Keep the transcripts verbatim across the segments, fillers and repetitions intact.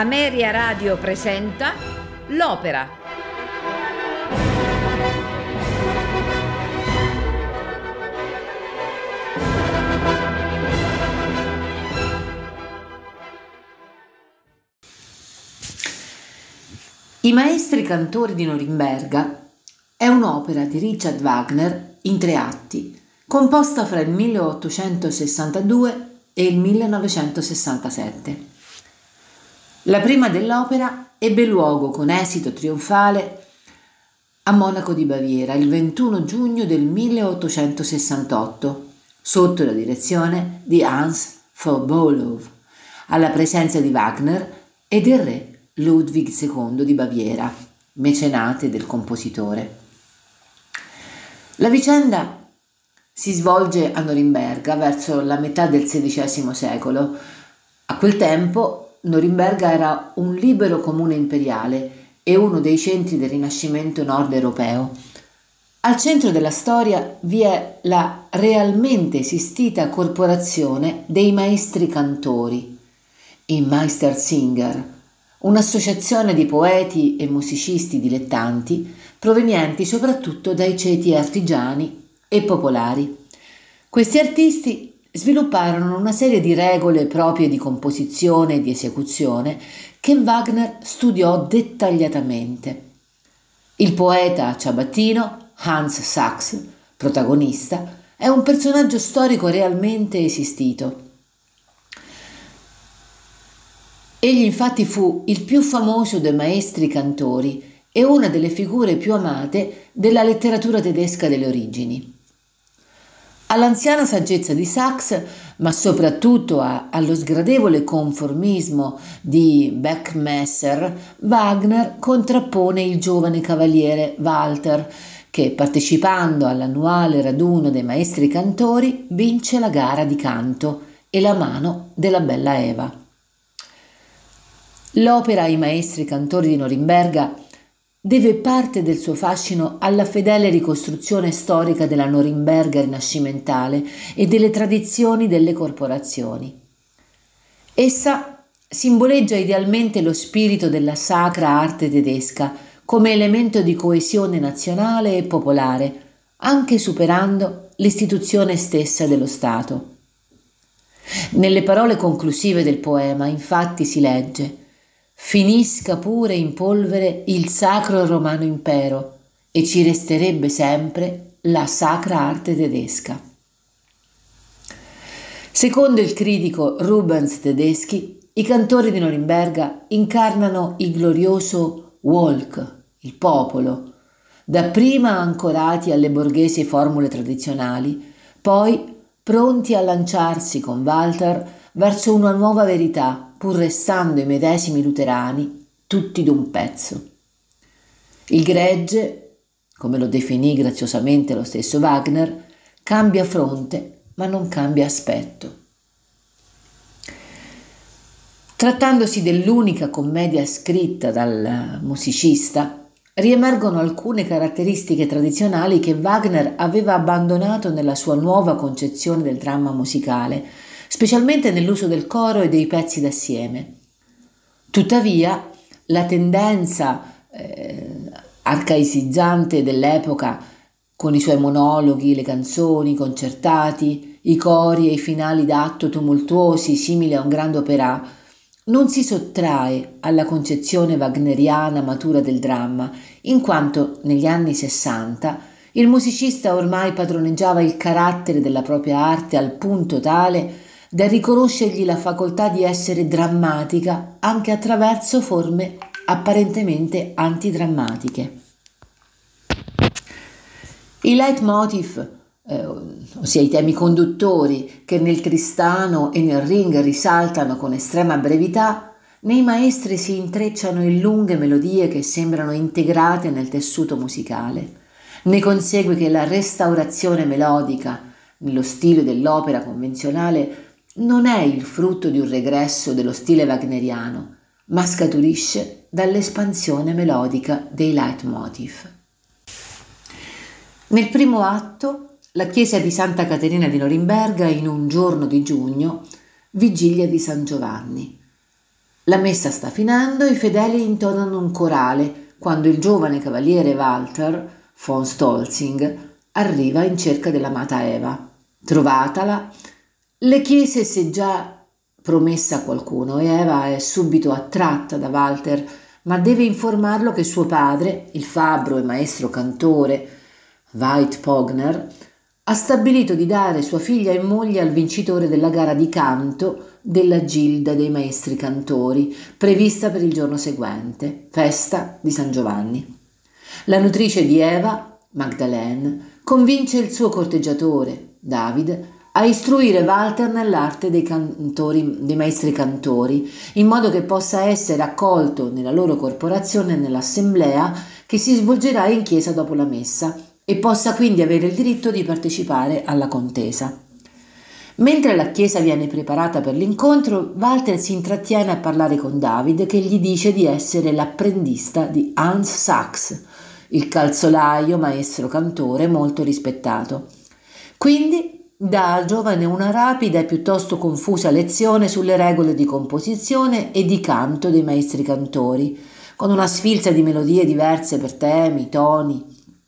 Ameria Radio presenta L'Opera. I maestri cantori di Norimberga è un'opera di Richard Wagner in tre atti, composta fra il milleottocentosessantadue e il millenovecentosessantasette. La prima dell'opera ebbe luogo con esito trionfale a Monaco di Baviera il ventuno giugno del milleottocentosessantotto, sotto la direzione di Hans von Bülow, alla presenza di Wagner e del re Ludwig secondo di Baviera, mecenate del compositore. La vicenda si svolge a Norimberga verso la metà del sedicesimo secolo. A quel tempo Norimberga era un libero comune imperiale e uno dei centri del Rinascimento nord europeo. Al centro della storia vi è la realmente esistita corporazione dei maestri cantori, i Meistersinger, un'associazione di poeti e musicisti dilettanti provenienti soprattutto dai ceti artigiani e popolari. Questi artisti svilupparono una serie di regole proprie di composizione e di esecuzione che Wagner studiò dettagliatamente. Il poeta ciabattino Hans Sachs, protagonista, è un personaggio storico realmente esistito. Egli infatti fu il più famoso dei maestri cantori e una delle figure più amate della letteratura tedesca delle origini. All'anziana saggezza di Sachs, ma soprattutto a, allo sgradevole conformismo di Beckmesser, Wagner contrappone il giovane cavaliere Walter, che partecipando all'annuale raduno dei maestri cantori vince la gara di canto e la mano della bella Eva. L'opera I maestri cantori di Norimberga deve parte del suo fascino alla fedele ricostruzione storica della Norimberga rinascimentale e delle tradizioni delle corporazioni. Essa simboleggia idealmente lo spirito della sacra arte tedesca come elemento di coesione nazionale e popolare, anche superando l'istituzione stessa dello Stato. Nelle parole conclusive del poema, infatti, si legge: «Finisca pure in polvere il sacro romano impero e ci resterebbe sempre la sacra arte tedesca». Secondo il critico Rubens Tedeschi, i cantori di Norimberga incarnano il glorioso Volk, il popolo, dapprima ancorati alle borghesi formule tradizionali, poi pronti a lanciarsi con Walter verso una nuova verità, pur restando i medesimi luterani, tutti d'un pezzo. Il gregge, come lo definì graziosamente lo stesso Wagner, cambia fronte ma non cambia aspetto. Trattandosi dell'unica commedia scritta dal musicista, riemergono alcune caratteristiche tradizionali che Wagner aveva abbandonato nella sua nuova concezione del dramma musicale, specialmente nell'uso del coro e dei pezzi d'assieme. Tuttavia, la tendenza eh, arcaicizzante dell'epoca, con i suoi monologhi, le canzoni, i concertati, i cori e i finali d'atto tumultuosi simili a un grande opera, non si sottrae alla concezione wagneriana matura del dramma, in quanto negli anni sessanta il musicista ormai padroneggiava il carattere della propria arte al punto tale da riconoscergli la facoltà di essere drammatica anche attraverso forme apparentemente antidrammatiche. I leitmotiv, eh, ossia i temi conduttori che nel Tristano e nel Ring risaltano con estrema brevità, nei maestri si intrecciano in lunghe melodie che sembrano integrate nel tessuto musicale. Ne consegue che la restaurazione melodica, nello stile dell'opera convenzionale, non è il frutto di un regresso dello stile wagneriano, ma scaturisce dall'espansione melodica dei leitmotiv. Nel primo atto, la chiesa di Santa Caterina di Norimberga in un giorno di giugno, vigilia di San Giovanni. La messa sta finendo e i fedeli intonano un corale quando il giovane cavaliere Walter von Stolzing arriva in cerca dell'amata Eva. Trovatala, le chiese se già promessa a qualcuno e Eva è subito attratta da Walter, ma deve informarlo che suo padre, il fabbro e maestro cantore Veit Pogner, ha stabilito di dare sua figlia in moglie al vincitore della gara di canto della Gilda dei Maestri Cantori, prevista per il giorno seguente, festa di San Giovanni. La nutrice di Eva, Magdalene, convince il suo corteggiatore, David, a istruire Walter nell'arte dei, cantori, dei maestri cantori, in modo che possa essere accolto nella loro corporazione nell'assemblea che si svolgerà in chiesa dopo la messa e possa quindi avere il diritto di partecipare alla contesa. Mentre la chiesa viene preparata per l'incontro, Walter si intrattiene a parlare con David, che gli dice di essere l'apprendista di Hans Sachs, il calzolaio maestro cantore molto rispettato. Quindi dà al giovane una rapida e piuttosto confusa lezione sulle regole di composizione e di canto dei maestri cantori, con una sfilza di melodie diverse per temi, toni,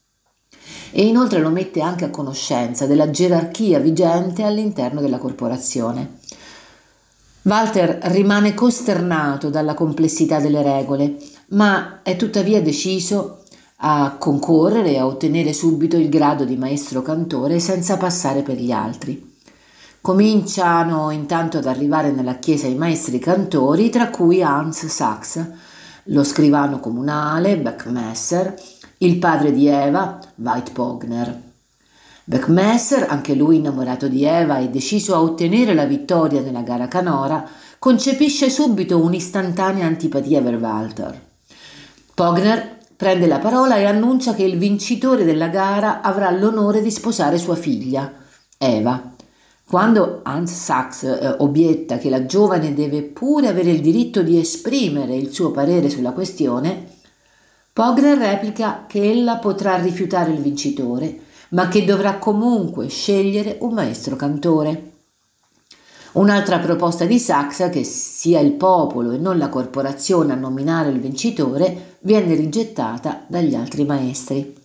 e inoltre lo mette anche a conoscenza della gerarchia vigente all'interno della corporazione. Walter rimane costernato dalla complessità delle regole, ma è tuttavia deciso a concorrere e a ottenere subito il grado di maestro cantore senza passare per gli altri. Cominciano intanto ad arrivare nella chiesa i maestri cantori, tra cui Hans Sachs, lo scrivano comunale Beckmesser, il padre di Eva, Veit Pogner. Beckmesser, anche lui innamorato di Eva e deciso a ottenere la vittoria nella gara canora, concepisce subito un'istantanea antipatia per Walter. Pogner prende la parola e annuncia che il vincitore della gara avrà l'onore di sposare sua figlia, Eva. Quando Hans Sachs eh, obietta che la giovane deve pure avere il diritto di esprimere il suo parere sulla questione, Pogner replica che ella potrà rifiutare il vincitore, ma che dovrà comunque scegliere un maestro cantore. Un'altra proposta di Sachs, che sia il popolo e non la corporazione a nominare il vincitore, viene rigettata dagli altri maestri.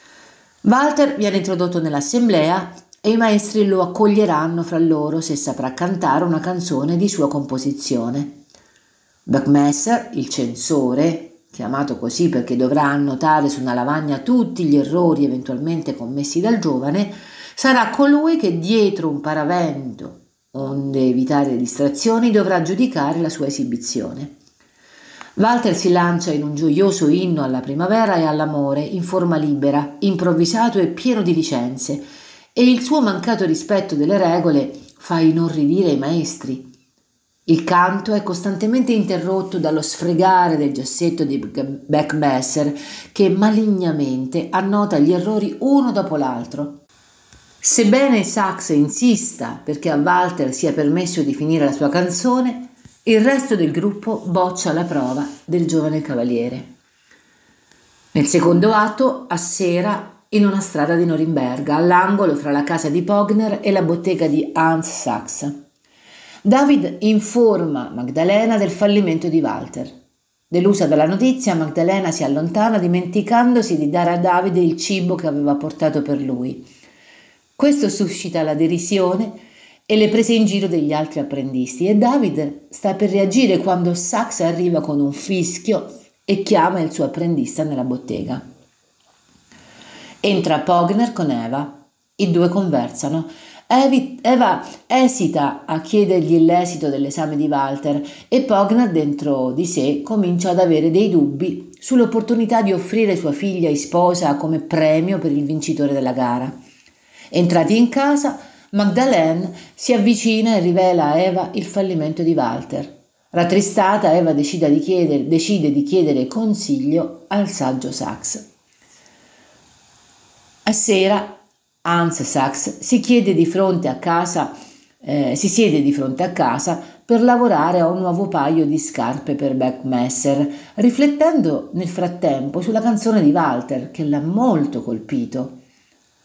Walter viene introdotto nell'assemblea e i maestri lo accoglieranno fra loro se saprà cantare una canzone di sua composizione. Beckmesser, il censore, chiamato così perché dovrà annotare su una lavagna tutti gli errori eventualmente commessi dal giovane, sarà colui che dietro un paravento, onde evitare distrazioni, dovrà giudicare la sua esibizione. Walter si lancia in un gioioso inno alla primavera e all'amore in forma libera, improvvisato e pieno di licenze, e il suo mancato rispetto delle regole fa inorridire i maestri. Il canto è costantemente interrotto dallo sfregare del giassetto di Beckmesser, che malignamente annota gli errori uno dopo l'altro. Sebbene Sachs insista perché a Walter sia permesso di finire la sua canzone, il resto del gruppo boccia la prova del giovane cavaliere. Nel secondo atto, a sera, in una strada di Norimberga, all'angolo fra la casa di Pogner e la bottega di Hans Sachs, David informa Magdalena del fallimento di Walter. Delusa dalla notizia, Magdalena si allontana dimenticandosi di dare a David il cibo che aveva portato per lui. Questo suscita la derisione e le prese in giro degli altri apprendisti e David sta per reagire quando Sachs arriva con un fischio e chiama il suo apprendista nella bottega. Entra Pogner con Eva. I due conversano. Eva esita a chiedergli l'esito dell'esame di Walter e Pogner dentro di sé comincia ad avere dei dubbi sull'opportunità di offrire sua figlia in sposa come premio per il vincitore della gara. Entrati in casa, Magdalene si avvicina e rivela a Eva il fallimento di Walter. Rattristata, Eva decide di chiedere, decide di chiedere consiglio al saggio Sachs. A sera Hans Sachs si chiede di fronte a casa, eh, si siede di fronte a casa per lavorare a un nuovo paio di scarpe per Beckmesser, riflettendo nel frattempo sulla canzone di Walter che l'ha molto colpito.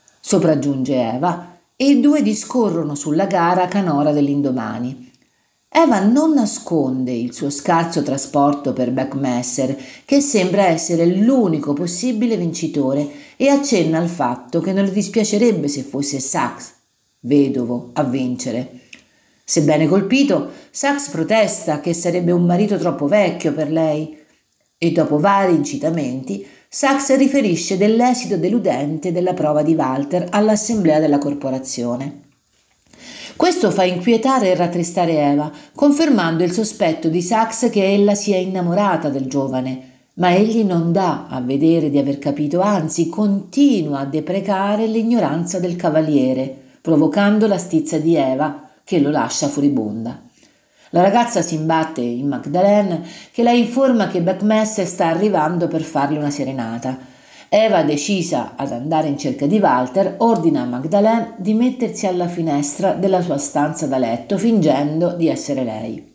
Sopraggiunge Eva e i due discorrono sulla gara canora dell'indomani. Eva non nasconde il suo scarso trasporto per Buckmaster, che sembra essere l'unico possibile vincitore, e accenna al fatto che non le dispiacerebbe se fosse Sax, vedovo, a vincere. Sebbene colpito, Sax protesta che sarebbe un marito troppo vecchio per lei e dopo vari incitamenti Sax riferisce dell'esito deludente della prova di Walter all'assemblea della corporazione. Questo fa inquietare e rattristare Eva, confermando il sospetto di Sax che ella sia innamorata del giovane, ma egli non dà a vedere di aver capito, anzi continua a deprecare l'ignoranza del cavaliere, provocando la stizza di Eva che lo lascia furibonda. La ragazza si imbatte in Magdalene, che la informa che Buckmaster sta arrivando per farle una serenata. Eva, decisa ad andare in cerca di Walter, ordina a Magdalene di mettersi alla finestra della sua stanza da letto, fingendo di essere lei.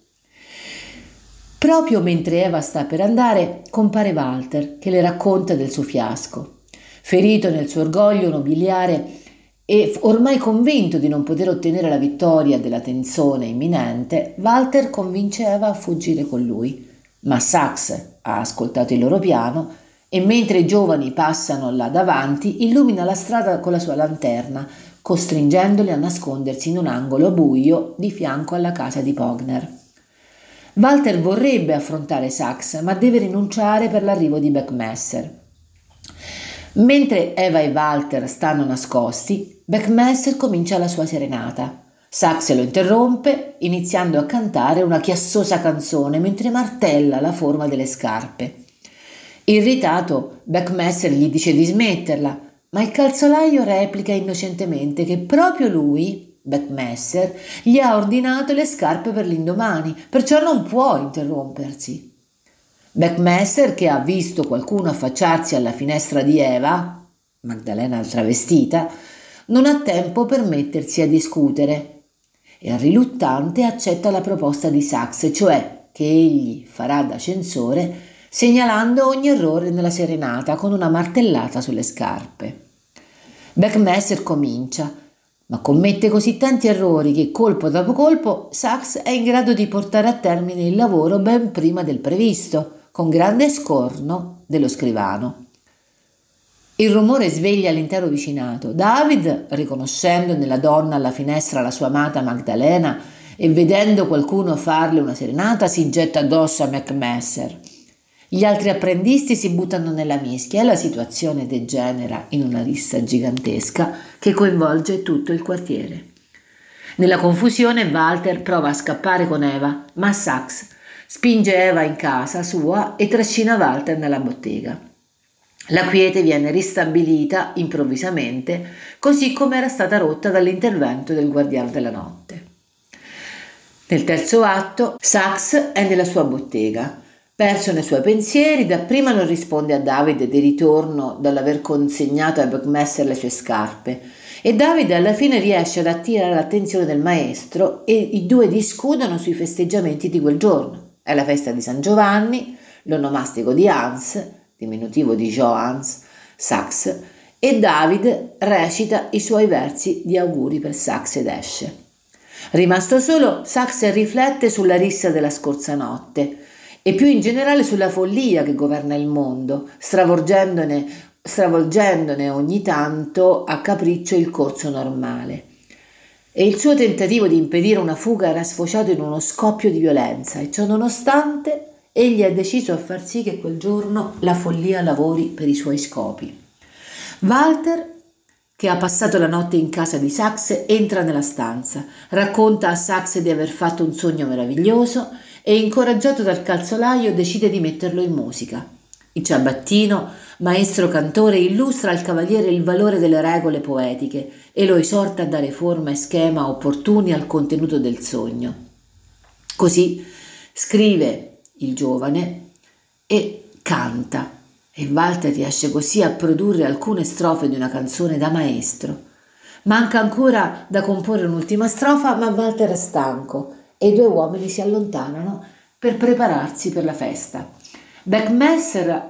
Proprio mentre Eva sta per andare, compare Walter, che le racconta del suo fiasco. Ferito nel suo orgoglio nobiliare e ormai convinto di non poter ottenere la vittoria della tensione imminente, Walter convince Eva a fuggire con lui. Ma Sax ha ascoltato il loro piano e mentre i giovani passano là davanti illumina la strada con la sua lanterna, costringendoli a nascondersi in un angolo buio di fianco alla casa di Pogner. Walter vorrebbe affrontare Sax, ma deve rinunciare per l'arrivo di Buckmaster. Mentre Eva e Walter stanno nascosti, Buckmaster comincia la sua serenata. Sax lo interrompe, iniziando a cantare una chiassosa canzone mentre martella la forma delle scarpe. Irritato, Buckmaster gli dice di smetterla, ma il calzolaio replica innocentemente che proprio lui, Buckmaster, gli ha ordinato le scarpe per l'indomani, perciò non può interrompersi. Buckmaster, che ha visto qualcuno affacciarsi alla finestra di Eva, Magdalena travestita, non ha tempo per mettersi a discutere e riluttante accetta la proposta di Sax, cioè che egli farà da censore segnalando ogni errore nella serenata con una martellata sulle scarpe. Buckmaster comincia, ma commette così tanti errori che colpo dopo colpo Sax è in grado di portare a termine il lavoro ben prima del previsto, con grande scorno dello scrivano. Il rumore sveglia l'intero vicinato. David, riconoscendo nella donna alla finestra la sua amata Magdalena e vedendo qualcuno farle una serenata, si getta addosso a Buckmaster. Gli altri apprendisti si buttano nella mischia e la situazione degenera in una rissa gigantesca che coinvolge tutto il quartiere. Nella confusione Walter prova a scappare con Eva, ma Sax spinge Eva in casa sua e trascina Walter nella bottega. La quiete viene ristabilita improvvisamente, così come era stata rotta dall'intervento del guardiano della notte. Nel terzo atto, Sax è nella sua bottega. Perso nei suoi pensieri, dapprima non risponde a David di ritorno dall'aver consegnato a Buckmaster le sue scarpe e David alla fine riesce ad attirare l'attenzione del maestro e i due discutono sui festeggiamenti di quel giorno. È la festa di San Giovanni, l'onomastico di Hans, diminutivo di Johannes, Sax, e David recita i suoi versi di auguri per Sax ed esce. Rimasto solo, Sax riflette sulla rissa della scorsa notte e più in generale sulla follia che governa il mondo, stravolgendone, stravolgendone ogni tanto a capriccio il corso normale. E il suo tentativo di impedire una fuga era sfociato in uno scoppio di violenza e ciò nonostante egli ha deciso a far sì che quel giorno la follia lavori per i suoi scopi. Walter, che ha passato la notte in casa di Sax, entra nella stanza, racconta a Sax di aver fatto un sogno meraviglioso e, incoraggiato dal calzolaio, decide di metterlo in musica. Il ciabattino, maestro cantore, illustra al cavaliere il valore delle regole poetiche e lo esorta a dare forma e schema opportuni al contenuto del sogno. Così scrive il giovane e canta, e Walter riesce così a produrre alcune strofe di una canzone da maestro. Manca ancora da comporre un'ultima strofa, ma Walter è stanco e i due uomini si allontanano per prepararsi per la festa. Buckmaster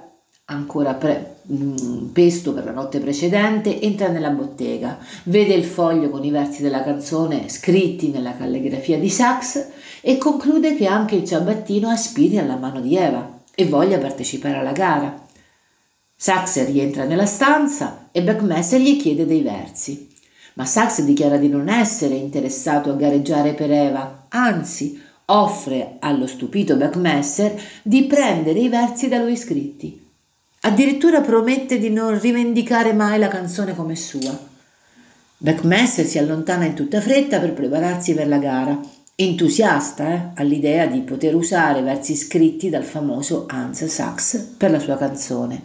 ancora pre- mh, pesto per la notte precedente, entra nella bottega, vede il foglio con i versi della canzone scritti nella calligrafia di Sax e conclude che anche il ciabattino aspiri alla mano di Eva e voglia partecipare alla gara. Sax rientra nella stanza e Buckmaster gli chiede dei versi, ma Sax dichiara di non essere interessato a gareggiare per Eva, anzi offre allo stupito Buckmaster di prendere i versi da lui scritti. Addirittura promette di non rivendicare mai la canzone come sua. Buckmaster si allontana in tutta fretta per prepararsi per la gara, entusiasta eh, all'idea di poter usare versi scritti dal famoso Hans Sachs per la sua canzone.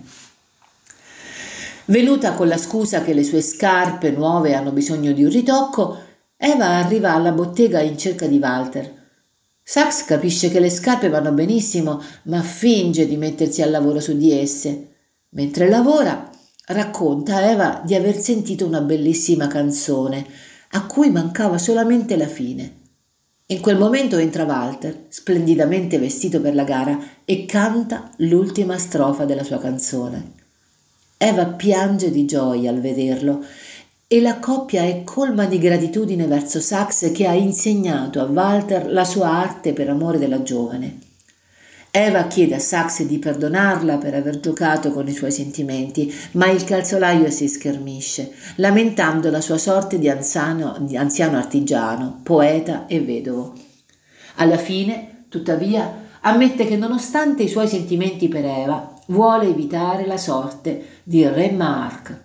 Venuta con la scusa che le sue scarpe nuove hanno bisogno di un ritocco, Eva arriva alla bottega in cerca di Walter. Sax capisce che le scarpe vanno benissimo, ma finge di mettersi al lavoro su di esse. Mentre lavora, racconta a Eva di aver sentito una bellissima canzone, a cui mancava solamente la fine. In quel momento entra Walter, splendidamente vestito per la gara, e canta l'ultima strofa della sua canzone. Eva piange di gioia al vederlo e la coppia è colma di gratitudine verso Sax che ha insegnato a Walter la sua arte per amore della giovane. Eva chiede a Sax di perdonarla per aver giocato con i suoi sentimenti, ma il calzolaio si schermisce, lamentando la sua sorte di anziano, di anziano artigiano, poeta e vedovo. Alla fine, tuttavia, ammette che nonostante i suoi sentimenti per Eva, vuole evitare la sorte di Remarque.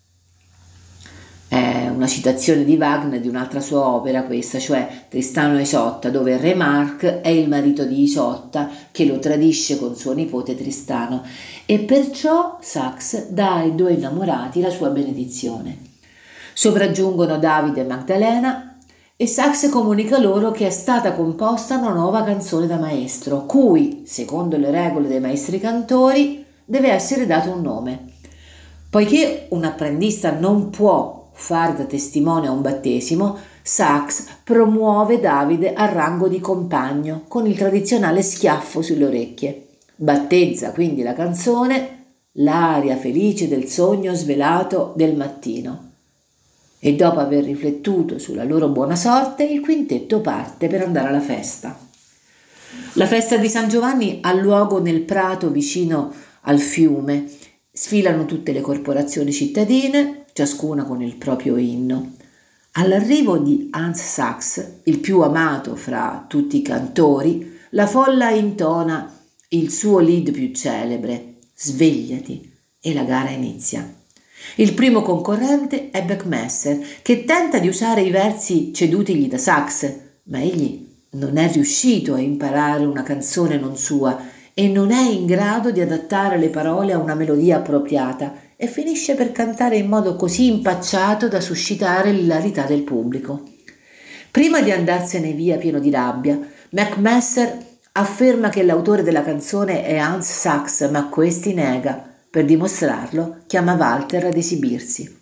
È una citazione di Wagner di un'altra sua opera questa, cioè Tristano e Isotta, dove Remarque è il marito di Isotta che lo tradisce con suo nipote Tristano e perciò Sax dà ai due innamorati la sua benedizione. Sopraggiungono Davide e Magdalena e Sax comunica loro che è stata composta una nuova canzone da maestro, cui, secondo le regole dei maestri cantori, deve essere dato un nome. Poiché un apprendista non può fare da testimone a un battesimo, Sax promuove Davide al rango di compagno con il tradizionale schiaffo sulle orecchie. Battezza quindi la canzone L'aria felice del sogno svelato del mattino. E dopo aver riflettuto sulla loro buona sorte, il quintetto parte per andare alla festa. La festa di San Giovanni ha luogo nel prato vicino al fiume. Sfilano tutte le corporazioni cittadine, ciascuna con il proprio inno. All'arrivo di Hans Sachs, il più amato fra tutti i cantori, la folla intona il suo lead più celebre, Svegliati, e la gara inizia. Il primo concorrente è Buckmaster, che tenta di usare i versi cedutigli da Sachs, ma egli non è riuscito a imparare una canzone non sua e non è in grado di adattare le parole a una melodia appropriata e finisce per cantare in modo così impacciato da suscitare l'ilarità del pubblico. Prima di andarsene via pieno di rabbia, Buckmaster afferma che l'autore della canzone è Hans Sachs, ma questi nega. Per dimostrarlo, chiama Walter ad esibirsi.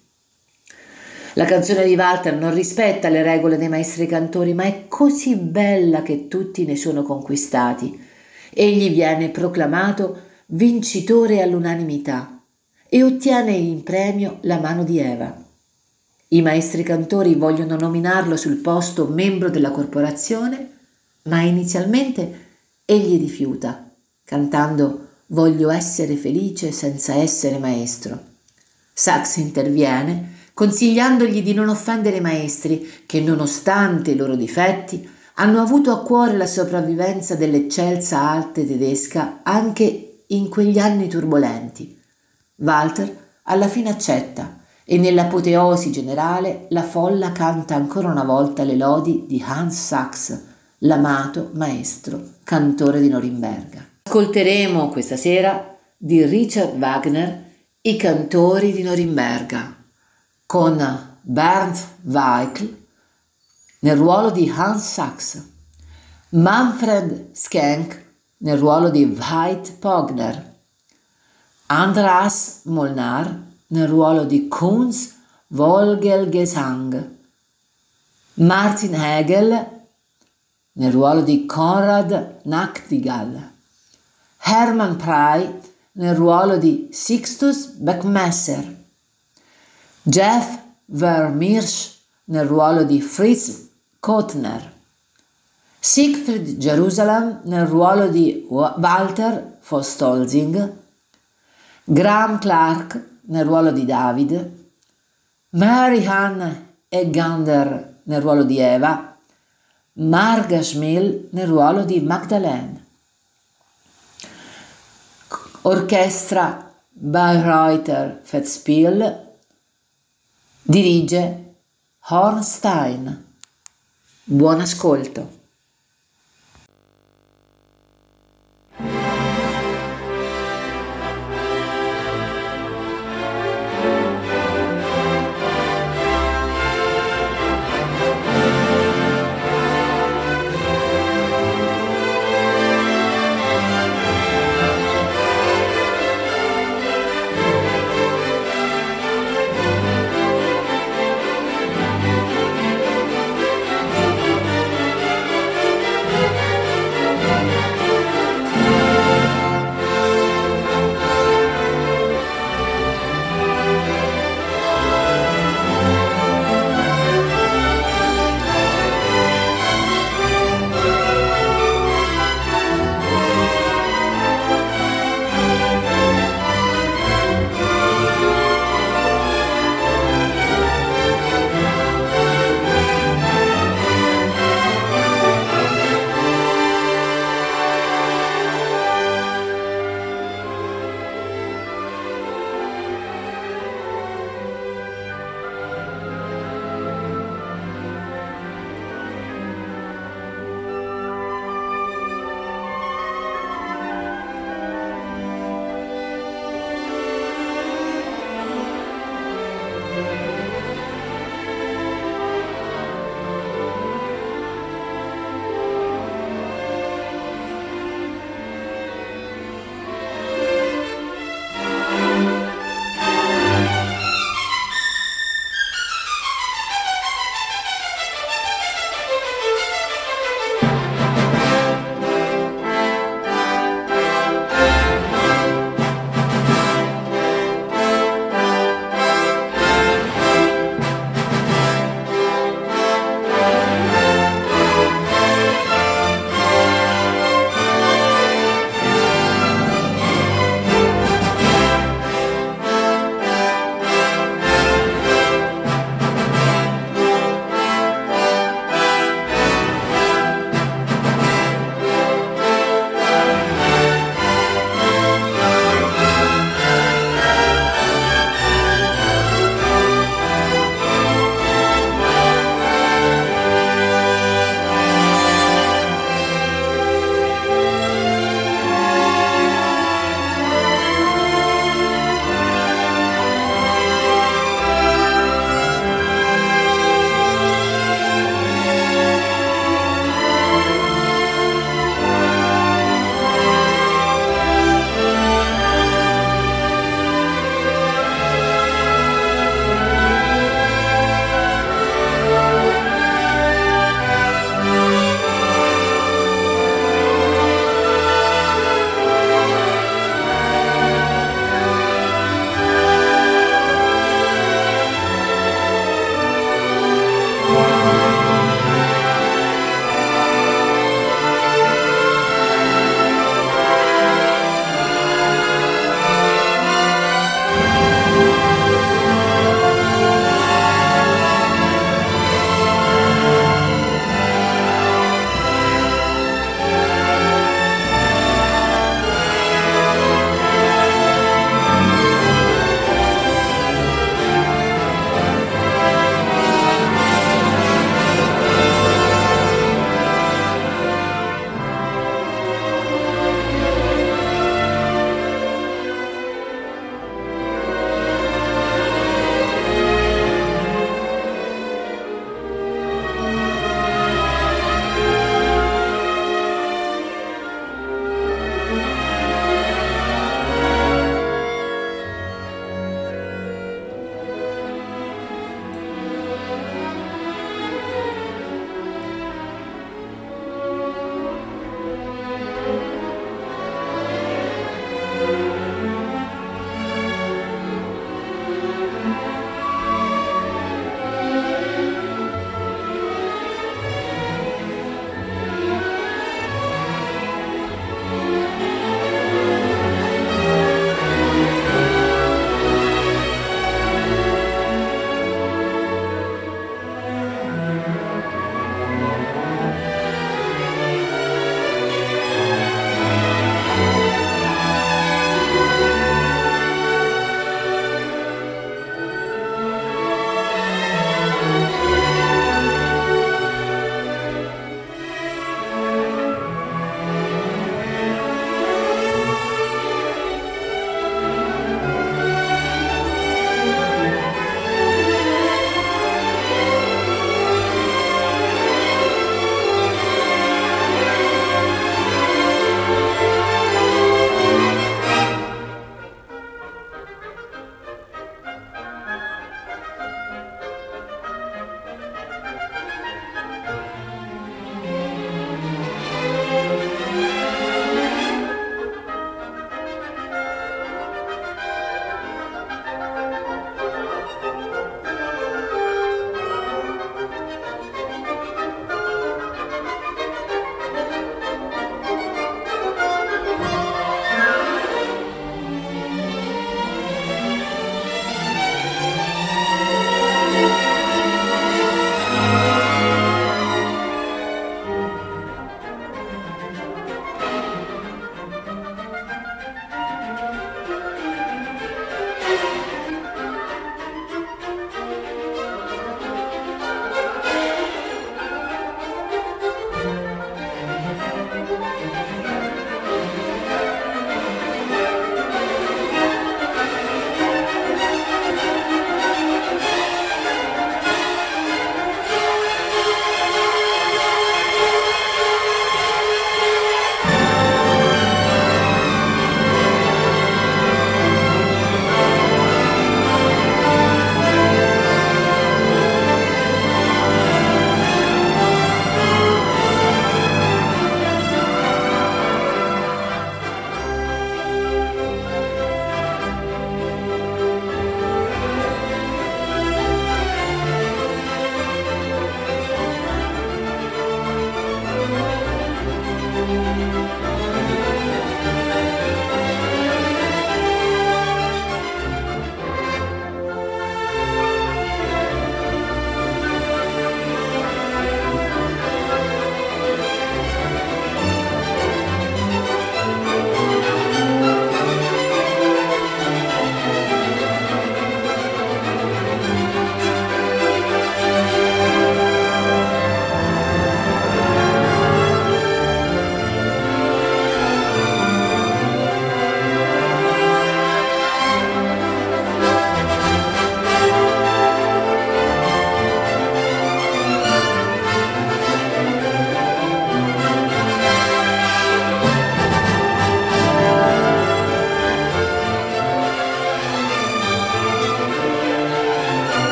La canzone di Walter non rispetta le regole dei maestri cantori, ma è così bella che tutti ne sono conquistati. Egli viene proclamato vincitore all'unanimità e ottiene in premio la mano di Eva. I maestri cantori vogliono nominarlo sul posto membro della corporazione, ma inizialmente egli rifiuta, cantando «Voglio essere felice senza essere maestro». Sachs interviene, consigliandogli di non offendere i maestri che, nonostante i loro difetti, hanno avuto a cuore la sopravvivenza dell'eccelsa arte tedesca anche in quegli anni turbolenti. Walter alla fine accetta e nell'apoteosi generale la folla canta ancora una volta le lodi di Hans Sachs, l'amato maestro cantore di Norimberga. Ascolteremo questa sera di Richard Wagner I cantori di Norimberga con Bernd Weikl nel ruolo di Hans Sachs, Manfred Schenk nel ruolo di Veit Pogner, Andras Molnar nel ruolo di Kunz Vogelgesang, Martin Hegel nel ruolo di Konrad Nachtigall, Hermann Prey nel ruolo di Sixtus Beckmesser, Jeff Vermeersch nel ruolo di Fritz Kotner, Siegfried Jerusalem nel ruolo di Walter von Stolzing, Graham Clark nel ruolo di David, Mary Ann Eggander nel ruolo di Eva, Marga Schmiel nel ruolo di Magdalene. Orchestra Bayreuther Festspiel, dirige Hornstein. Buon ascolto.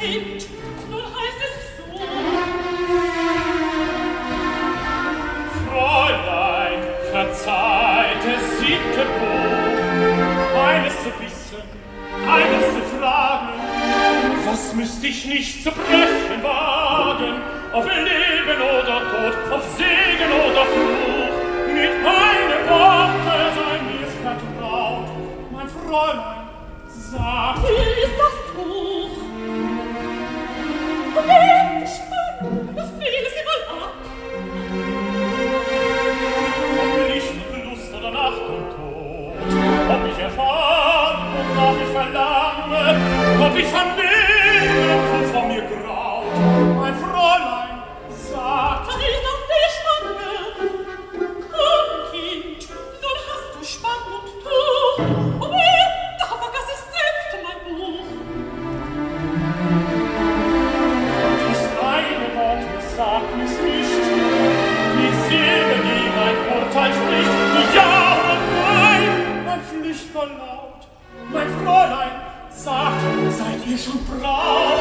Kind, nun heißt es so. Fräulein, verzeiht, es siebte Buch, eines zu wissen, eines zu fragen, was müsst ich nicht zu brechen wagen, ob Leben oder Tod, ob Segen oder Fluch, mit einem Worte sei mir vertraut, mein Fräulein, sag. Hier ist das Tuch. Und endlich, Mann, das fiel sie mal ab. Ob Licht und Lust oder Nacht und Tod, ob ich erfahren, wonach ich verlange, ob ich vernehme, wovon mir graut, mein Fräulein, sag. Da ist auch die Schwange. Komm, Kind, nun hast du Spann und Tuch. Oh, weh, da vergaß ich selbst mein Buch. Dies eine Wort, sag mir's nicht, die Seele, die mein Urteil spricht, ja oder nein, mein flüchtender Laut, mein Fräulein, sagt, seid ihr schon braut?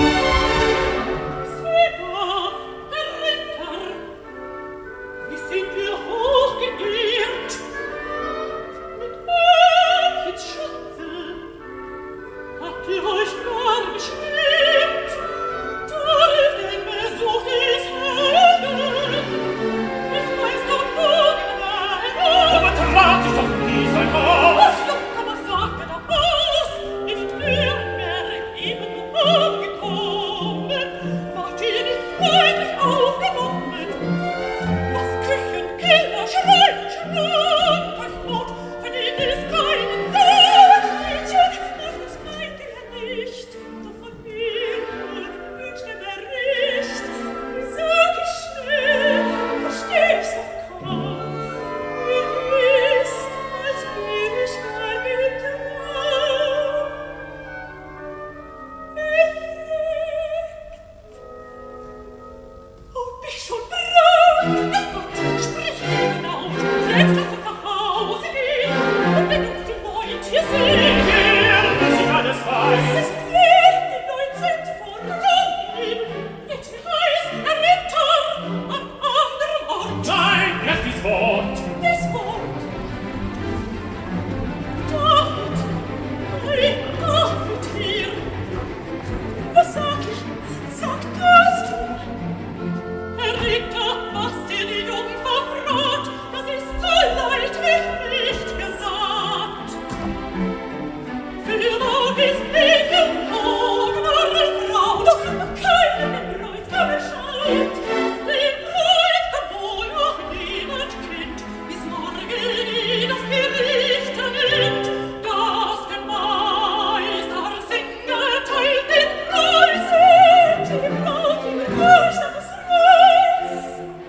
Sieh da, der Ritter, wie sind wir hochgeehrt. Mit Mädchens Schutze habt ihr euch gar beschwert. Darf den Besuch des Helden, ich weiß doch morgen nahe. Aber trat ich doch nie sein Haus. Was doch, aber sage doch aus, ist Nürnberg eben umgekommen, wart ihr nicht freudig aufgenommen? Was Küchen, Keller, Schrein und Schrank euch not, verdient es keinen Tod, Mädchen, ach, das meint ihr nicht, doch von mir wünscht ihr Bericht. Wie sag ich schnell, versteh ich's doch kaum, mir ist, als bin ich gar getraut. Oh, bin schon bereit? Ach Gott, sprich mir genau. Jetzt lass uns nach Hause gehen. Und wenn uns die Leute hier sehen, Hier, bis ich alles es weiß. ist wir, die Leute sind von Tugend. Jetzt wie heißt ein Ritter am anderen Ort. Nein, erst dies Wort. Das Wort. David, hey, David hier. Was sag ich? Sag das du. Herr Ritter, was ihr die Jungfer fragt, das ist so leidlich nicht gesagt. Für wo ist die geborene Frau, doch keine Bräut Bescheid. Die Bräut, wohl noch niemand kennt, bis morgen ihn das Gericht nimmt. Das der Meister Singer teilt den Preis, die Braut im Reichstags Reis.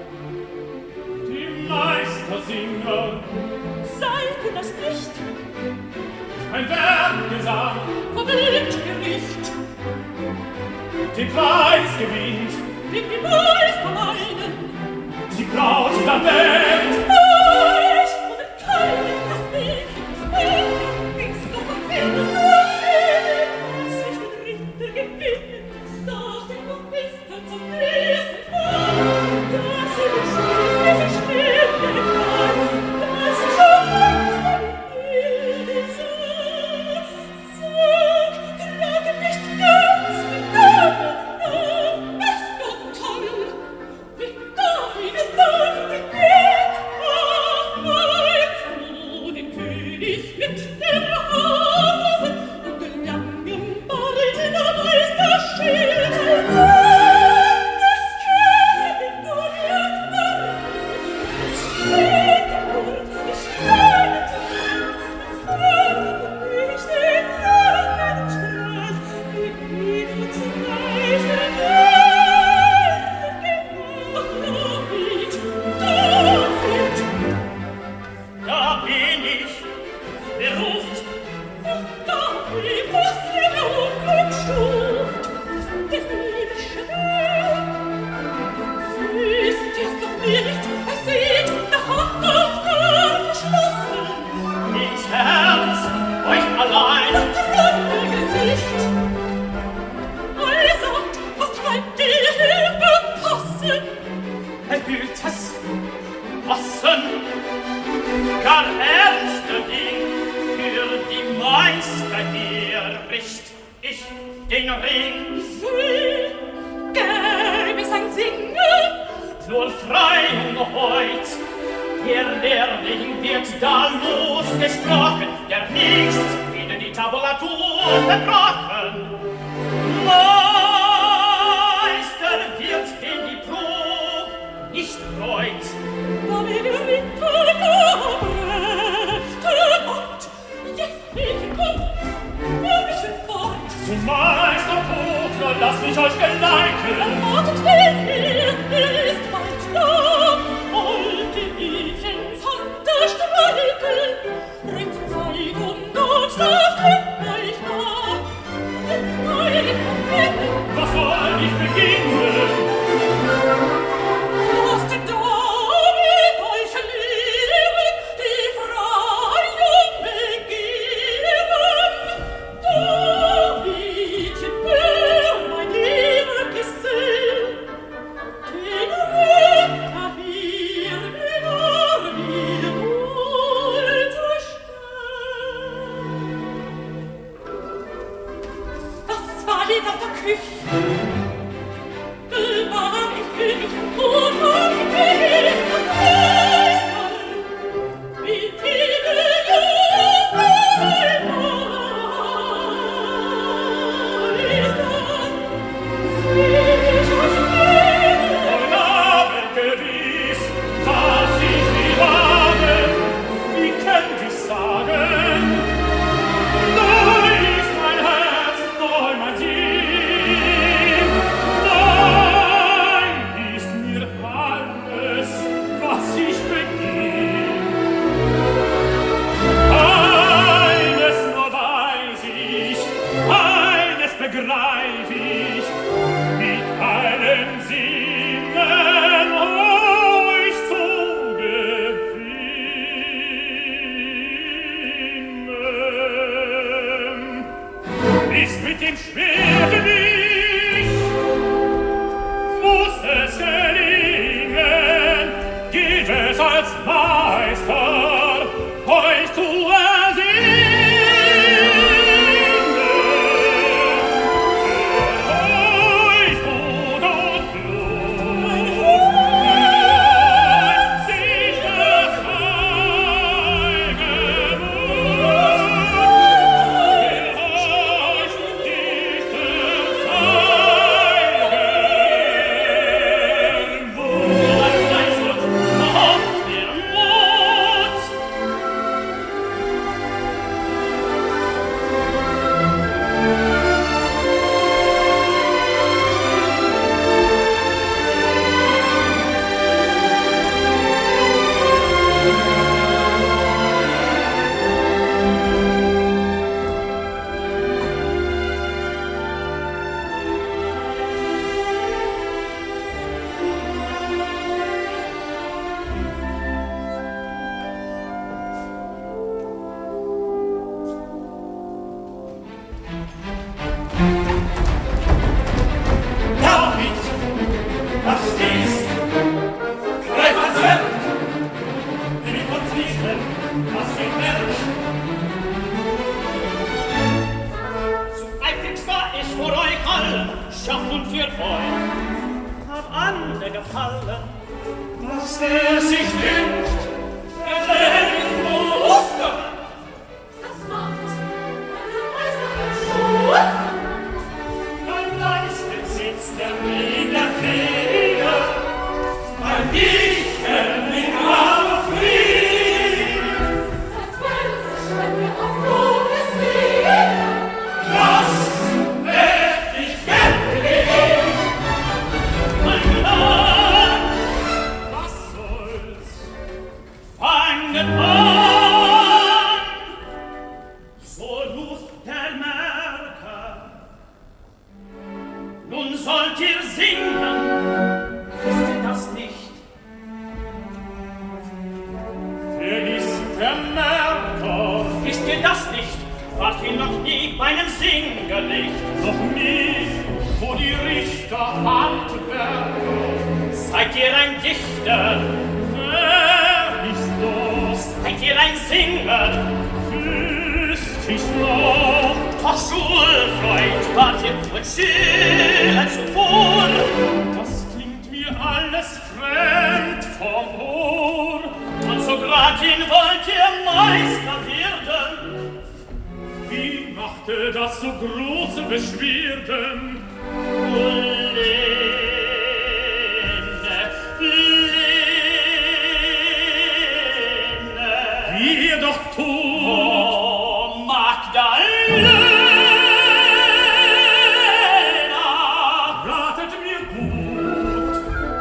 Die Meistersinger, Seid ihr das nicht? ein Werkgesang, Verwirrt Gericht, den Preis gewinnt, wie die Meister meinen. die Braut dann weckt. Euch oder keinem das Weg fällt, bist du von Silber vergeben, sich den Ritter gewinnen, das sind noch Gäste zum nächsten Mal, dass sie beschließt, dass ich schnell gefahren, dass ich auch Angst an die sah. Sag, trage nicht ganz mit David nah, bist du toll, wie David, wie David geht. Ach, meinst du den König mit der Harfe und den langen Bart in der Meisterschild? Das Käse, die Goliath war, das steht der Mund, die Steine zu Hand, das Haupt nicht den Rachen strahlt, wie Brief und Zerreiß der Welt. David, David, Da bin ich, wer ruft? David, was ihr da Unglück stuft. den Ring. Sieh, gäb es ein Singen, Nur frei und heut, der Lehrling wird da losgesprochen, der nicht wieder die Tabulatur verbrochen. Meister wird in die Probe nicht freut. da will der Ritter gebrechte Gott. Jetzt ich komm, wir müssen fort. Zum Meister Pokler, lass mich euch geleiten. Erwartet ihn hier, er ist bald da. Wollte ich ins Hand streichen, bringt Zeit und Not, das bringt euch nach. Jetzt nein, Was soll ich beginnen? lasst David euch lehren, die Freiung begehren. David, hör mein lieber Gesell, den Ritter hier in Armee wohlzustellen. Was war jetzt auf der Küche? War ich König und war ich König und Meister, wie viele Jahre Meister. Sieh, euch reden, Mein Name gewiss, was ich nie habe, wie könnt ich sagen? Neu ist mein Herz, neu mein Sinn. Neu ist mir alles, was ich beginn. Eines nur weiß ich, eines begreif ich, mit allen Sinnen euch zu gewinnen. Ist mit dem Schwerte nicht, muss es gelingen, gilt es als Meister, euch zu ersinnen. Euch Tod und Blut, sich das euch dieses David, was stehst? Greif ans Werk! Gib uns nicht, was wir merken. Zu eifrig war ich vor euch allen, schafft und für euch. Hab andere gefallen, was der sich wünscht, erklären muss. das macht, also Meister, Mein Leisten sitzt der Wiener Feder, mein Dichter mit Arme Frieden. seit Wels schreibt mir auf Gottes Lieder. Das werd ich gern leben. Mein Land, was soll's? Fangen an! So ruft der Merker. Nun sollt ihr singen, wisst ihr das nicht? Wer ist der Merker? Wisst ihr das nicht? Wart ihr noch nie bei einem Singerlicht? Noch nie, wo die Richter Handwerker. Seid ihr ein Dichter? Wer ist los? Seid ihr ein Singer? Wüsst ich's noch? Doch Schulfreund wart ihr und Schüler zuvor. Das klingt mir alles fremd vom Ohr. Und so gratin wollt ihr Meister werden. Wie machte das so große Beschwerden? Lene, Lene, Wie ihr doch tut. oh Magdalena, Ratet mir gut.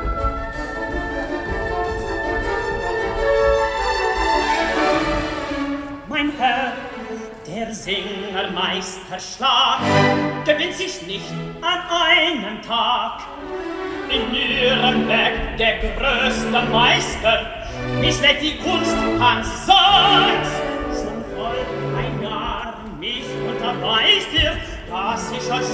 mein Herr, der Singermeister Schlag gewinnt sich nicht an einem Tag. In Nürnberg der größte Meister mischlägt die Kunst Hans Sachs. Schon voll ein Jahr mich unterweist ihr, dass ich als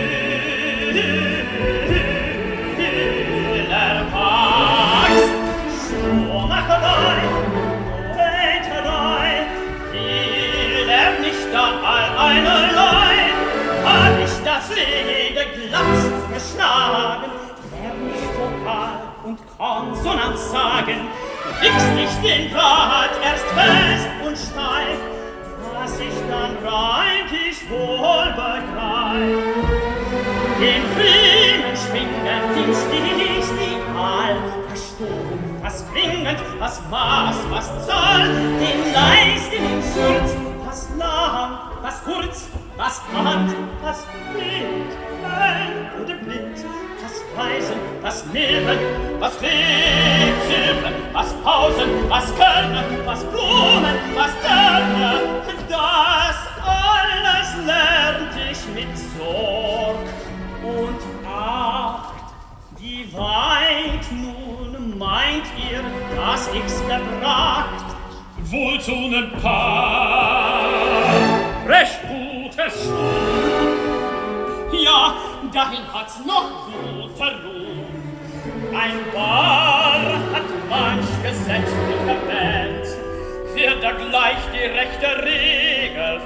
Schüler wachs. Schuhmacherei, Poeterei, die lernt nicht an all einerlei. Hab ich das Leder glatt geschlagen, lern ich Vokal und Konsonanz sagen, fix nicht den Draht erst fest und steif, was ich dann rein ich wohl begreif. Den Riemen schwingend, den Stich, die Aal, was stumpf, was klingend, was Maß, was Zahl, den Leis, den Schulz, was lang, was kurz, was Hand, was blind, hell oder blind, was Weisen, was Milben, was Rätseln, was Pausen, was Köln, was Blumen, was Dörner, das alles lernt ich mit Sorg und Acht. Wie weit nun meint ihr, dass ich's gebracht? Wohl zu nem Paar, recht gutes Schuh. Ja, dahin hat's noch guter Ruhm. Ein Bar hat manch Gesetz und erwähnt, wird da gleich die rechte Regel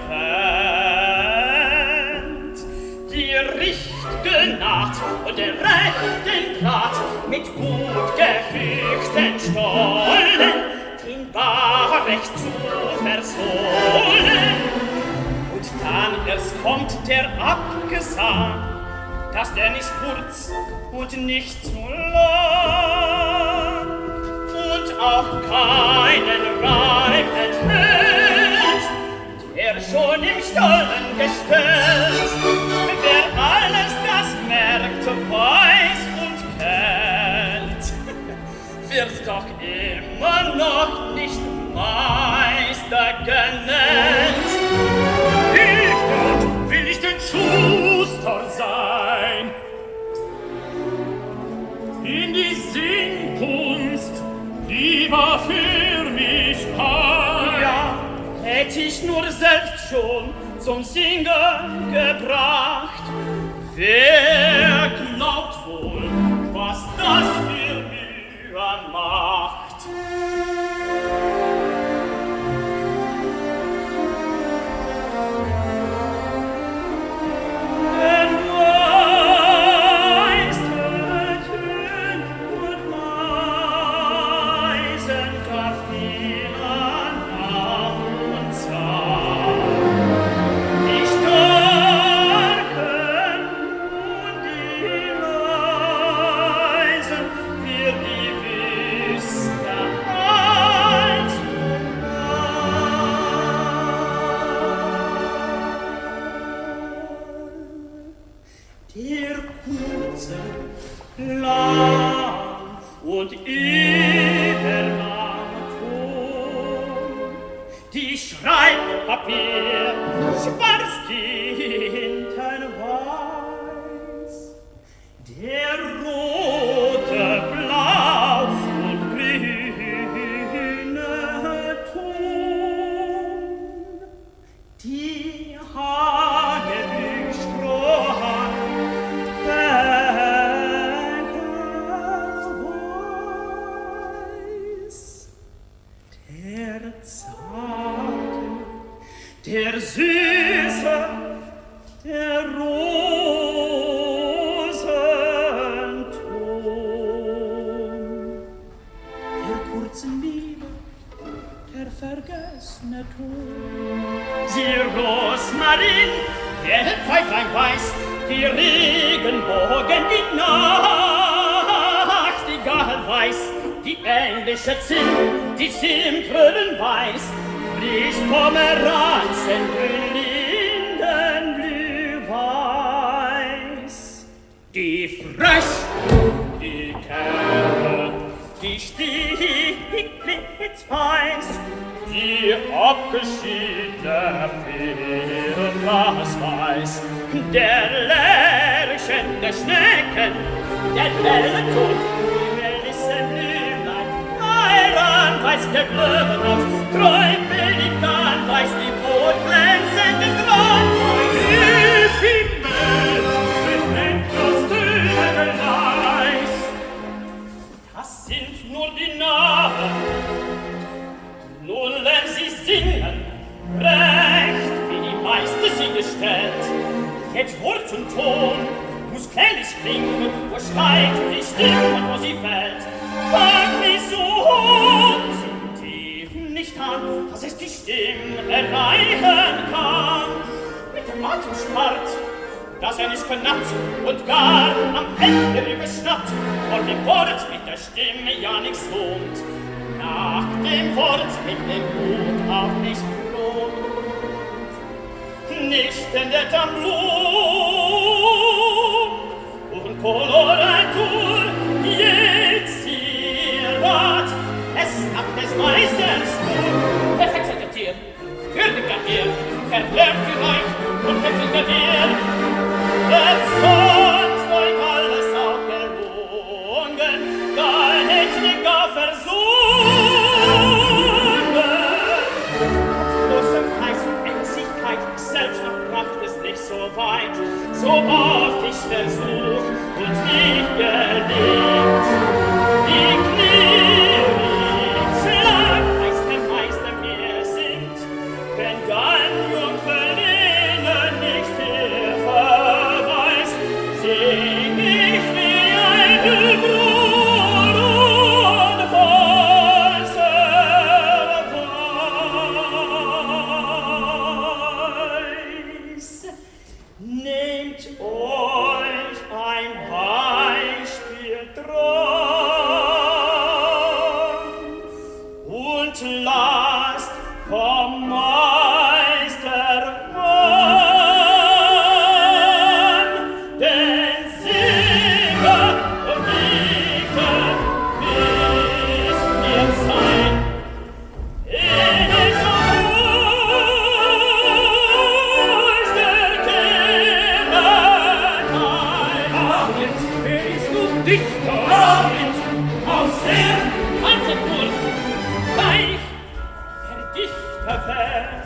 fällt. Die Richt'ge Naht und den rechten Draht mit gut gefügten Stollen, den Bar recht zu versohlen. Und dann erst kommt der Abgesang, dass der nicht kurz und nicht zu lang und auch keinen Reim enthält, der schon im Stollen gestellt. Wer alles das merkt, weiß und kennt, wird doch immer noch nicht Meister genannt. Hilf Gott, will ich den Schuster sein. In die Singkunst lieber für mich ein. Ja, hätt ich nur selbst schon zum Singen gebracht. Wer glaubt wohl, was das für Mühe macht? Denn Meisterchen und Weisen gar viel an und Zahl. Die Starken und die Leisen für die Wüste einzumal. Der kurze, lang und überlang Ton, die Schreibpapier schwarz, Tinten weiß, der rote, blau und grüne Ton, die Hagebüchstrohhalm, der zarte, der süße darin, der Pfeiflein weiß, die Regenbogen, die Nachtigall weiß, die englische Zinn, die Zimtröhren weiß, frisch Pomeranzen, Lindenblüh weiß. Die Frösch, die Kerle, die Stieglitz weiß, die abgeschiedene Firmas weiß, der Lerchen, der Schnecken, der Ellenton, die Melissenblümlein, Eiran weiß der Blödenot, treu Pelikan weiß die Brotglänzende Grat, Hilf ihm mit, mit Endlos-Tügeleis. Das sind nur die Namen, nun lernen sie singen, recht, wie die Meister sie gestellt. Jetzt Wort und Ton muss kleinlich klingen, wo steigt die Stimme und wo sie fällt. Fang nicht so hoch, sind tief nicht an, dass es die Stimme erreichen kann. Mit dem Atem spart, dass er nicht knackt und gar am Ende überschnappt, vor dem Wort mit der Stimme ja nichts lohnt. Nach dem Wort mit dem Mut auch nicht lohnt. Nicht in der Tamblon und Koloratur, jetzt ihr Rat, es nach des Meisters nur. Perfekter Tier, würdiger Tier, verlernt ihr euch und perfekter Tier. Denn sonst euch alles auch gelungen, gar nicht die gar versuchen. Selbst noch bracht es nicht so weit, so oft ich versuch und nicht gelingt. Die Knie schlag, weiß der Meister mir sind, wenn Gallenjungferlinnen nicht Hilfe weiß, sing ich wie ein Brot und weißer Nehmt euch ein Beispiel dran und lasst vom Meister an, denn Sieger und Dichter wisst ihr sein. In so groß der Kinderlein, wer ist nun Dichter? David, aus der Altenburg, gleich der Dichter wär.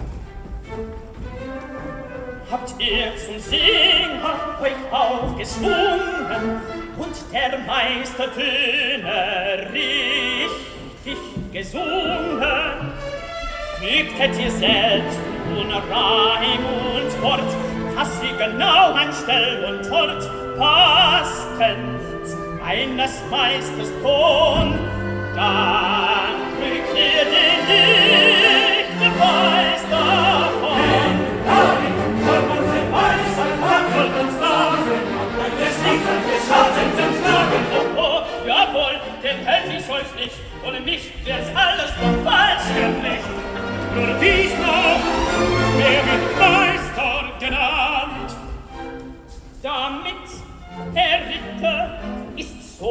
Habt ihr zum Singen euch aufgeschwungen und der Meister Töne richtig gesungen? Fügtet ihr selbst nun Reim und Wort, dass sie genau an Stell und Ort passten zu eines Meisters Ton, dann kriegt ihr den Dichterpreis davon. David, soll man den Meister packen und sagen, und der Stiefel für Schatten zum Schlagen. Oh, oh, jawohl, dem helf ich euch nicht, ohne mich wär's alles noch falsch gemacht. Nur dies noch, wer wird Meister genannt? Damit der Ritter ist so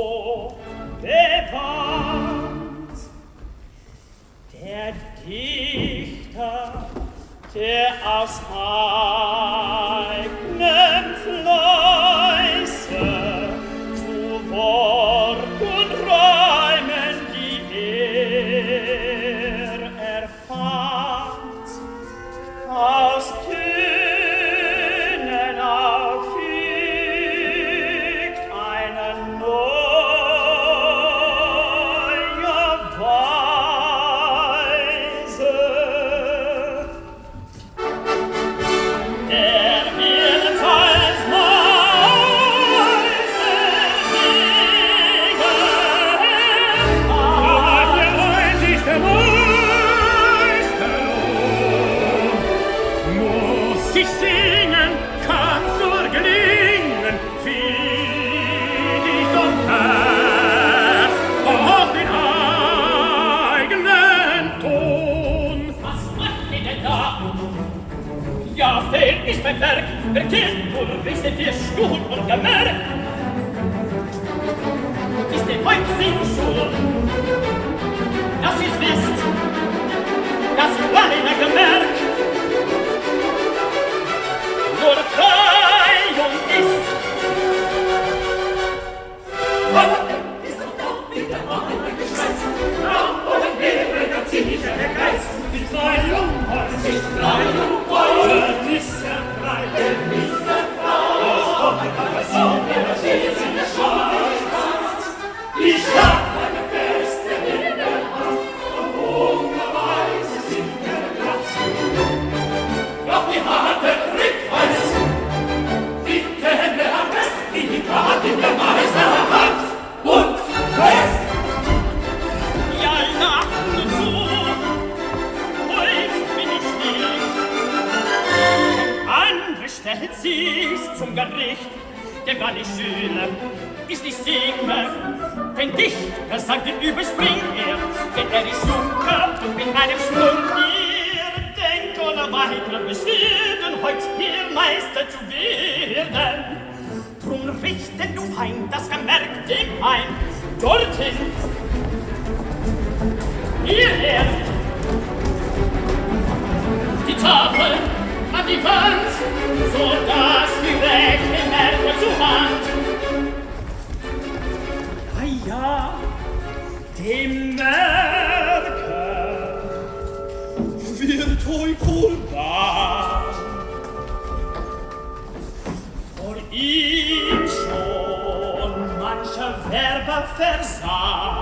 bewandt. Der Dichter, der aus eigenem Fleiße zu Wort und Reimen, die er erfand, aus Tönen auffügt eine neue Weise. Der mir Gemerk, ist der Häuptsinn schon, dass ihr's wisst, das kleine Gemerk nur Freiung ist. Aber ist doch doch wieder mal ein Geschwätz, Raum oder Nebel, der ziemliche Geist. Die Freiung, es ist Freiung, heute ist er frei, denn ist er frei. Oh, aber so, der steht in der Schwarz. Die Stadt, eine feste in der Hand, und hungerweise sind der Platz. Doch die harte Trickweis, die kenne am besten, die Karte in der Meister hat und fest. Ja, lach nur so, heut bin ich still. Andere stellen sich's zum Gericht, denn wann ich schüle, ist nicht singe, denn dich, das sagt den überspringt er, denn er ist Junker und mit einem Schlund hier, denk ohne weitere Beschwerden, heut hier Meister zu werden. Drum richte du ein, das Gemerk dem ein, dorthin, hierher, die Tafel an die Wand, so dass die rechte Merke zu Hand. Ja, ja, dem Merke wird euch wohl wahr. Vor ihm schon mancher Werber versah.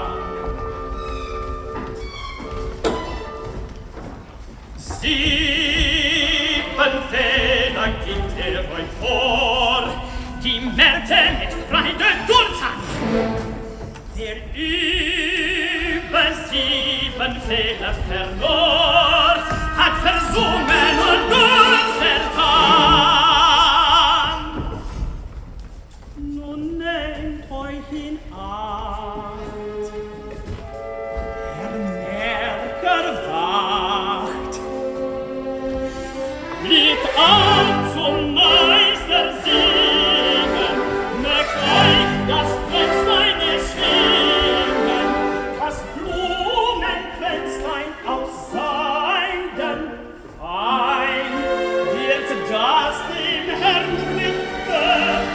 Sieben Fehler gibt er euch vor, die Märte mit Freude durchhat. Der über sieben Fehler verlor, hat versungen und uns vertan. Nun nehmt euch in Acht, Herr Merker wacht, blickt auf zum Meister singen, mögt euch das Pflänzlein erschwingen, das Blumenpflänzlein aus Seiden fein, wird das dem Herrn Ritter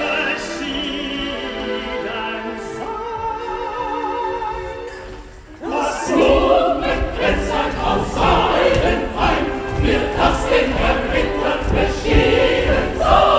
beschieden sein. Das Blumenpflänzlein aus Seiden fein, wird das dem Herrn Ritter beschieden sein.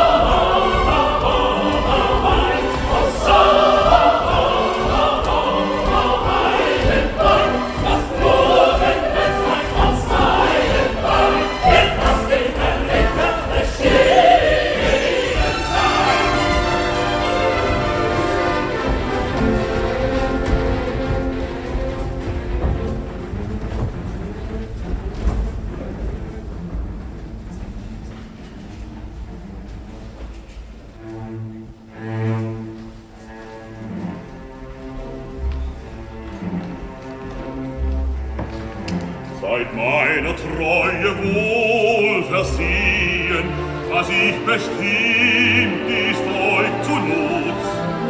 Seid meiner Treue wohl versehen, was ich bestimmt ist euch zu Nutz.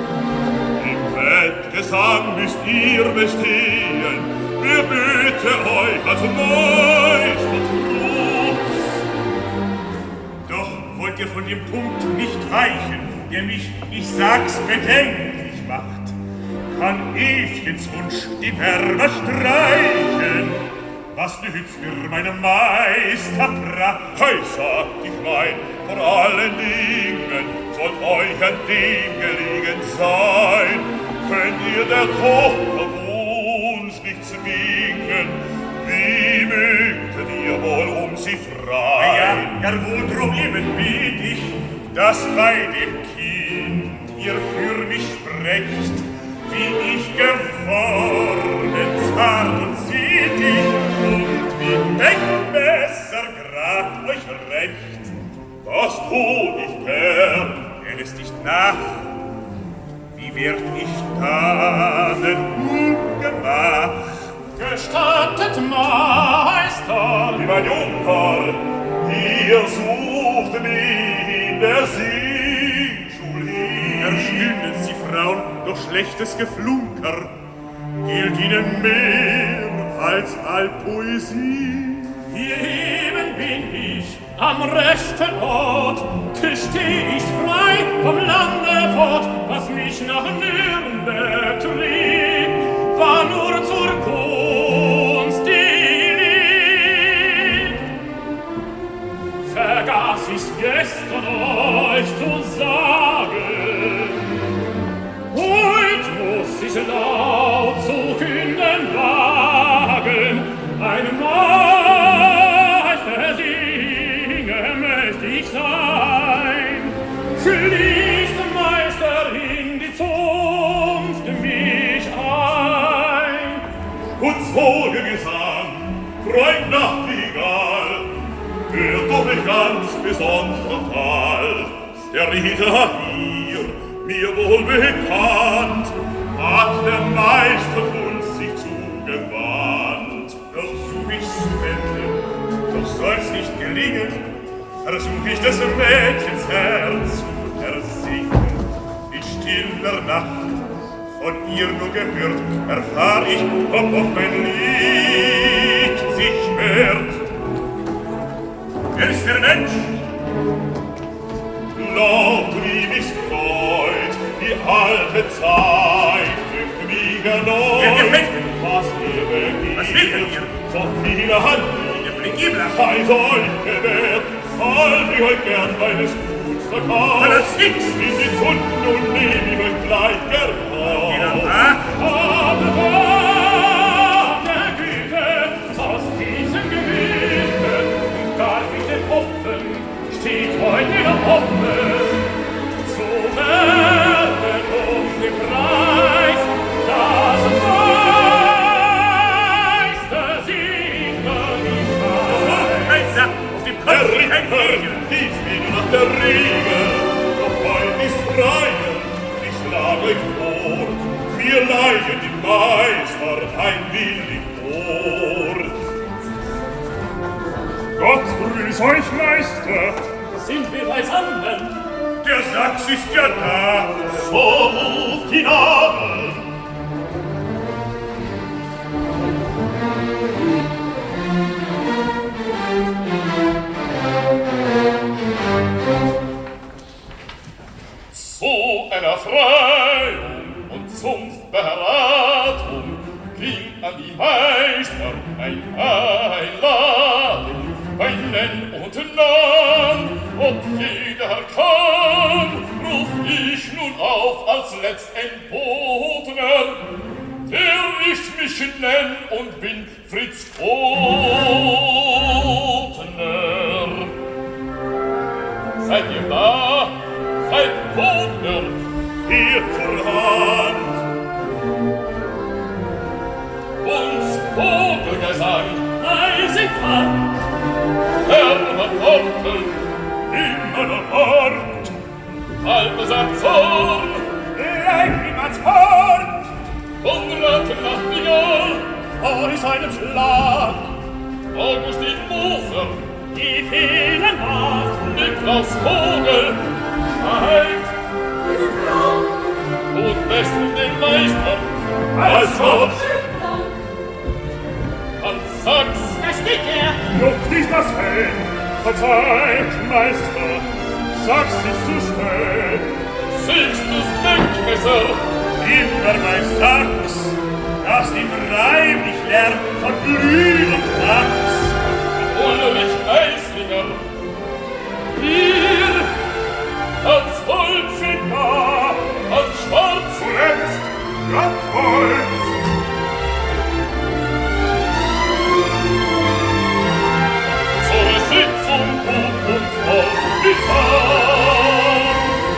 Im Wettgesang müsst ihr bestehen, wir bitte euch als Meister Trutz. Doch wollt ihr von dem Punkt nicht weichen, der mich, ich sag's, bedenklich macht. Kann Evchens Wunsch die Werber streichen? Was nützt mir meinem Meister Pracht? Hei, sagt ich mein, vor allen Dingen soll euch an dem gelegen sein. Könnt ihr der Tochter Wunsch nicht zwingen, wie mögtet ihr wohl um sie freien? Ja, ja, wodrum eben biet ich, dass bei dem Kind ihr für mich sprecht, wie ich geworden, zart und zierlich, und wie Denkmesser grad euch recht. Was tu ich gern? Er lässt nicht nach. Wie werd ich tanen ungemach? Gestattet, Meister! Lieber Junker, ihr sucht mich in der Singschul schlechtes Geflunker gilt ihnen mehr als all Poesie. Hier eben bin ich, am rechten Ort, steh ich frei vom Lande fort, was mich nach Nürnberg trieb, war nur zur Kunst die Lieb. Vergaß ich's gestern euch zu sagen, heut muss ich laut zu künden wagen, ein Meister singe möcht ich sein. Schließt Meister in die Zunft mich ein. Uns Vogelgesang, Freund Nachtigall, hört doch ein ganz besonderer Fall. Der Ritter hier, mir wohl bekannt, hat der Meister uns sich zugewandt. Versuch ich's zu wenden, doch soll's nicht gelingen, versuch ich des Mädchens Herz zu ersingen. In stiller Nacht, von ihr nur gehört, erfahr ich, ob auf mein Lied sich hört. Wer ist der Mensch? Laut lieb ist Freud, die alte Zeit dünkt mich erneut. Wer gefällt mir? Was ihr begehrt, Was will er hier? so viele Hand, Der Plikibler. sei euch gewährt, all wie euch gern meines Guts verkauft. Allerdings. In die Kunden und nehm ich euch gleich geraubt. Genau, ah? Aber Gott der Güte, aus diesem Gemüte darf ich denn hoffen, steht heute wieder offen, zu werden um den Preis, das Meister Singer nicht weiß. Kaiser, auf dem Der Kopf kein Ritter Hegel. hieß wieder nach der Regel, doch heut ist Freie, ich schlage euch vor, mir leidet die Meister ein willig Ohr. Gott grüß euch, Meister. Sind wir beisammen? Der Sachs ist ja da, so ruft ihn an. Zu einer Freiung und Zunftberatung ging an die Meister ein Einladung, bei Nenn und Nahm, ob jeder kann, ruf ich nun auf als letztendbotener, der ich mich nenn und bin Fritz Kotner. Seid ihr da? Seid Kotner, Hier zur Hand. uns Vogelgesang, eisig fand, Hermann Ortel, immer noch Ort, Balthasar Zorn, Leibniz Fort, Konrad Nachtigall, vor seinem Schlag, Augustin Moser, die vielen Nacht, Niklaus Vogel, Halt, und besten den Meister, Als Gott, Hans Sachs, Da steht er! Luft ist das Feld, verzeiht, Meister, sag's ist zu spät. Sixtus Denkmesser, immer bei Sachs, das im Reim nicht lernt von Glühen und Wachs. Ulrich Eislinger, hier, Hans Holziger, Hans Schwarz, Zuletzt, Blattholz. zur Sitzung gut und voll gefahren.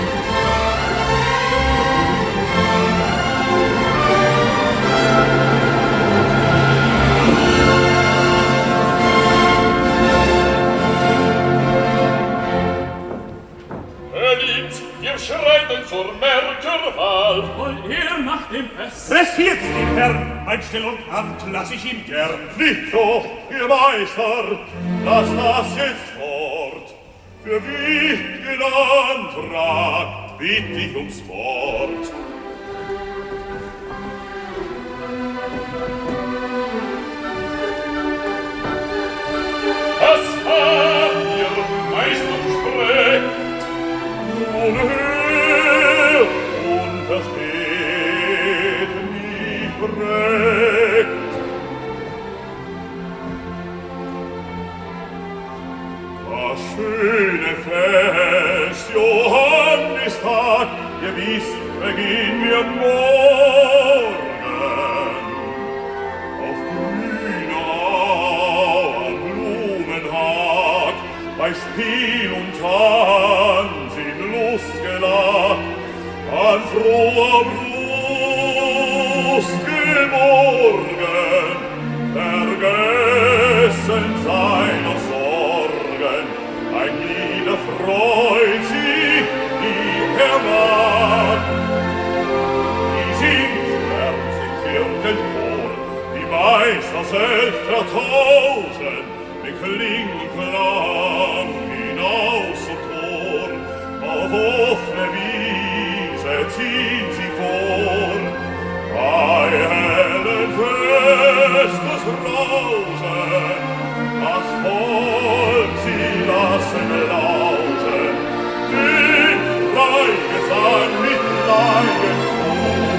Verliebt, wir schreiten zur Merkerwahl. Wollt ihr nach dem Fest? Pressiert's den Herrn, ein Still und Hand lass ich ihm gern. Nicht so, ihr Meister, lass das jetzt fort. Für wichtigen Antrag bitt ich ums Wort. beginn mir morgen auf grüner Au am Blumenhag bei Spiel und Tanz in Lustgelag an froher Brust geborgen, vergessen seiner Sorgen, ein Lieder freut sich, die er mag. Die singt Herz im Kirchenchor, die Meister selbst vertauschen, mit Klingenklang hinaus zum Tor, auf offene Wiese ziehen sie vor, bei hellen Festes Rauschen, das Volk sie lassen lauschen, den Freigesang mit Laienchor.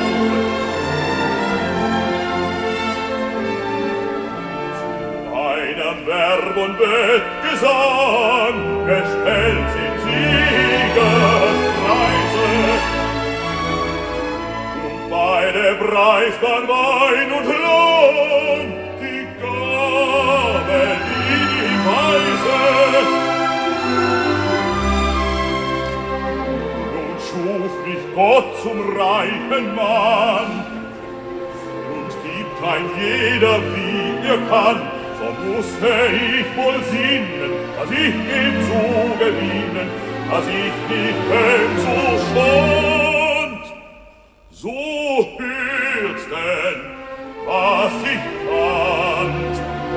Zu einem Verb und Bettgesang gestellt sind Siegespreise, und beide preist dann Wein und Lohn, die Gabe, die die Weise. Nun schuf mich Gott zum reichen Mann und gibt ein jeder, wie er kann, so musste ich wohl sinnen, dass ich ihm zu gewinnen, dass ich nicht kenn so stund. So hört denn, was ich fand.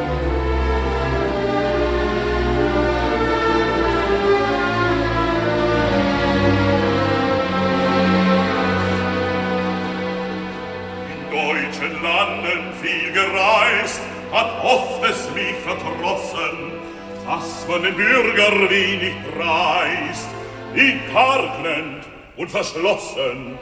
In deutschen Landen viel gereist, hat oft es mich verdrossen, dass man den Bürger wenig preist, ihn karg und verschlossen.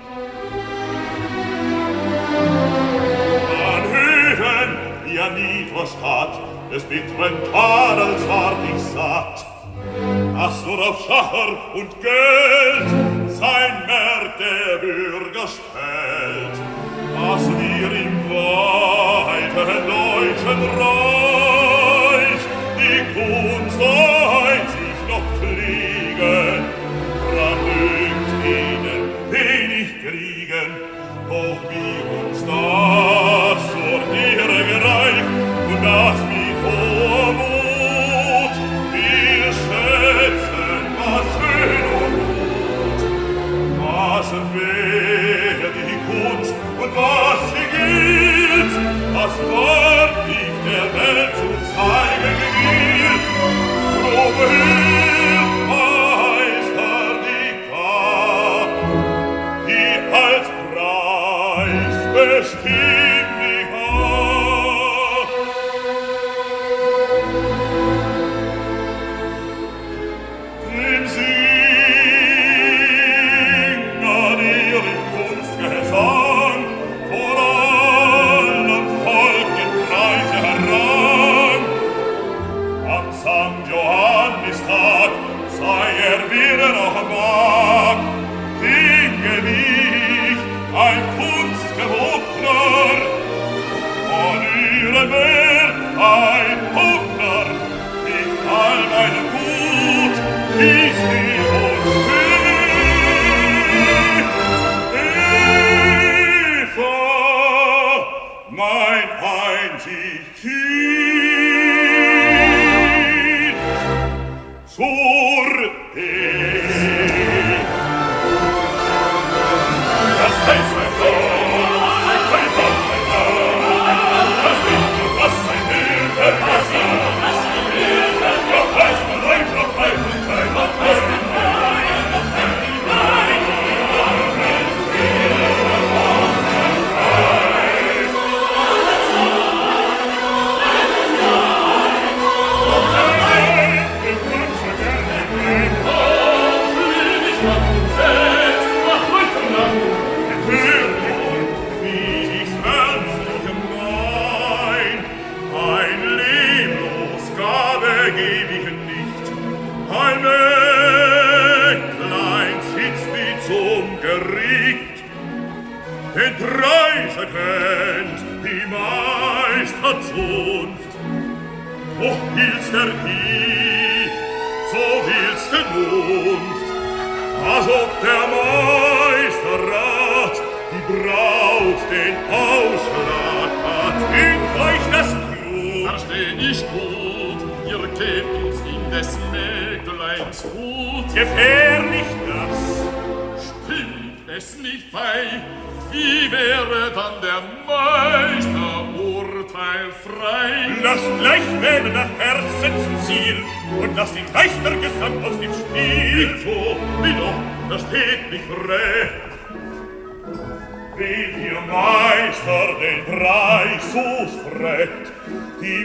An Höfen, die er nie verstatt, des bitteren Tadels ward ich satt, dass nur auf Schacher und Geld sein Märt der Bürger stellt, dass wir im weiteren deutschen Reich die Kunst einzig noch pflegen, dran dünkt ihnen wenig kriegen, doch wie uns das zur Ehre gereicht und das mit hoher Mut wir schätzen, was schön und gut, was wäre die Kunst und was sie gilt, das Wort liegt der Welt zu zeigen gilt, drum hilft Meister die Gabe, die als Preis bestimmt die Haar. Dem Singer ihren Kunstgesang vor allem Volk den Preise heran. Am Sankt Johannistag sei er wieder noch mag, dinge mich ein Kunstgewogner, von ihrem Werk ein Hugner, mit all meinem Gut, wie sie uns hilft. Eva, mein einzig Kind, zur Ehe. Das heißt mein Gott, mein Gott, mein Gott, das Licht und was mein Hilfe, was ich, was mein Hilfe, noch weiß man rein, noch weiß man rein, noch weiß man rein, noch weiß man rein, ein Mägdlein sitzt wie zum gericht. Den Preise kennt die Meisterzunft. Doch will's der Hieb, so will's der Mund, als ob der Meisterrat die Braut den Ausschlag hat. In euch das Blut versteh ich gut, ihr gebt uns in des Mägdleins Hut. Gefährlich das. Stimmt es nicht bei, wie wäre dann der Meister urteilfrei? Lasst gleich wählen nach Herzensziel und lasst den Geistergesang aus dem Spiel. So, wie doch, das steht nicht recht. Will ihr Meister den Preis so sprecht, die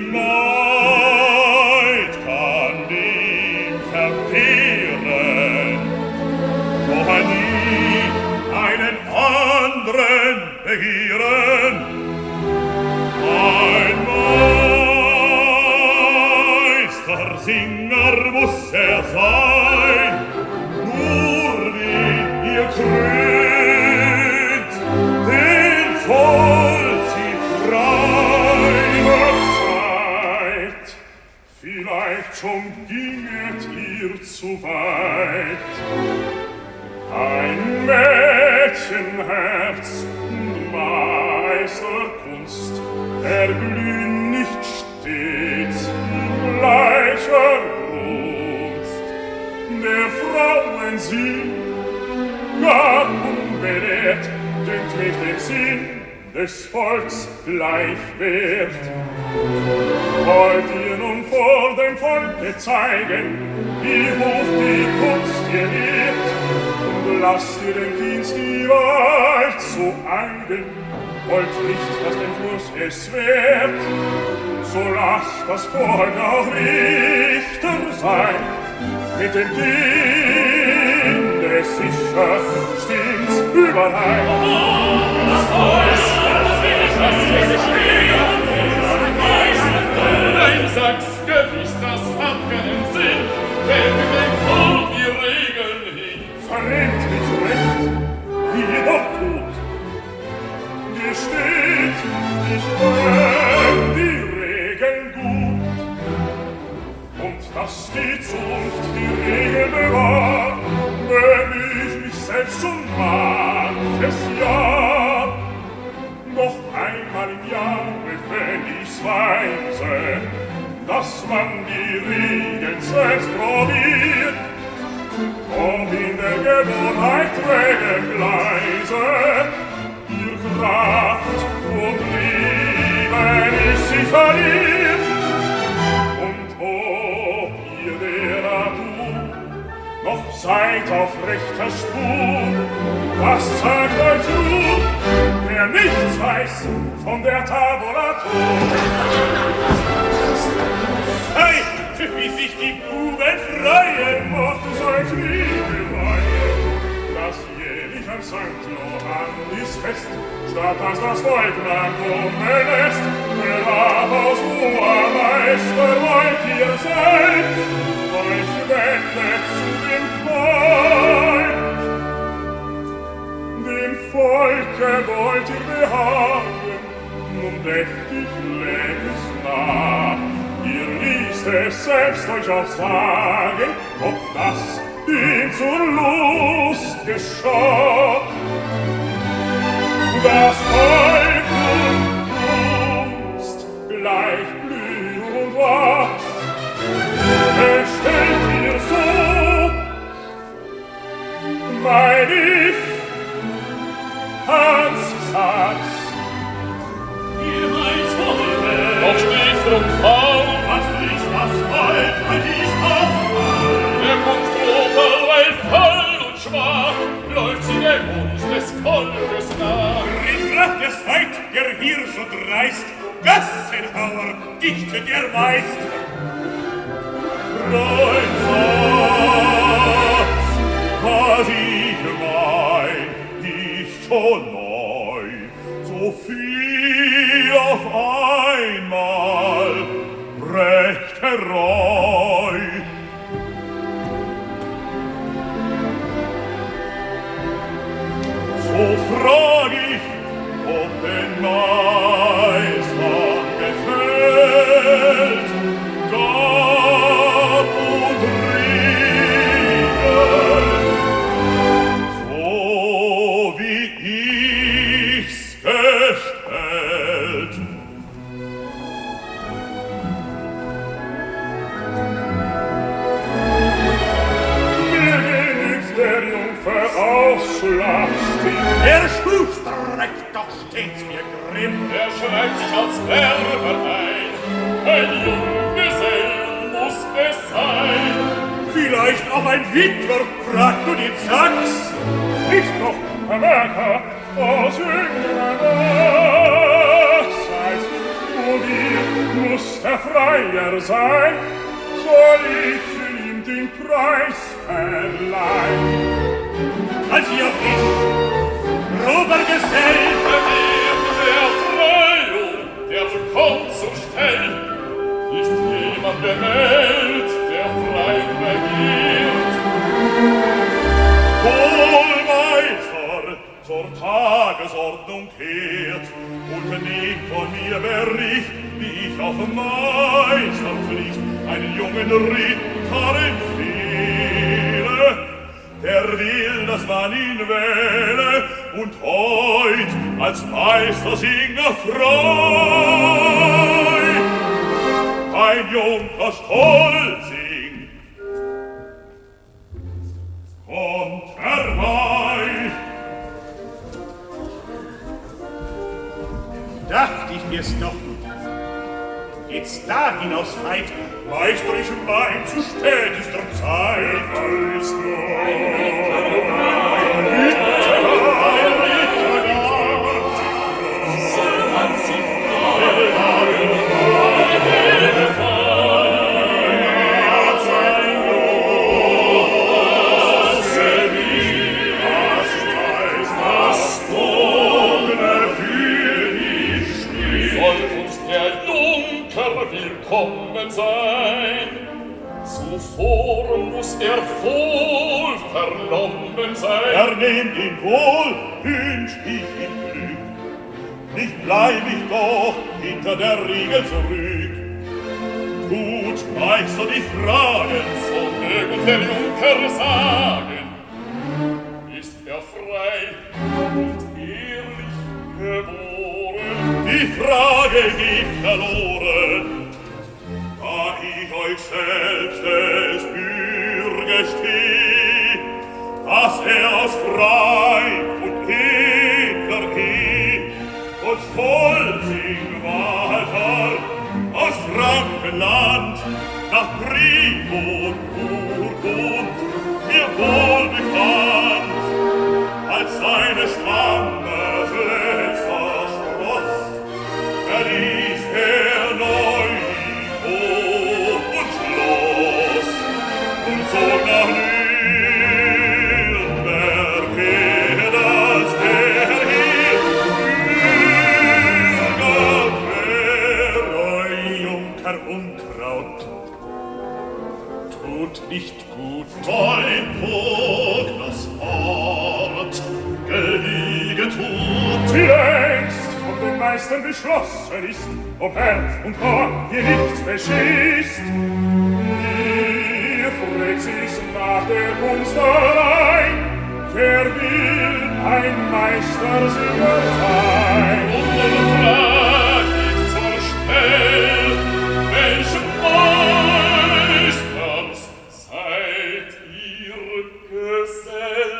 Maid kann ihn verwehren, doch er nie einen anderen begieren. Ein Meistersinger muss er sein, nur wie ihr krönt, den voll sie frei verzeiht. Vielleicht schon ginget ihr zu weit. Ein Mädchenherz und Meisterkunst erglühen nicht stets in gleicher Brunst. Der Frauen Sinn, gar unbelehrt, dünkt mich dem Sinn des Volks gleich wert. Wollt ihr nun vor dem Volke zeigen, wie hoch die Kunst ihr lehrt, und lasst ihr den Dienst die Wahrheit zu eigen, wollt nicht, dass den Fluss es wehrt, so lasst das Volk auch Richter sein, mit dem Kinde sicher stimmt's überein. Das Volk, das will ich, das will ich stehen. Nein, sag's gewiss, das hat keinen Sinn, wenn wir dem Volk die Regeln hin. Verrennt mich recht, wie ihr doch tut. Gesteht, ich kenn die Regeln gut. Und dass die Zunft die Regeln bewahrt, wenn ich mich selbst schon manches Jahr, noch einmal im Jahr befänd ich's weise, dass man die Regeln selbst probiert, ob in der Gewohnheit trägen leise ihr Kraft und Liebe nicht sie verliert. Und ob ihr der Natur noch seid auf rechter Spur, das sagt euch nur, wer nichts weiß von der Tabulatur. Hey, wie sich die Buben freuen, macht es euch Liebe weihen, dass jährlich am Sankt Johannis Fest, statt dass das Volk lang kommen lässt, herab aus hoher Meister wollt ihr seid, euch wendet zu dem Volk. Dem Volke wollt ihr behagen, nun dächtig läg es nah. Ihr ließt es selbst euch auch sagen, ob das ihm zur Lust geschah. Das Volk und Kunst gleich blüh und wachs, bestellt ihr so, mein ich, Hans sag's. Ihr meint wohl, doch steht's drum faul, was ich das Volk, was ich das Volk. Der Kunstropel, weil voll und schwach, läuft sie der Wunsch des Volkes nach. In Kraft des Feind, der hier so dreist, Gassenhauer dichtet er meist. Freund, Satz, was ich mein, nicht so neu, so viel auf einmal, recht herreu. So frag ich, ob den Meistern gefällt, Gab und Riegel, so wie ich's gestellt. Mir genügt der Jungfer Ausschlagstieg. Der Schuster recht doch stets mir grimm. Er schreibt sich als Werber ein. Ein Junggesell muss es sein. Vielleicht auch ein Witwer, fragt du die Zax. Nicht doch, Herr Merker, aus jüngerer Nachzeit. Und ihr muss der Freier sein, soll ich ihm den Preis verleihen. Als ihr auch ich, grober Gesell, Verwehrt der Freiung, der kommt zur Stell. Ist jemand bemeldet, der frei regiert? Wohlmeister zur Tagesordnung kehrt und nehmt von mir Bericht, wie ich auf Meisterpflicht einen jungen Ritter empfehle, der will, dass man ihn wähle und heut als Meistersinger frei ein Junker Stolzing kommt herbei. Dacht ich mir's doch, geht's da hinaus weit, meisterisch mein zu spätester Zeit. Alles noch ein Ritter, ein Ritter, soll man sie fragen, willkommen sein. Zuvor muss er wohl vernommen sein. Er nehmt ihn wohl, wünsch ich ihm Glück. Nicht bleib ich doch hinter der Riegel zurück. Tut Meister die Fragen, so mögen der Junker sagen. Ist er frei und ehrlich geboren? Die Frage geht verloren, da ich euch selbst des Bürgers steh, dass er aus frei und edler Geh und Stolzing Walter aus Frankenland nach Brief und Urkund mir wohl bekannt als seine Stammes letzter Schloss verließ er neu Hof und Schloss und zog nach Nürnberg her, als er hier Bürger wär. Junker Unkraut tut nicht gut, dein Prognos Ort Geliege tut. Wie längst von den Meistern beschlossen ist, ob Herz und Haar hier nichts beschießt. Ihr fragt sich nach der Kunst allein, wer will ein Meistersinger sein? Und nun frag ich zur Stell, welchen Meisters seid ihr Gesell?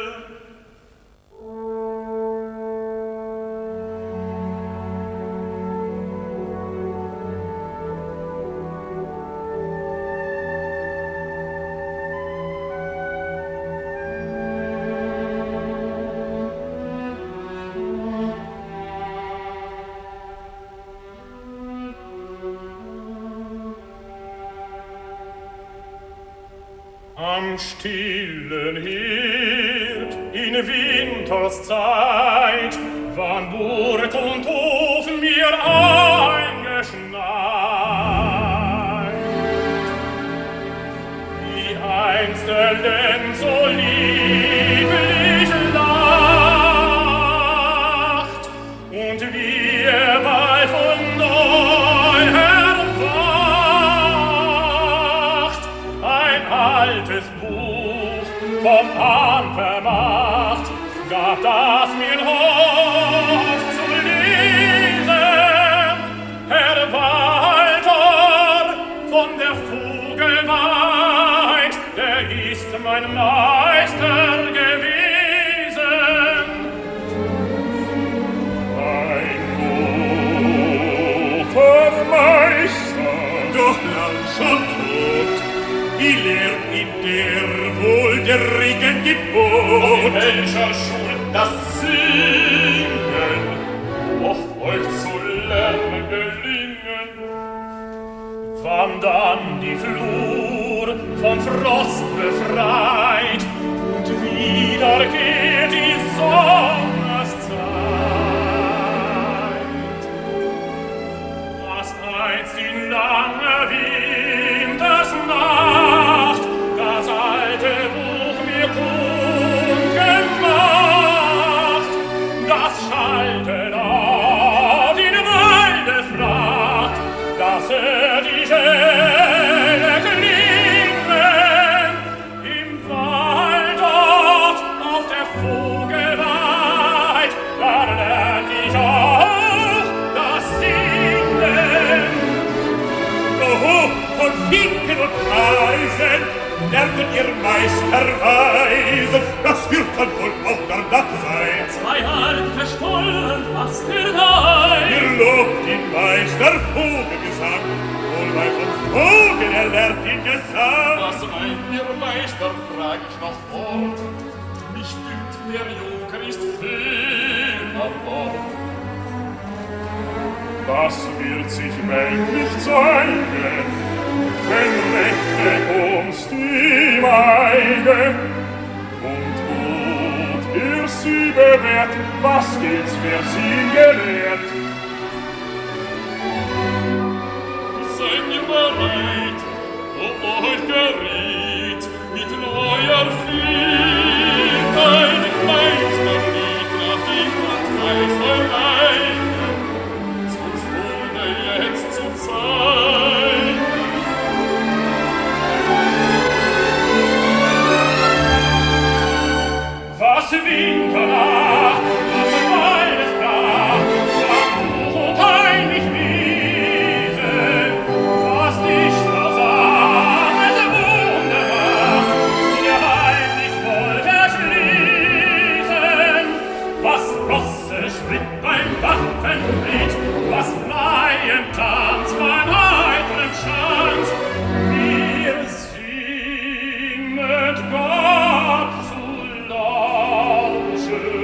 Am stillen Herd in Winterszeit wann Burg und Hof mir eingeschneit. Wie einst der Lenz so lieblich lag, das mir hofft zu lesen, Herr Walter von der Vogelweid, der ist mein Meister gewesen. Ein guter Meister, doch lang schon tot, wie lehrt ihn der wohl der Regen gebot? In welcher Schule das Singen oft euch zu lernen gelingen? Wann dann die Flur vom Frost befreit und wieder geht die Sommerszeit, was einst die lange Wintersnacht das alte Buch mir kund gemacht, das schallte dort in Waldespracht, dass er die Schelle klingen im Wald dort auf der Vogelweid, da lernt ich auch das Singen. Oho, von Finken und Eisen lerntet ihr Meisterweise, das wird dann wohl auch danach sein. Zwei alte Stollen fast ihr Dein. Ihr lobt den Meister Vogelgesang, wohl weil vom Vogel er lernt den Gesang. Was meint ihr Meister, frag ich noch fort, mich dünkt, der Junker ist fehl an Bord. Das wird sich männlich zeigen, wenn rechte Kunst ihm eigen. Und gut ihr sie bewährt, was gilt's, wer sie gelehrt? Seid ihr bereit, ob euch geriet, mit neuer Flieg ein Meisterlied nach Dicht und Preis allein, zur Stunde jetzt zu sein. Was Winternacht, was Waldespracht, was Buch und heimlich Wiese, was Dichter sang, es Wundermacht, ihr heimlich wollt erschließen, was Rosse schritt beim Waffenritt, was Laientanz beim heitren Schanz, wir singend Gott zu lauschen.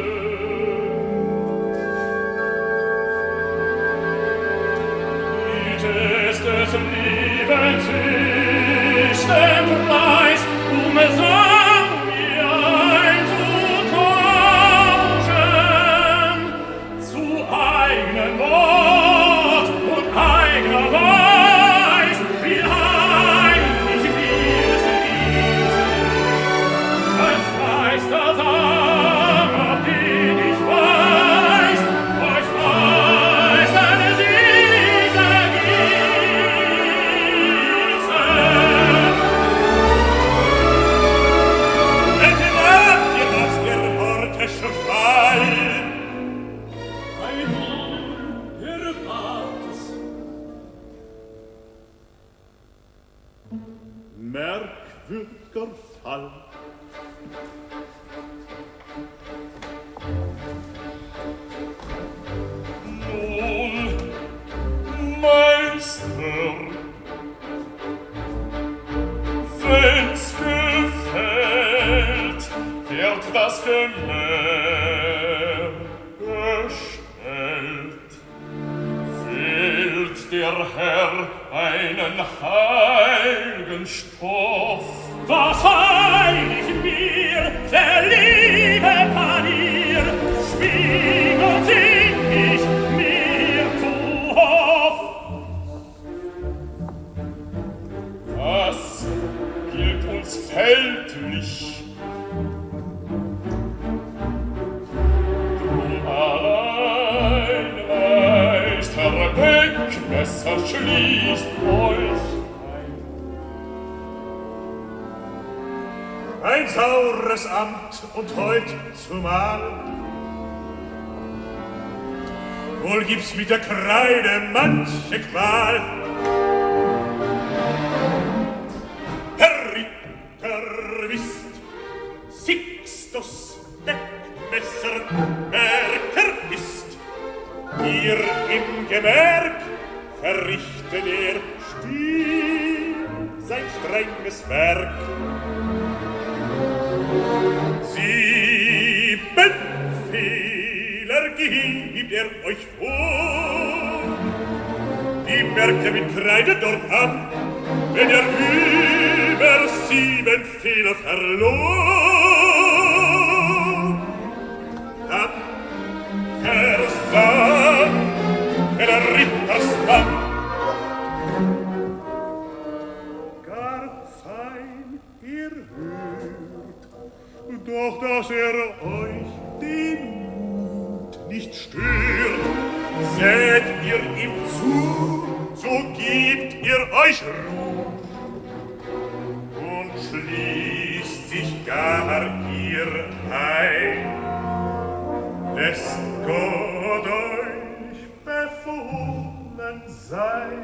Bietest des Lebens höchsten Preis, um Sang mir einzutauschen, zu eignem Wort und eigener Weis, wie heimlich wir sind. Als Meistersanger bin ich weiß, euch Meistern diese Gieße. Entlarvt ihr aus der Worte Schwall? Ein Irrfahrts. Merkwürdiger Fall. Nun, Meister, wenn's gefällt, wird das Gemälde bestellt. Wählt der Herr einen heiligen Stoff, was heilig mir der liebe Panier, schwieg und sing ich mir zu Hoff. Das gilt uns weltlich, drum allein weißt, Herr Beckmesser schließt euch ein. Ein saures Amt und heut zumal. Wohl gibt's mit der Kreide manche Qual. Herr Ritter, wisst, Sixtus Wegmesserwerker ist, ihr im Gewerk verrichtet er still sein strenges Werk. Sieben Fehler gibt er euch vor, die merkt er mit Kreide dort an, wenn er über sieben Fehler verlor. Dann versank der Rittersmann. Gar fein ihr hört, doch dass er euch den Mut nicht stört, seht ihr ihm zu, so gebt ihr euch Ruhe und schließt sich gar ihr ein. Lässt Gott euch befohlen sein.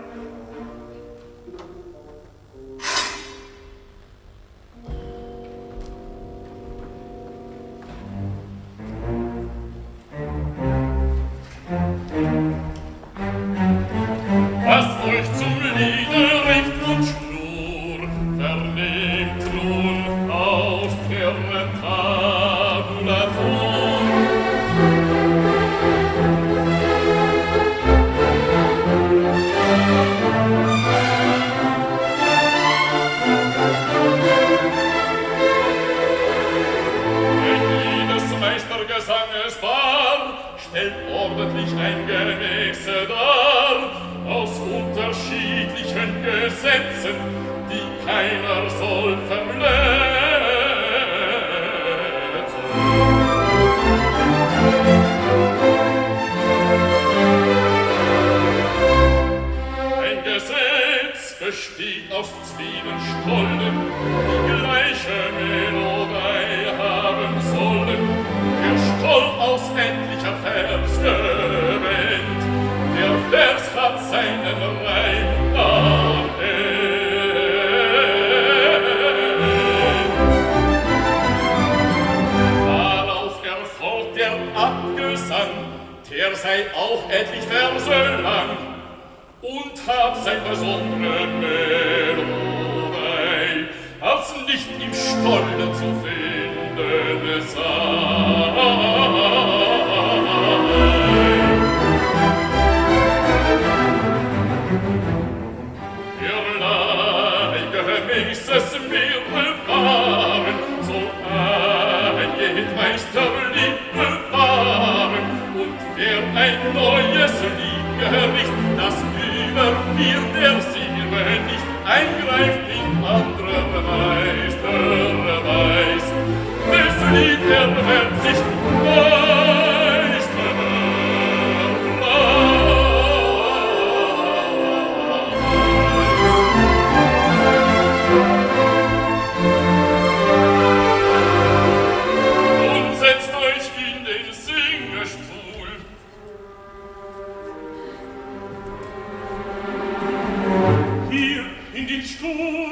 Was euch zum Liede richt und schnur, vernehmt nun aus der Tabulatur. Ein jedes Meistergesanges Paar stellt ordentlich ein Gemäße dar, aus unterschiedlichen Gesetzen, die keiner soll verletzen. Ein Gesetz besteht aus Zwiebelstollen, die gleiche Melodie haben sollen. Der Stoll aus endlicher Vers gewähnt, der Vers hat seinen Reim am Ende. Darauf erfolgt der Abgesang, der sei auch etlich Verse lang und hat sein besondere Melodie, als nicht im Stolle zu finden sei. Es mir bewahren, so ein Meisterlied bewahren, und wer ein neues Lied gericht, das über vier der Silbe nicht eingreift in andere Meisterweis, des Lied erwärmt sich Stuhl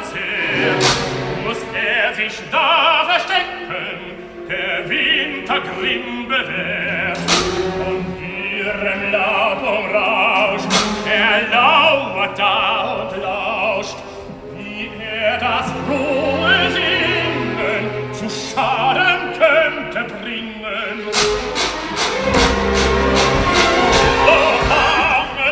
verzehrt, muss er sich da verstecken, der Wintergrimm bewährt. Von ihrem Laub umrauscht, er lauert da und lauscht, wie er das frohe Singen zu Schaden könnte bringen. Oh, arme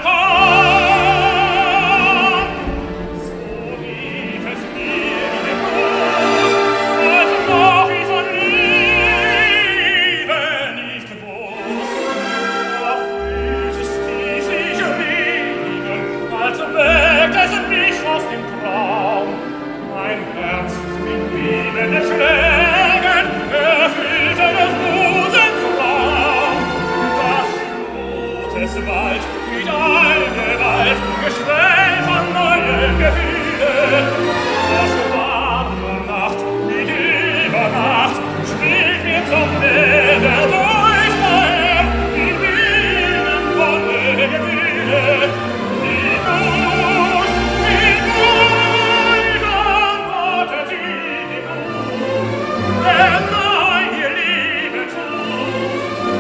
Gott, so rief es mir in den Brust, als noch ich von Liebe nicht wusst. Da fühlt es die sich regen, als weckt es mich aus dem Traum. Mein Herz in bebenden Schlägen erfüllte des Busens Raum. Das Blut es Wald mit all Gewalt, Geschwell von neuen Gefühlen. Das warme Nacht mit Übernacht spielt mir zum Meere durch daher in wilden Wonne Gefühle. Die Not, die Not, dann wartet sie die Not, der neue Liebe tut.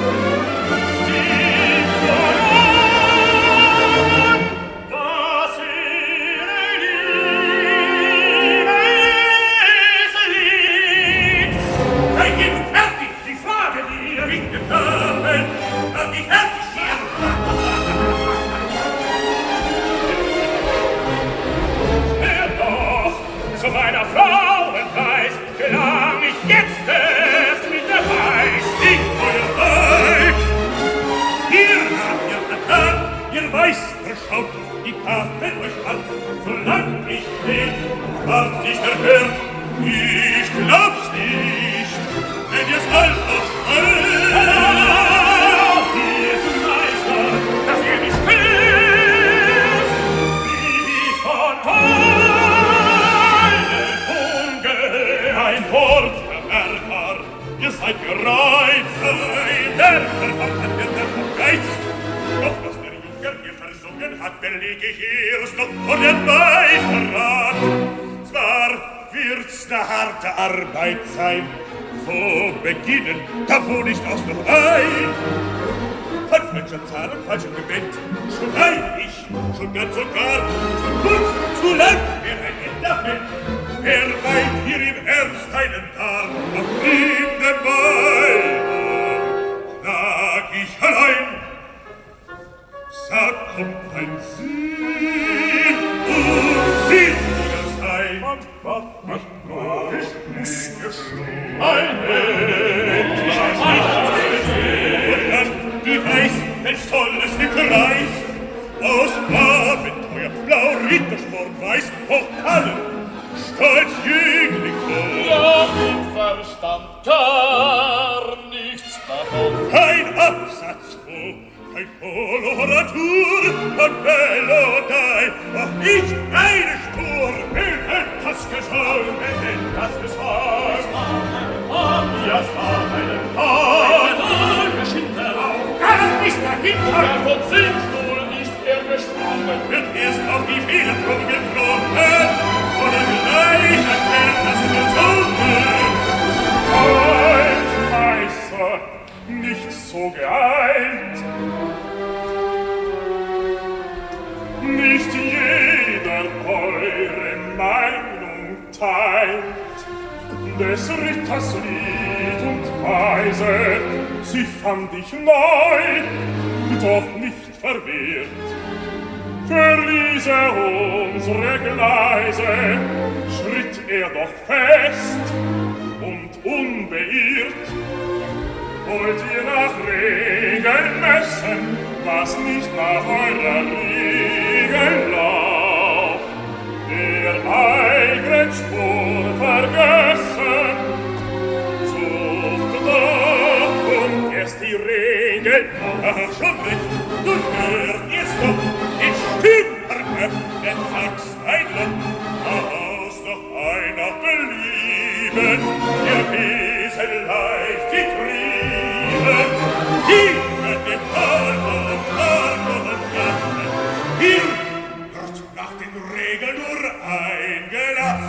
Die Not, was ihre Liebe ist Lied. Sei eben fertig, die Frage dir nicht getan, dass ich fertig hier. Hör doch, zu meiner Frauenpreis gelang ich jetzt erst mit der Weiß. Ich euer Weib. Ihr habt ihr vertan, ihr Meister schaut die Karte euch an. Solang ich lebe, wart sich der Herr. Ich glaub's nicht, wenn ihr's all ausschreibt. Hier ist ein Meister, dass ihr mich quält, wie von allen ungehört. Ein Wort, Herr Bernhard, ihr seid gereizt. Ein Werfer von der Geist. Doch was der Junker hier versungen hat, belege ich erst noch vor dem Beiverrat. Zwar wird's ne harte Arbeit sein, wo beginnen, da wo nicht aus noch ein. Von falscher Zahl und falschem Gebet schrei ich schon ganz und gar zu kurz, zu lang, wer ein Ende fällt. Wer weint hier im Ernst einen Tag auf ihm den Bein? Schlag ich allein, sag, kommt ein Sinn und Sinn sein. Und was macht nur ich muss geschlagen. Ein Mensch, und dann die Weiß, welch tolles Gekreis, aus Abenteuer, blau Rittersport, weiß, Pokalen, stolz Jüngling voll. Ja, ich verstand gar nichts davon. Kein Absatz, wo kein Koloratur und Melodei, auch nicht eine Spur. Wer hat das gesungen? Wer hat das gesungen? Und ja, es war einen Tag, ein geschickter Raum, gar nicht dahinter. Der vom Singstuhl ist er gesprungen. Wird erst auf die Federprobe getroffen, oder gleich erklärt das Verzungen. Halt, Meister, nicht so geeilt. Nicht jeder eure Meinung teilt. Des Ritters Lied und Weise, sie fand ich neu, doch nicht verwirrt. Verließ er unsere Gleise, schritt er doch fest und unbeirrt. Wollt ihr nach Regeln messen, was nicht nach eurer Regel lauft? Der eigenen Spur vergessen, sucht doch und erst die Regel. Ach, schon recht, du hört jetzt doch, ich stümper öffnet Sachs ein Loch, aus noch einer belieben, ihr Wesen leicht sie trieben, die mit dem Tal und Tal und Gassen, hier wird nach den Regeln nur eingelassen.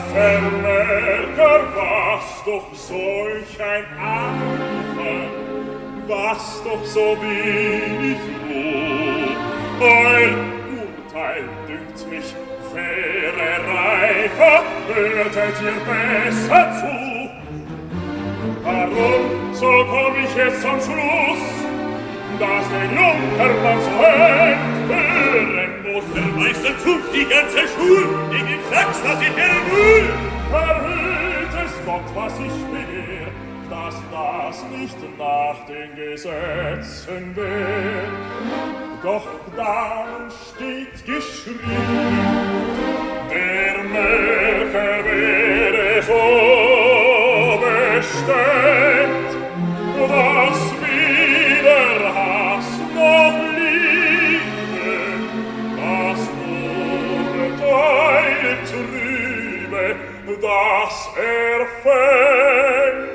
Vermerker, was doch solch ein Anfang, was doch so wenig Ruhe. Euer Urteil dünkt mich, wäre reifer, hörtet ihr besser zu. Warum, so komm ich jetzt zum Schluss, dass der Junkermann so hören muss. Der Meister zupft die ganze Schul, gegen den Sachs, dass ich der Null. Verhüt es Gott, was ich begehr, dass das nicht nach den Gesetzen wär. Doch da steht geschrieben, der Mörker wäre so bestellt, dass weder Hass noch Liebe das Urteil trübe, das er fällt.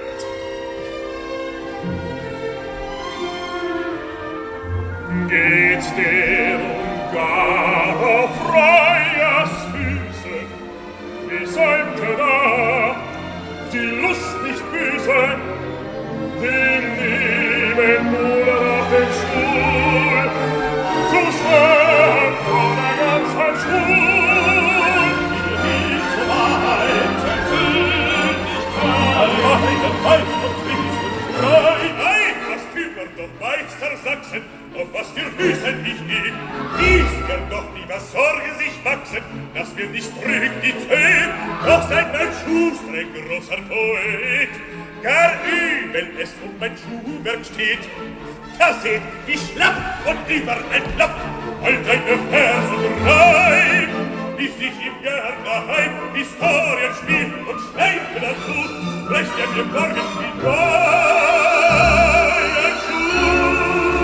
Geht der gar auf Freiers Füße, wie sollte da die Lust nicht büßen, den lieben Bruder auf den Stuhl zu schwören vor der ganzen Schul. Die zur Wahrheit Sündigkeit, alleine Weib und Frieden, nein, das kümmert doch Meister Sachsen, auf was für Füßen ich geh. Dies wird doch lieber Sorge sich wachsen, dass wir nicht trügt die Zeh, doch seid mein Schuster ein großer Poet. Gar übel es um mein Schuhwerk steht. Da seht, wie schlapp und überentlappt all deine Verse rein, wie sich im Jahr daheim Historien spielt und schreibt dazu, brecht er mir morgen wie ein Schuh.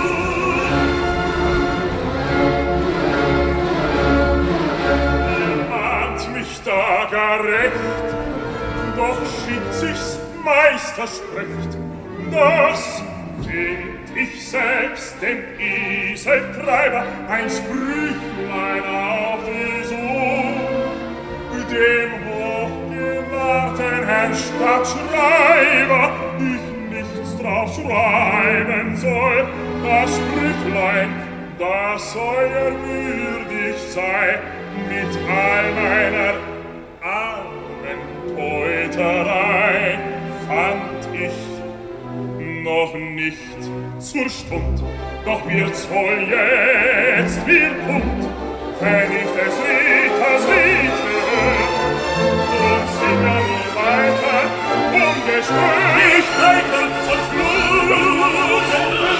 Ihr mahnt mich da gar recht, doch schickt sich's Meister spricht, das find ich selbst dem Eseltreiber ein Sprüchlein auf die Sohn, dem hochgewahrten Herrn Stadtschreiber ich nichts drauf schreiben soll. Das Sprüchlein, das euer würdig sei, mit all meiner armen Teuterei fand ich noch nicht zur Stund, doch wird's wohl jetzt wie Punkt, wenn ich des Ritters Lied höre, und singe nur weiter ungestört. Ich reite zum Schluss,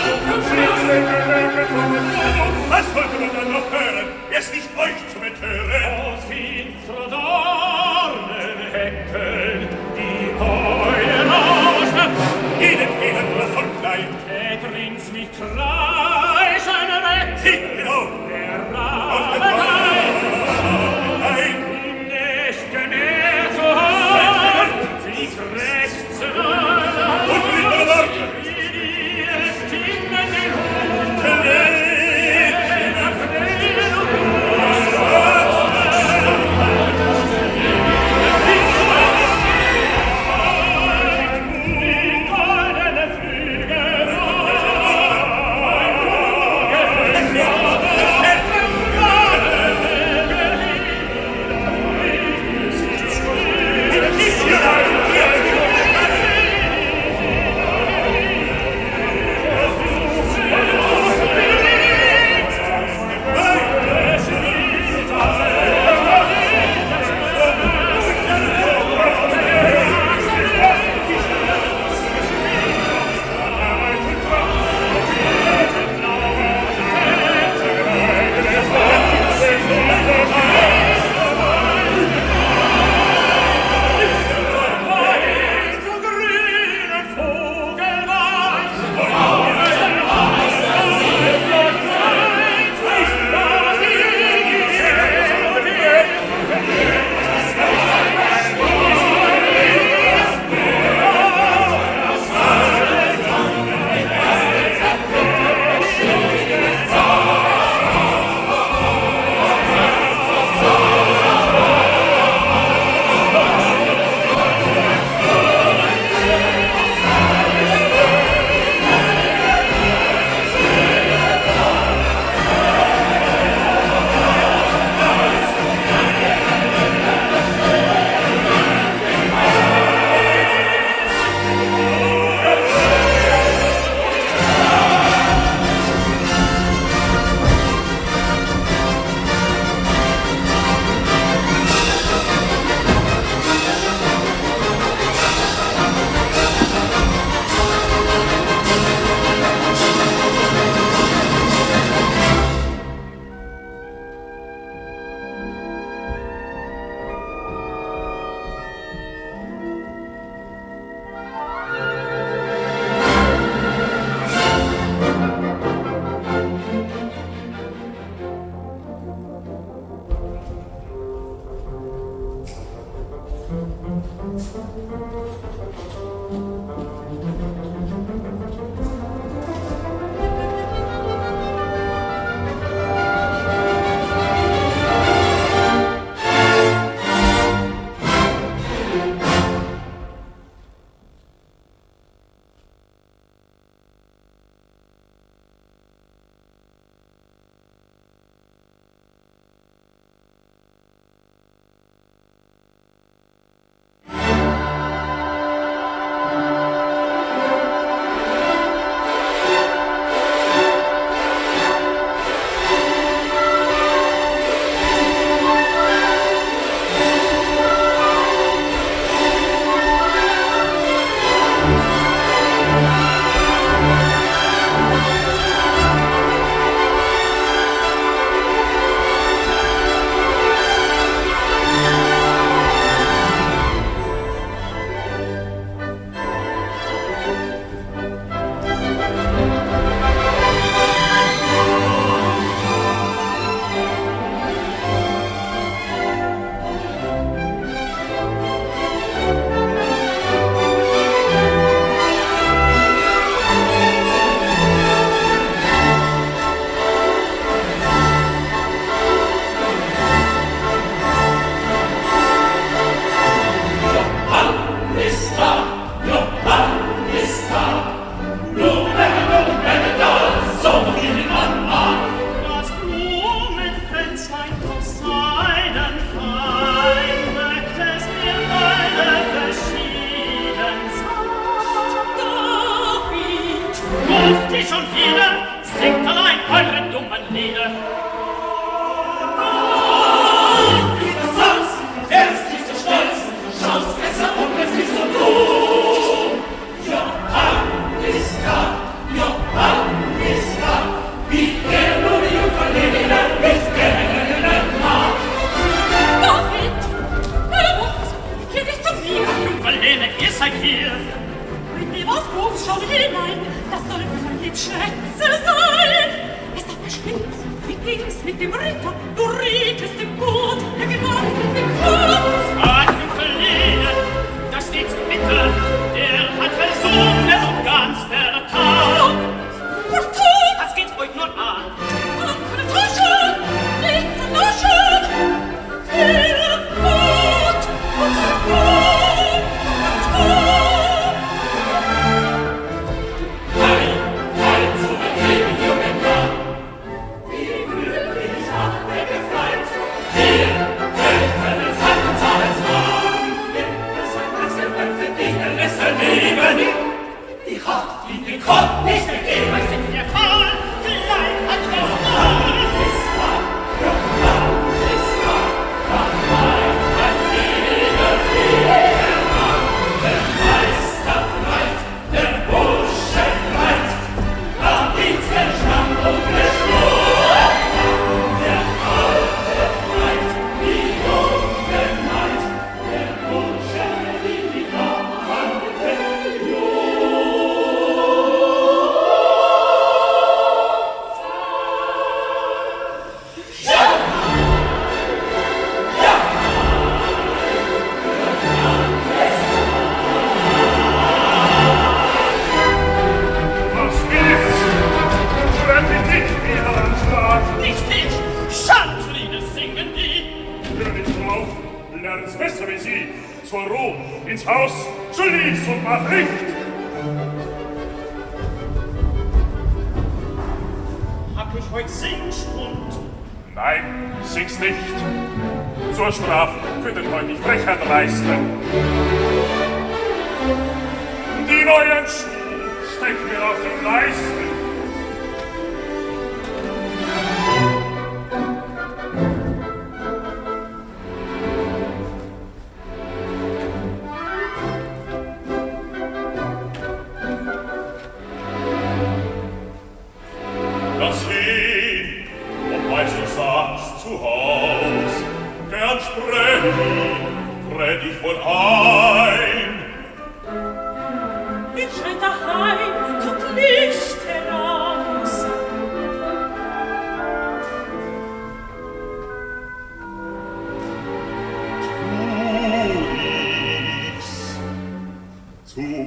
was wollte man dann noch hören, es nicht euch zu betören? Aus finstrer Dornenhecken, die Heulen ausschnappt, jeden Fehler nur von klein. Täterins mich kreischen weg, sieht genau, der Rabe ein, die Nächte näher zu haben, sie krächzen und mit Worten, wie ihre Stimmen den Hund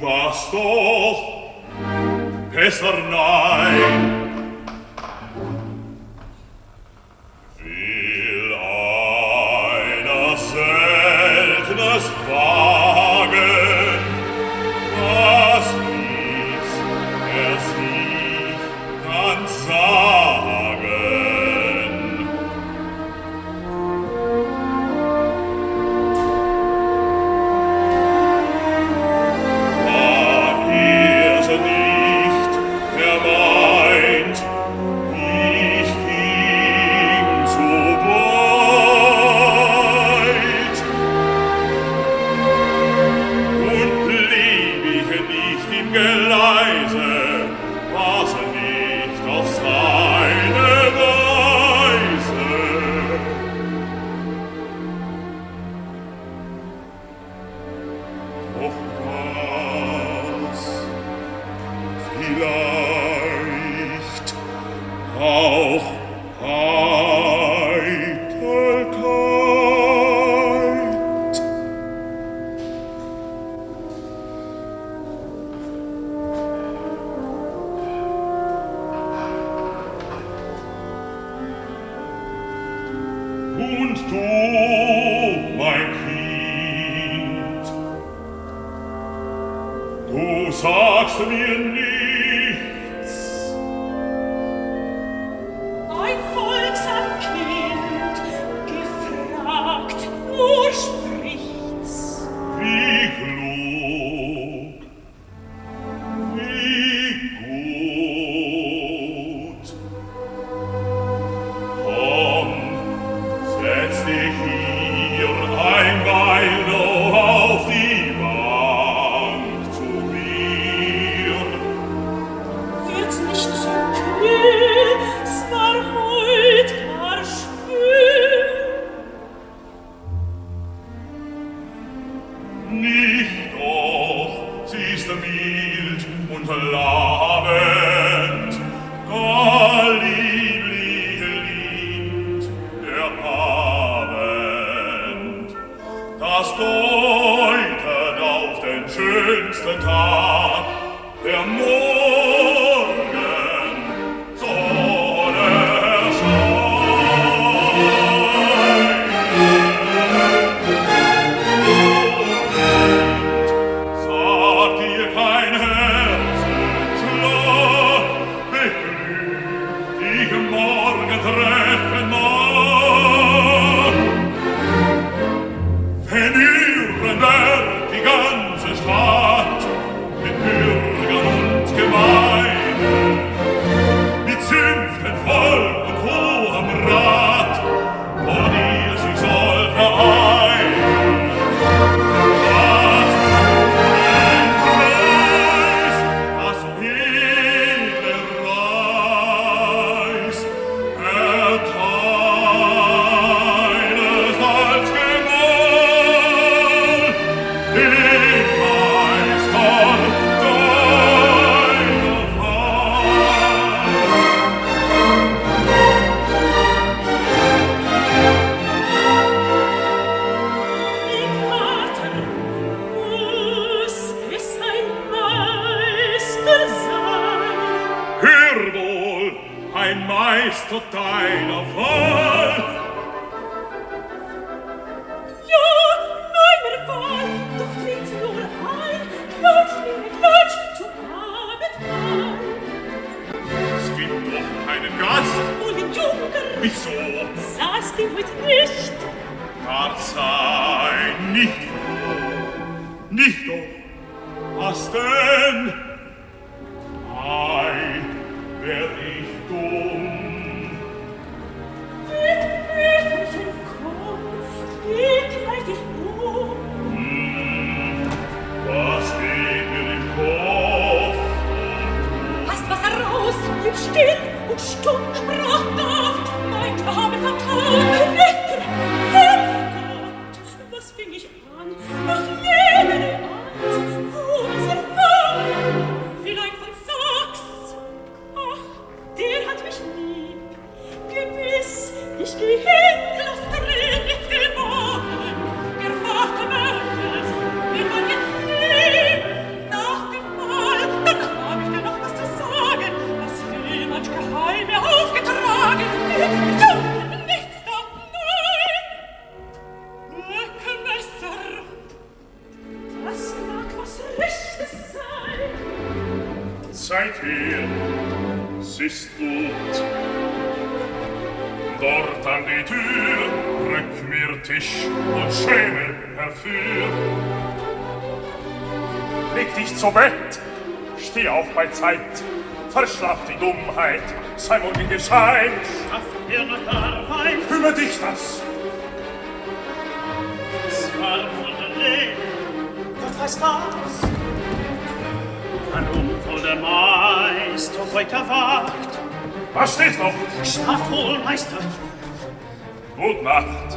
warst doch besser nein. Will einer seltenes wagen, was dies er sich kann sagen. War er so nicht, er meint, ich ging zu weit und blieb ich nicht im Geleise, war's nicht auf seine Weise. Doch was vielleicht auch Eitelkeit. Und du, mein Kind, du sagst mir nichts. Ein folgsam Kind, gefragt, nur spricht's. Wie klug, wie gut. Komm, setz dich hier ein Weil noch auf die Bank zu mir. Wird's nicht zu kühl, es war heut gar schwül. Nicht doch, sie ist mild und labend, gar lieblich liebt der Abend. Das deutet auf den schönsten Tag, der Morgen soll erscheinen. Sagt dir kein Herzenschlag, beglückt dich morgen treffen mag. Wenn Nürnberg die ganze Stadt mit Bürgern und Gemeinde, mit Zünften Volk und hohem Rat vor dir sich soll vereinen. Was den Preis, das hele Reis erteilest als Gemahl dem Meister deiner Wahl. Mein Vater, muss es ein Meister sein? Hör wohl, ein Meister deiner Wahl. Ja, meiner Wahl, doch tritt nur ein, Klatsch, Klatsch, zu Abendmahl. Es gibt doch keinen Gast. Und den Junker Wieso? saß die heut nicht. Gott sei nicht froh. Nicht doch. Was denn? Ei, wär ich dumm. Mit Väterchen komm, begleich dich um. Hm, was geht mir im Kopf? Hast Wasser raus, blieb still und stumm sprach David, mein Knabe vertraut. Retter, hilf Gott, was fing ich an? Ich lebe die Angst, wo ist er fern? Vielleicht von Sachs, ach, der hat mich lieb. Gewiss, ich geh hin, lass drin nicht gewonnen. Der Vater wird es, wenn man jetzt lebt, nach Seither, s'ist gut. Dort an die Tür rück mir Tisch und Schemel herfür. Leg dich zu Bett, steh auf bei Zeit, verschlaf die Dummheit, sei morgen gescheit. Schaff dir noch Arbeit, Kümmere dich das. es war wohl der Leben, Gott weiß was. ein Unfall der Meister heute erwacht. Was steht noch? Schlaf wohl, Meister. Gut Nacht.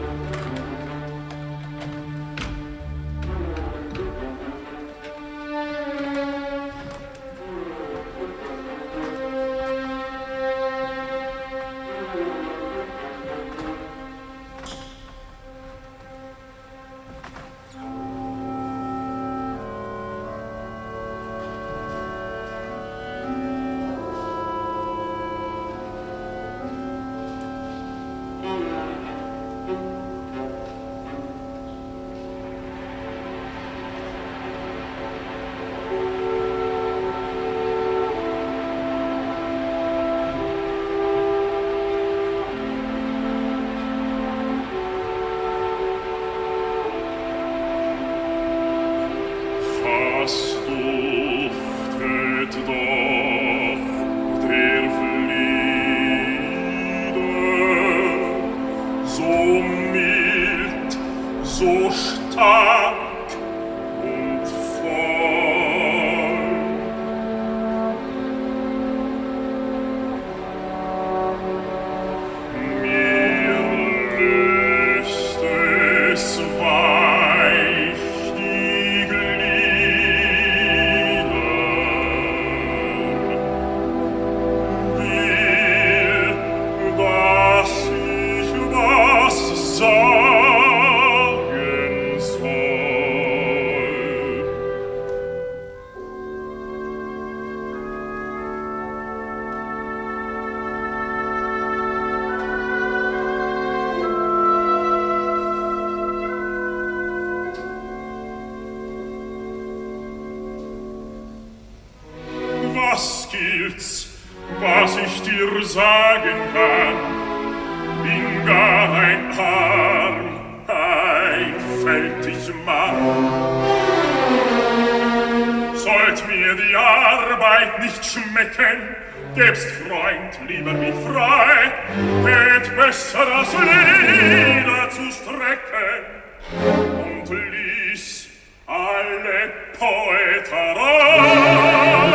Was gilt's, was ich dir sagen kann? Bin gar ein arm, einfältig Mann. Sollt mir die Arbeit nicht schmecken, gäbst Freund lieber mich frei, hätt besser das Leder zu strecken und ließ alle Poeterei.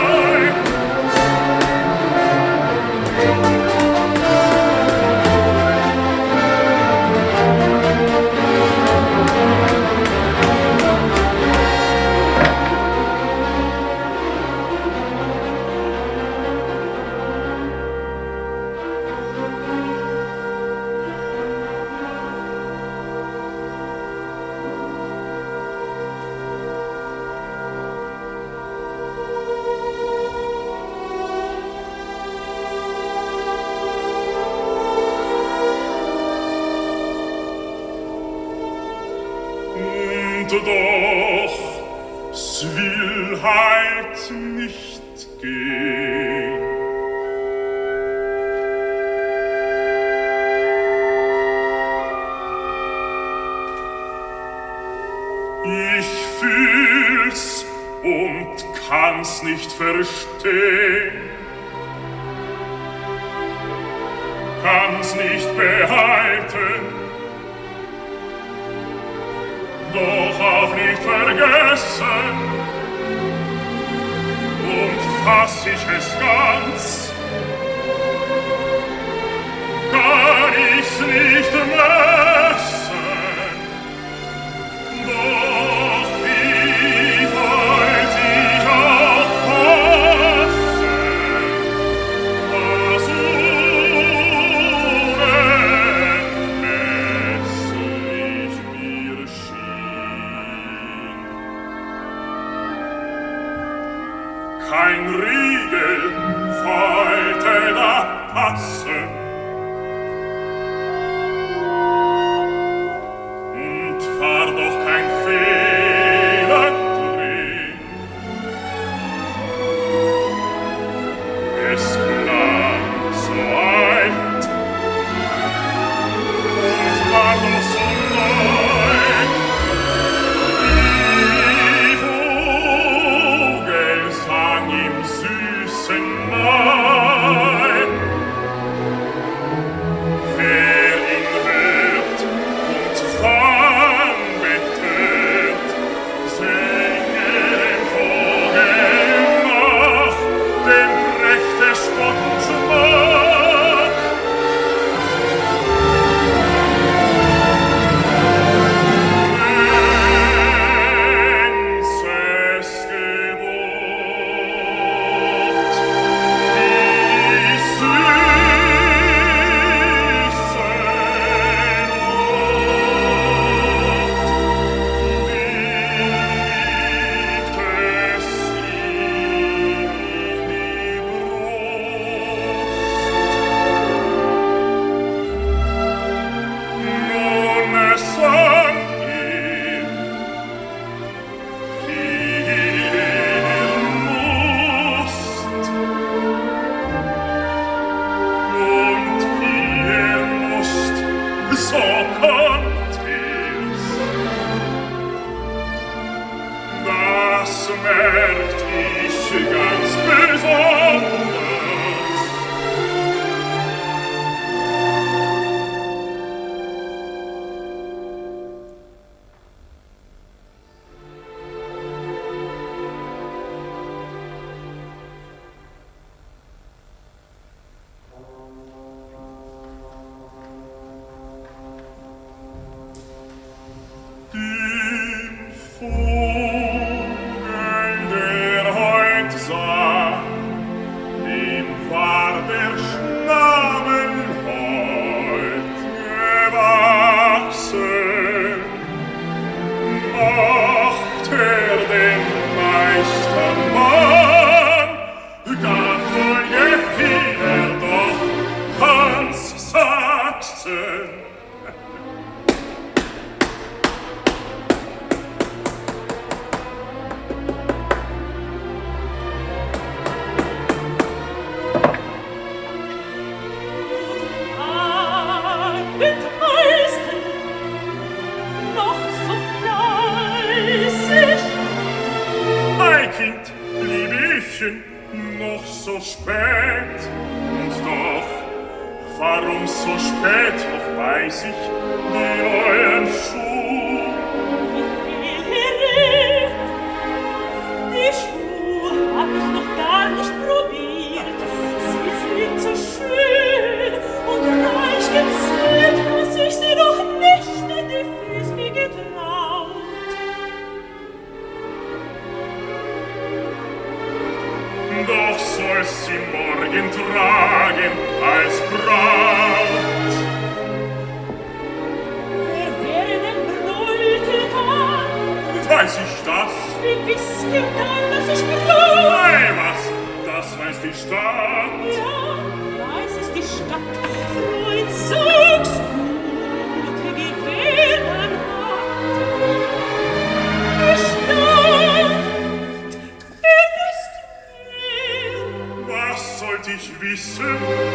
Doch, es will halt nicht gehen. Ich fühl's und kann's nicht verstehen, kann's nicht behalten, doch auch nicht vergessen, und fass ich es ganz, kann ich's nicht messen, doch wie wollt ich auch fassen, was unermesslich mir schien. Kein Riegel wollte da passen, und war doch kein Fehler drin. das merkt ich ganz besonders. Noch so spät, und doch, warum so spät, doch weiß ich die neuen Schuhe. Wie viel ihr redet, die Schuhe hab ich noch gar nicht probiert. Sie sind so schön und reich gezählt, dass ich sie noch nicht in die Füße getraut. Doch soll sie morgen tragen als Braut. Wer wäre denn Bräutigam? Weiß ich das? Wie wisst ihr dann, dass ich Braut? Ei, was? Das weiß die Stadt. Ja, weiß es die Stadt. Freund, sagst du, die gewähren hat. Die Stadt, ihr wisst mehr. Was sollt ich wissen?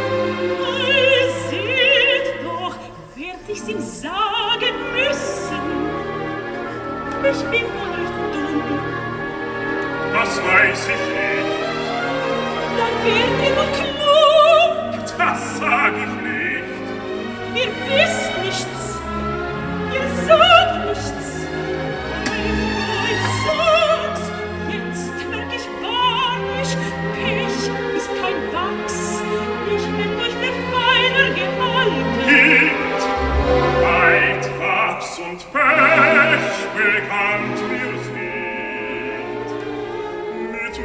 Ei, seht doch, werd ich's ihm sagen müssen. Ich bin wohl nicht dumm. Das weiß ich nicht. Dann wird ihr wohl klug. Das sag ich nicht. Ihr wisst nichts. Ihr sagt nichts. Ei, Freund, sag's. Jetzt merk ich wahrlich, Pech ist kein Wachs. Ich hätt euch für feiner gehalten. Kind, weit Wachs und Pech bekannt mir sind. Mit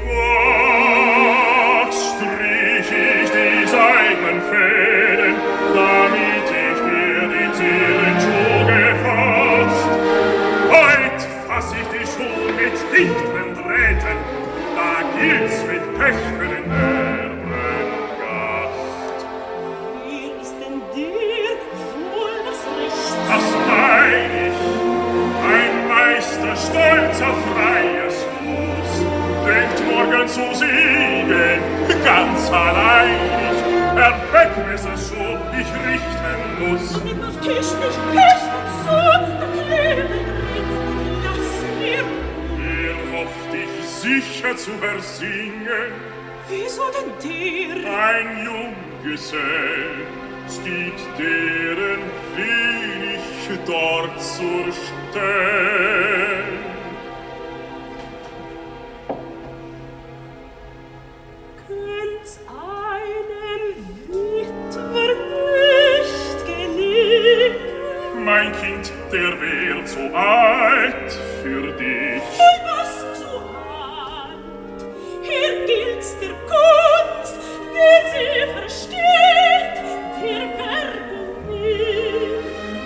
Wachs strich ich die seidenen Fäden, damit ich dir die Zierenschuh gefasst. Heut fass ich die Schuh mit dichteren Drähten, da gilt's mit Pech für den ärmeren Gast. Wer ist denn dir wohl das Recht? Das mein ich, ein Meister stolzer freies Fuß, denkt morgen zu siegen, ganz alleinig, er Beckmesser so ich richten muss. Und nimm auf Tisch nicht Pech und so, da kleben drin und lass mir. Er hofft dich sicher zu ersingen, Wieso denn der? ein Junggesell, stieg deren wenig dort zur Stell. Könnt's einem Witwer nicht gelingen? Mein Kind, der wär zu alt für dich. Oi, was zu alt? Hier gilt's der Kunst, wer sie versteht, der werde nicht.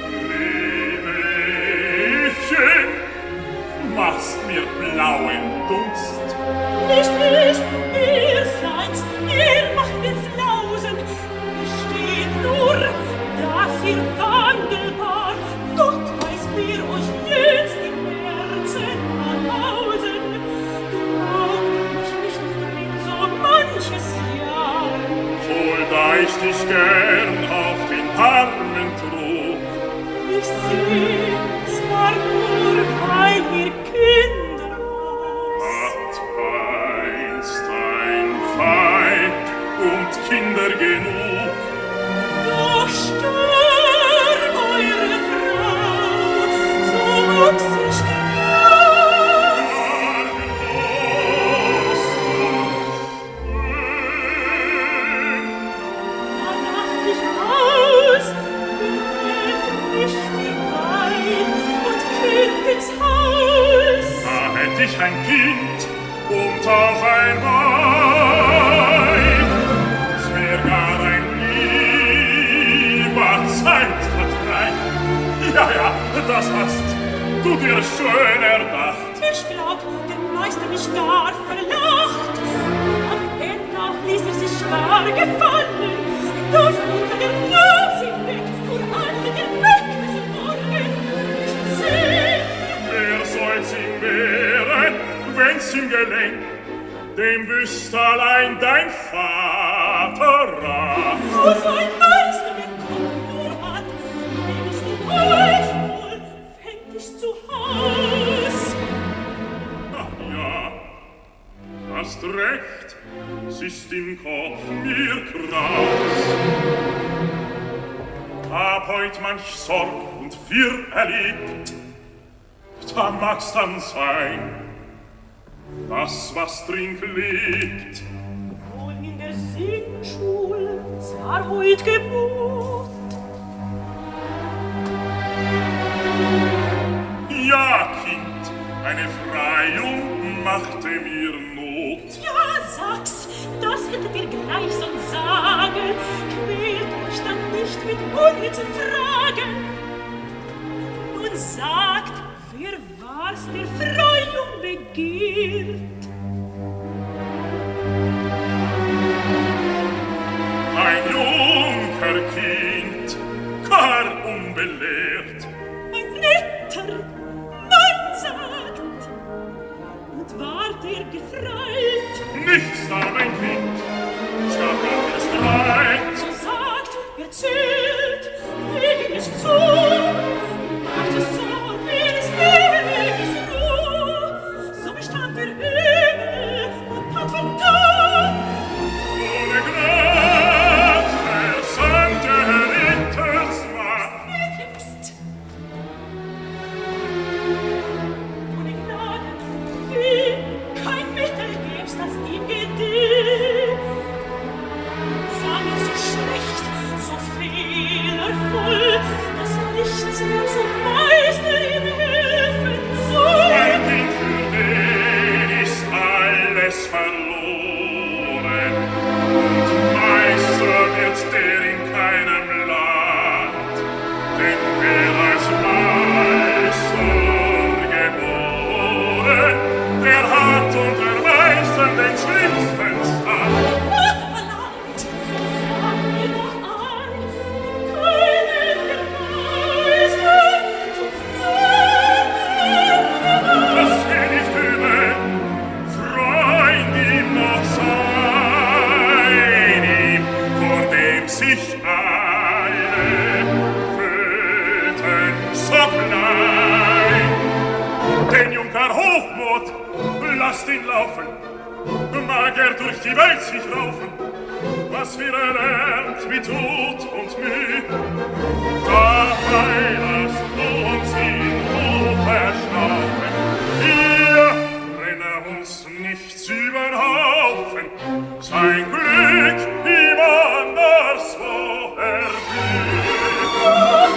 Liebchen, machst mir blauen Dunst. Nicht ich, ihr seid's, ihr macht mir Flausen. Es steht nur, dass ihr wandelbar, Gott weiß, wer euch jetzt im Herzen anhausen. Glaubt mich nicht drin so manches Jahr. Wohl da ich dich gern auf den Armen trug. Ich seh, es war nur, weil ihr Kinder wart. ich ein Kind und auch ein Weib. Es wär gar ein lieber Zeitvertreib. Ja, ja, das hast du dir schön erdacht. Ich glaub, der Meister mich gar verlacht. Am Ende ließ er sich gar gefallen. Das unter der Nase weg, vor allen der Meckes Morgen. Sehen! Wer soll's ihm wehren, wenn's ihm gelenkt? Dem wüsst allein dein Vater rat. Wo sein Meister den Kopf nur hat, nimmst du euch wohl, fänd ich zu Haus. Ach ja, hast recht, es ist im Kopf mir kraus. Hab heut manch Sorg und Wirr erlebt, da mag's dann sein, das, was drin liegt. Wohl in der Singschul, zwar heut Geburt. Ja, Kind, eine Freiung machte mir Not. Ja, sag's, das hättet ihr gleich sollen sagen. Quält euch dann nicht mit unnützen Fragen. Nun sagt, wer war's, der Freiung begehrt? Ein Junkerkind, gar unbelehrt. Ein netter Mann sagt, und ward er gefreit. Nichts da, mein Kind, es gab gar viel Streit. So sagt, erzählt, wie ging es zu? Macht es so, wie es ewig ist nur. So bestand der Himmel und tat von da. Ohne Gnad versandte Rittersmacht. Jetzt. Ohne Gnade, wie kein Mittel gäb's, das ihm gedient. Sah mir so schlecht, so fehlervoll, dass nichts mehr zum Meister ihm helfen soll. Mein Kind, für den ist alles verloren. Und Meister wird der in keinem Land. Denn wer als Meister geboren, der hat unter Meistern den schlimmsten Stand. Gott verlangt, so sag mir doch an, keinen der Meister zum Freund. Das will nicht üben, Freund ihm noch sein, ihm, vor dem sich alle fürchten, so klein. Den Junker Hochmut, lasst ihn laufen, mag er durch die Welt sich raufen, was wir erlernt mit Tod und Mühe. Dabei lasst uns ihn verstaufen, wir rennen uns nichts über den Haufen, sein Glück ihm anderswo erblüht.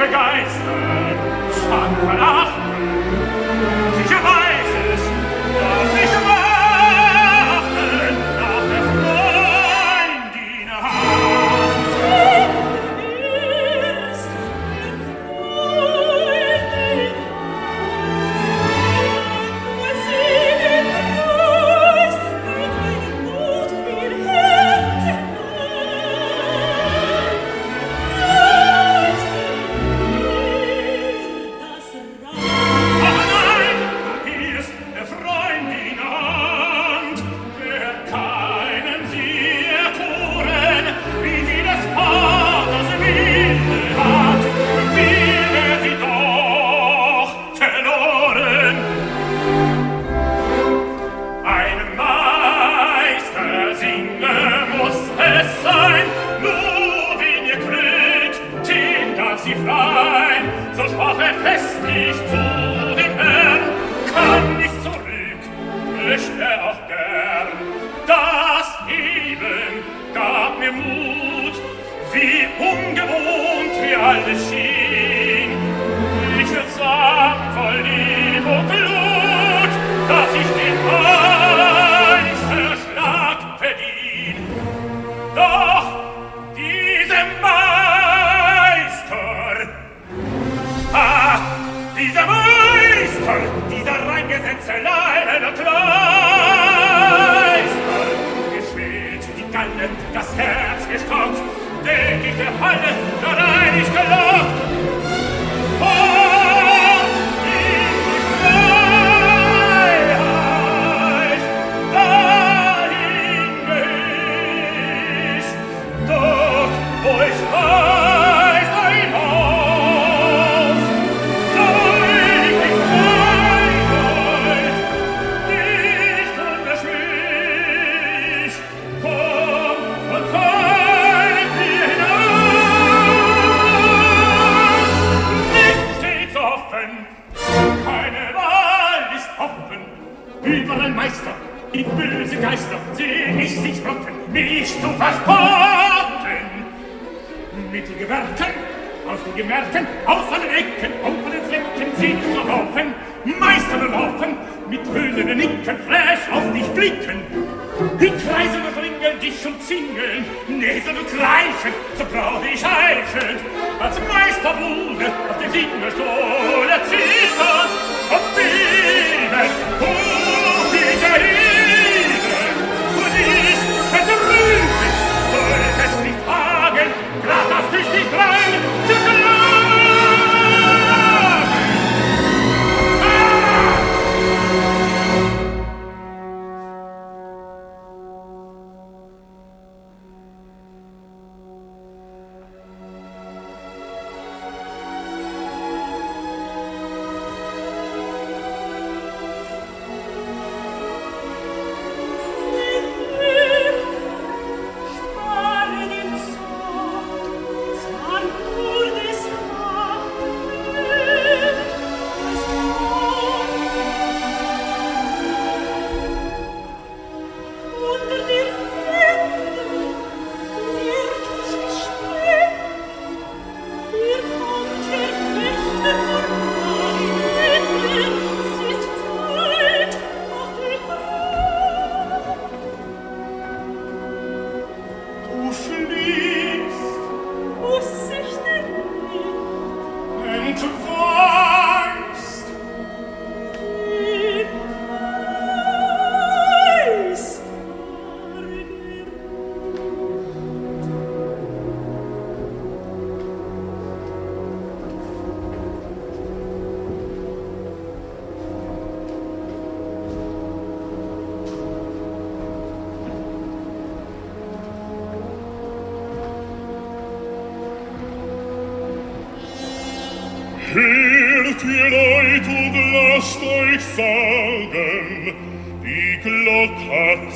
begeistern, fang verachten. Sicher weiß es, doch nicht warten nach der Freundin Hand. Ist was sie den Preis mit meinem Mut ihr Herz so sprach er festlich zu dem Herrn, kann nicht zurück, möcht er auch gern. Das eben gab mir Mut, wie ungewohnt mir alles schien. Ich will sagen, voll Liebe und Blut, dass ich den Meisterschlag verdien. Doch diesem Meister, ah, dieser Meister, dieser reingesetzte Leinen und Kleister, geschwillt die Galle, das Herz gestockt, denk ich der Falle, da rein ich gelockt. Und in die Freiheit, dahin geh ich, dort, wo ich weiß, ein Haus, so richtig frei soll, nicht unbeschwich, komm und folg mir hinaus. Nichts steht's offen, keine Wahl ist offen, überall Meister, die böse Geister, seh ich sich rotten, mich zu verspotten. Mit den Gewerken, aus den Gemerken, aus allen Ecken, auf den Flecken, seh ich so laufen, Meister laufen, mit höhnenden Nicken, frech auf dich blicken. Die Kreise befringeln dich und zingeln, näseln und kreischen, so brauch ich heischend, als Meisterbude auf dem Fingerstuhl erzittern, und beben, hoch ich erheben, und ich verdrüben, sollt es nicht wagen, grad das durch die Kleine zu schlagen. Hört ihr Leut und lasst euch sagen, die Glock hat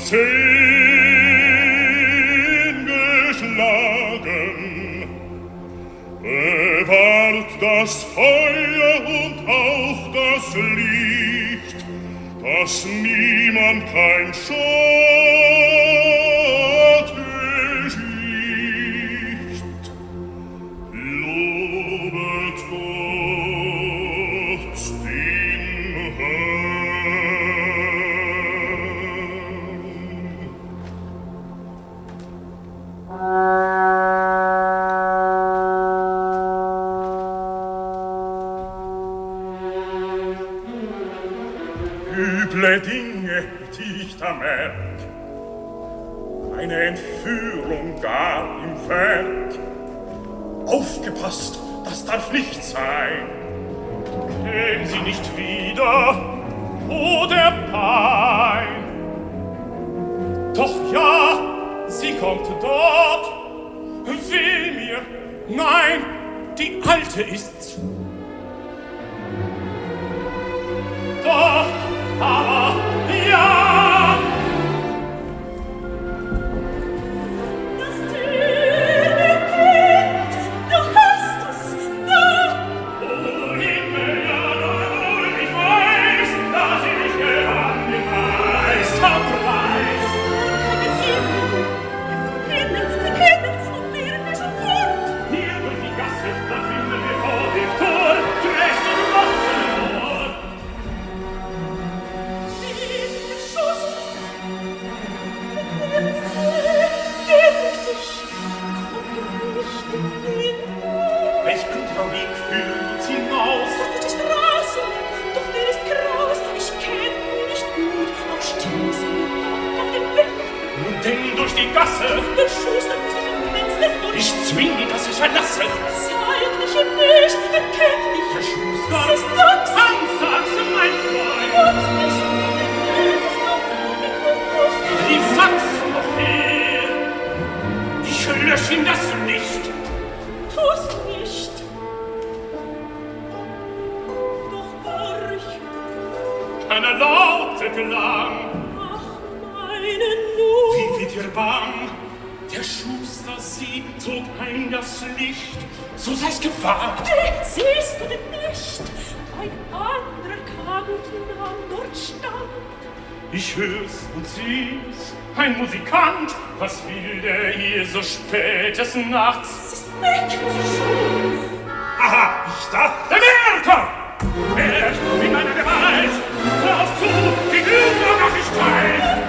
zehn geschlagen. Bewahrt das Feuer und auch das Licht, dass niemand kein Schatten schicht. Lobet üble Dinge, die ich da merk. Eine Entführung gar im Werk. Aufgepasst, das darf nicht sein. Käm sie nicht wieder, o der Pein. Doch ja, sie kommt dort. Weh mir, nein, die Alte ist's. Doch, aber ja. Das Töne Kind, du hast es da. O Himmel, ja, nur ich weiß, dass ich gewann den Meisterpreis. Keine Sinn, verkennen, verkennen, und wären wir schon fort. Hier durch die Gasse, dann finden wir vor dem Tor, Dresch und Wasser. Der Schuss, der Prinz, dich, komm nicht in den Ort. Welch guter Weg führt uns hinaus? Das ist Straße, doch der ist kraus. Ich kenn ihn nicht gut, auch stieß mir auf den Weg. Nun denn durch die Gasse, Der Schuster muss sich am Fenster von ich zwing ihn, dass ich verlasse. Zeig dich ihm nicht, er kennt dich. Der Schuster, Es ist Dachs. Tanzachse, mein Freund. Gott nicht, er ist auf den Kuss. Die Fax noch her. Ich lösch ihm das Licht. Tu's nicht. Doch horch, Eine laute Klang. ach, meine Not. Wie wird ihr bang? Der Schuster, sie zog ein das Licht. So sei's gewagt. Äh, siehst du denn nicht? Ein anderer kam und nahm dort stand. Ich hör's und seh's, ein Musikant. Was will der hier so spätes Nachts? Es ist weg, schon. Aha, ich dachte, Werther! Wert in meiner Gewalt! Lauf zu, die Übernachtigkeit!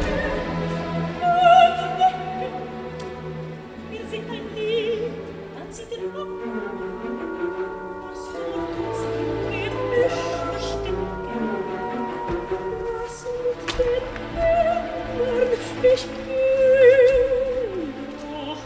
Wir sind ein Lied, dann zieht er ab. Das sucht uns im Gebüsch verstecken. Was mit den Männern ich bin doch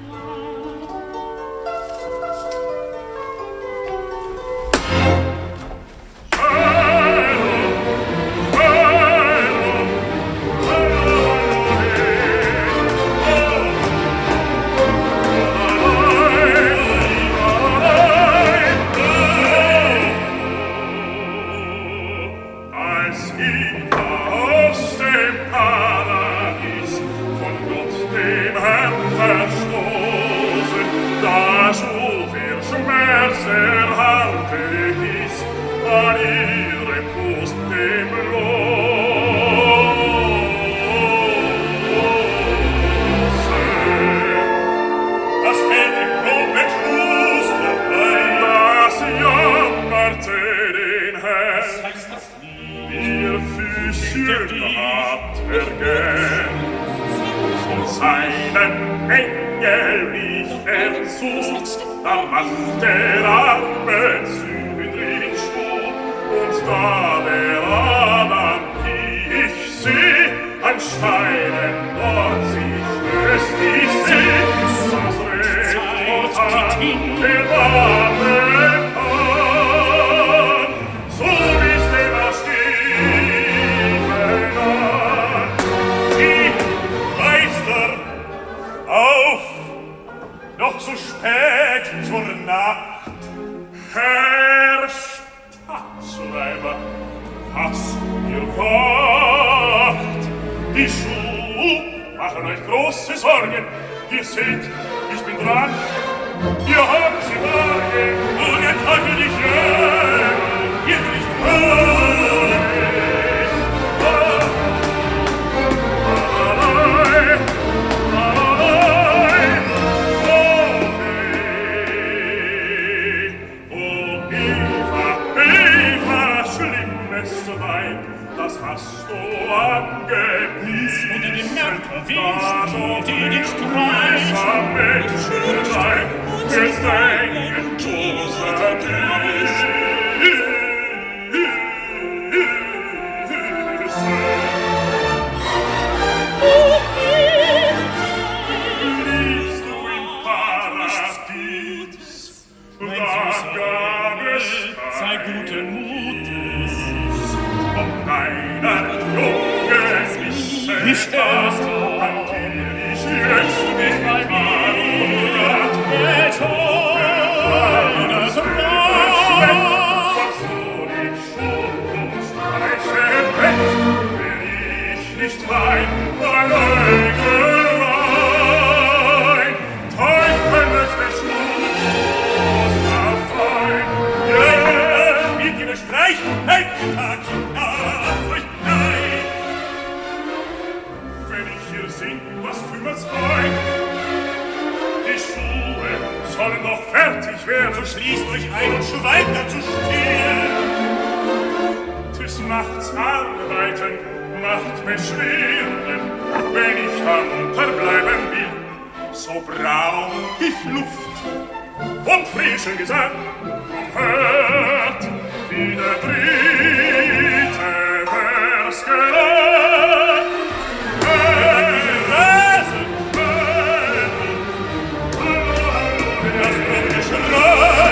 Als ich aus dem Paradies von Gott dem Herrn verstoßen, da schuf ihr Schmerz erhalte hieß, an ihrem Fuß dem Lose. Das fällt im Blut mit Schuster ein, das jammerte den Herrn. Was heißt das Lied? Ihr Füßchen habt er gern, und seinen Engel rief er zu, da macht der arme Zündrin Schuh, und da der Adam, die ich seh, an Steinen dort sie stößt, ich seh, das Recht und an der Arme kann, so ist er das Stiefel an. Die Meister, auf, noch so spät zur Nacht. Herr Staatsschreiber, was ihr wacht, die Schuh machen euch große Sorgen. Ihr seht, ich bin dran, ihr habt sie Wagen, und der Teufel dich hören, ihr will nicht hören. Allein, allein, oh weh, oh Eva, Eva, schlimmste Weib, das hast du angebissen. Unter dem Mörder Da so willst du dir den Streich. grüßer Menschenleib, jetzt engen großer Tisch. mein süßer Engel, sei guten Mutes. Ob deiner Junge es mich Nicht erst, an dir ich jetzt nicht bei mir, der Schöne so nicht fein, mein Engel mein, Teufel möchte Schluss auf dein. Ja, spielt ihr Streich, ein Tag, auf euch nein. Wenn ich hier sing, was kümmert's ein? Die Schuhe sollen noch fertig werden, so schließt euch ein und schweigt dazu still. Tis nachts arbeiten, macht beschwerden, wenn ich dann unterbleiben will. So brauch ich Luft und frischen Gesang. Drum hört, wie der dritte Vers gelang. Rasen, das Grundgeschrei.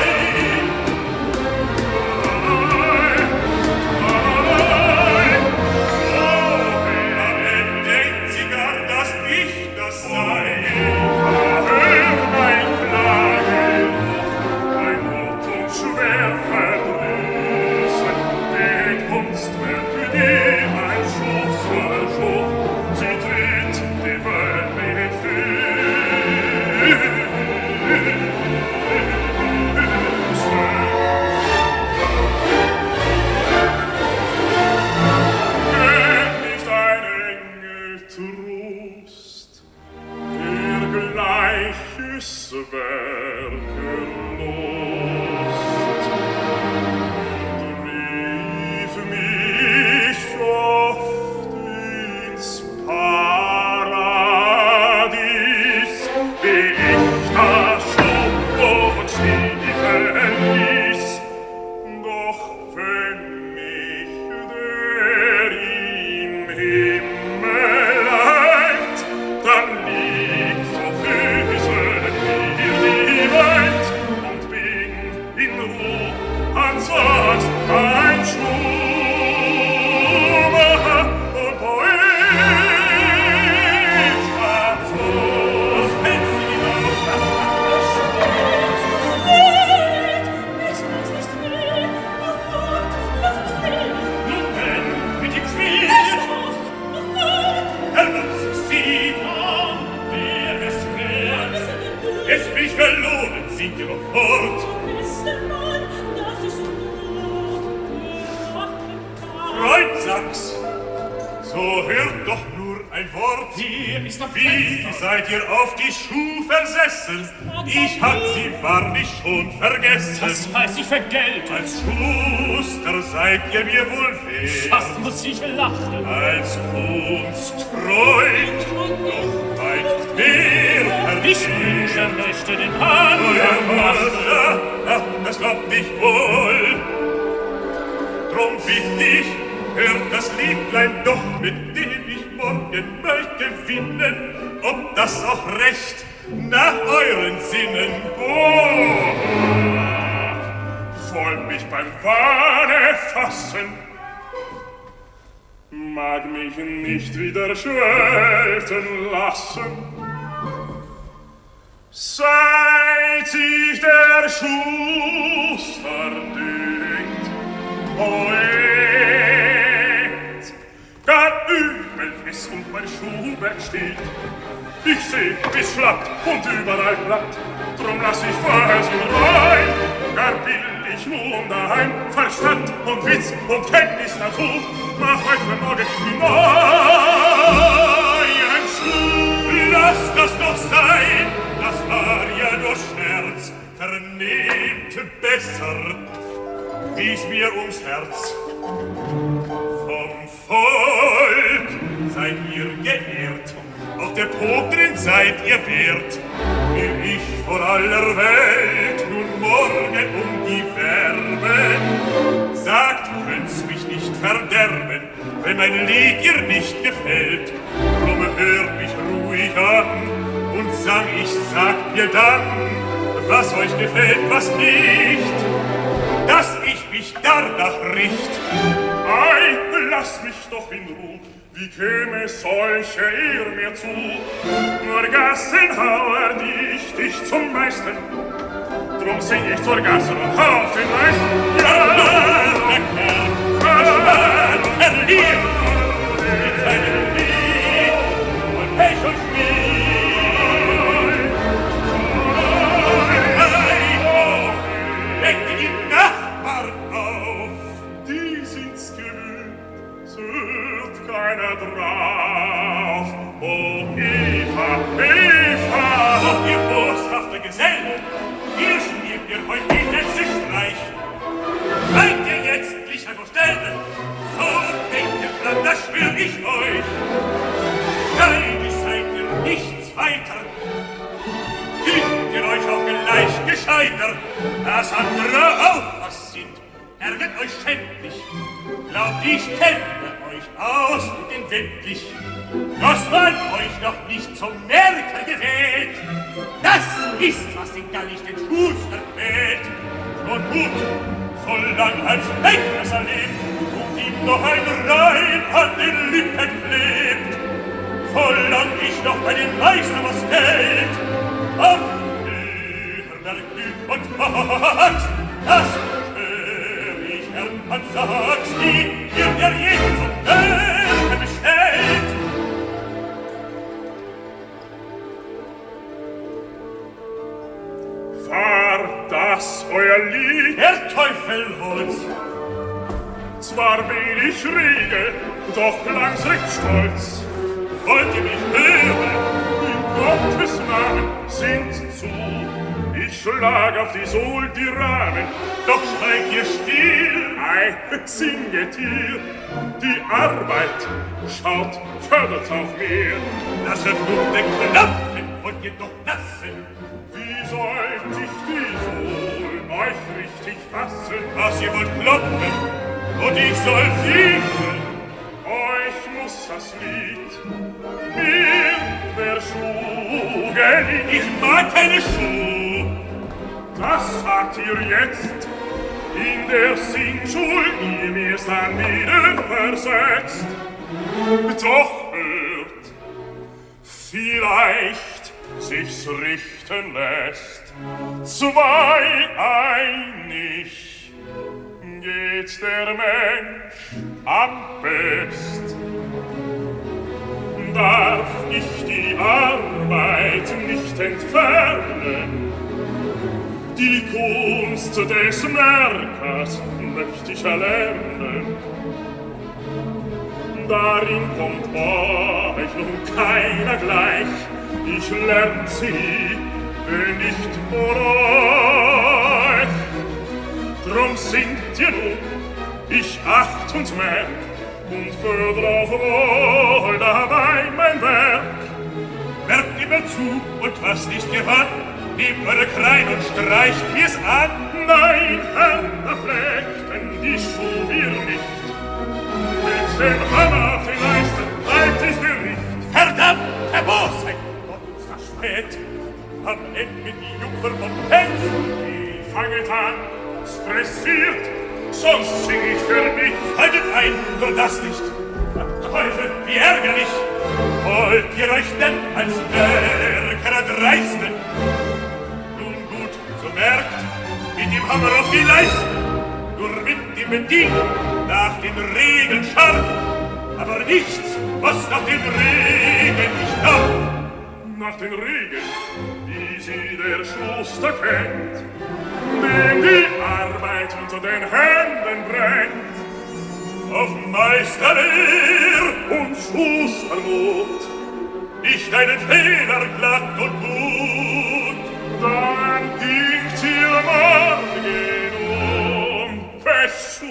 Ich hab sie wahrlich schon vergessen. Das weiß ich vergelten. Als Schuster seid ihr mir wohl wert. Fast muss ich lachen. Als Kunstfreund noch weit mehr verdient. Ich wünsche, möchte den Anfang machen. Ach, das glaubt ich wohl. Drum bitt ich, hört das Liedlein doch, mit dem ich morgen möchte gewinnen, ob das auch recht nach euren Sinnen. Oh, voll mich beim Wahne fassen, mag mich nicht wieder schwelten lassen. Seit sich der Schuster dünkt, Poet, gar übel ist und mein Schuhwerk steht. Ich seh, wie's schlappt und überall klappt, drum lass ich vorher so rein. Gar will ich nun daheim Verstand und Witz und Kenntnis dazu, mach euch für morgen die neuen Schuh. Lass das doch sein, das war ja nur Scherz, vernehmt besser, wie's mir ums Herz. Vom Volk seid ihr geehrt, auch der Potrin seid ihr wert, will ich vor aller Welt nun morgen um die Werbe. Sagt, könnt's mich nicht verderben, wenn mein Lied ihr nicht gefällt. Drum hört mich ruhig an und sang, ich sag mir dann, was euch gefällt, was nicht, dass ich mich danach richt. Ei, lass mich doch in Ruhe, wie käme solche Ehr mir zu? Nur Gassenhauer, die ich dich zum Meister, drum sing ich zur Gasse und hau auf den Meister. Ja, der Kerl, verschwört, verliert, mit seinem Lied und Pech und Spiel. Ei, oh, weckt die Nachbarn auf, die sind's gewöhnt, es hört keiner drauf. Oh, Eva, Eva, oh, ihr boshafte Gesellen, ihr spielt mir heut den letzten Streich. Seid ihr jetzt nicht einfach stellen, so denkt ihr dran, das schwör ich euch. Neidisch seid ihr nichts weiter, fühlt ihr euch auch gleich gescheiter, dass andere auch was sind, ärgert euch schändlich. Glaubt, ich kenne euch aus und inwendig, dass man euch noch nicht zum Merker gewählt. Das ist, was den Gallig den Schuster quält. Und gut, solang als Denkmesser lebt und ihm noch ein Reim an den Lippen klebt, solang ich noch bei den Meister was hält, am Hörnerglück und Wachs, das schwör ich, Herrn, man sagt's, die ihr der jeden zum Merker bestellt. War das euer Lied? Der Teufel hol's. Zwar bin ich rege, doch klang's recht stolz. Wollt ihr mich hören? In Gottes Namen singt zu. Ich schlag auf die Sohl die Rahmen. Doch schweigt ihr still. Ei, singet ihr. Die Arbeit, schaut, fördert's auch mehr. Das verfluchte Knopfen wollt ihr doch lassen. Wie sollt ich die Sohl euch richtig fassen? Was ihr wollt klopfen, und ich soll singen. Euch muss das Lied mir der Schuh gelingen. Ich mag keine Schuh. Das sagt ihr jetzt in der Singschul, ihr mir's dann wieder versetzt. Doch hört, vielleicht sich's richten lässt. Zwei einig geht der Mensch am best. Darf ich die Arbeit nicht entfernen, die Kunst des Merkers möcht ich erlernen. Darin kommt euch nun keiner gleich, ich lern sie, wenn nicht vor euch. Drum singt ihr nun, ich acht und merk, und fördr auch wohl dabei mein Werk. Merkt immer zu, und was nicht gewann, nehmt eure Krein und streicht mir's an. Nein, Herr, da flechten die Schuh wir nicht. Mit dem Hammer auf den Leisten halt ich Gericht. Verdammt, Herr Bosheit, Gott uns verspäht. Am Ende die Jungfer vom Fels. Die fanget an, es pressiert, sonst sing ich für mich. Haltet ein, nur das nicht. Teufel, wie ärgerlich. Wollt ihr euch denn als Werker erdreisten? Nun gut, so merkt, mit dem Hammer auf die Leisten, nur mit dem Bedienen nach den Regeln scharf, aber nichts, was nach den Regeln nicht darf. Nach den Regeln, die sie der Schuster kennt, dem die Arbeit unter den Händen brennt. Auf Meisterlehr und Schustermut, nicht einen Fehler glatt und gut, dann gingt ihr morgen unverschut.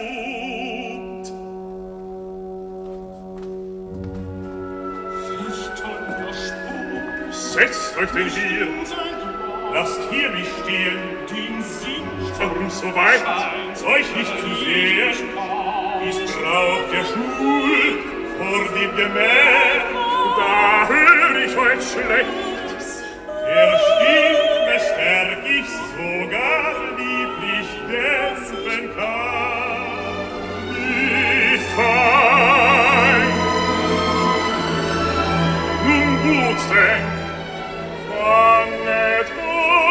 Setzt euch denn hier, lasst hier mich stehen, den Sinn, warum so weit, euch nicht zu sehr, dies braucht der Schul vor dem Gemäch, da hör ich euch schlecht, der Stimme stärk ich sogar lieblich dämpfen kann. Wie fein! Nun gut denk, fanget an!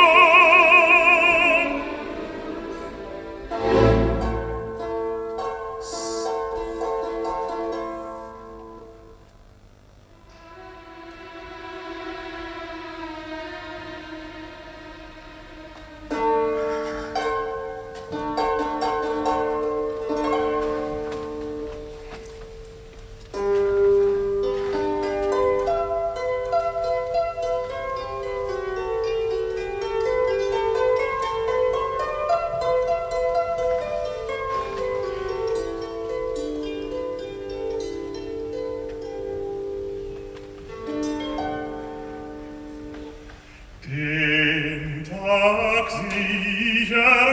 Den Tag sieh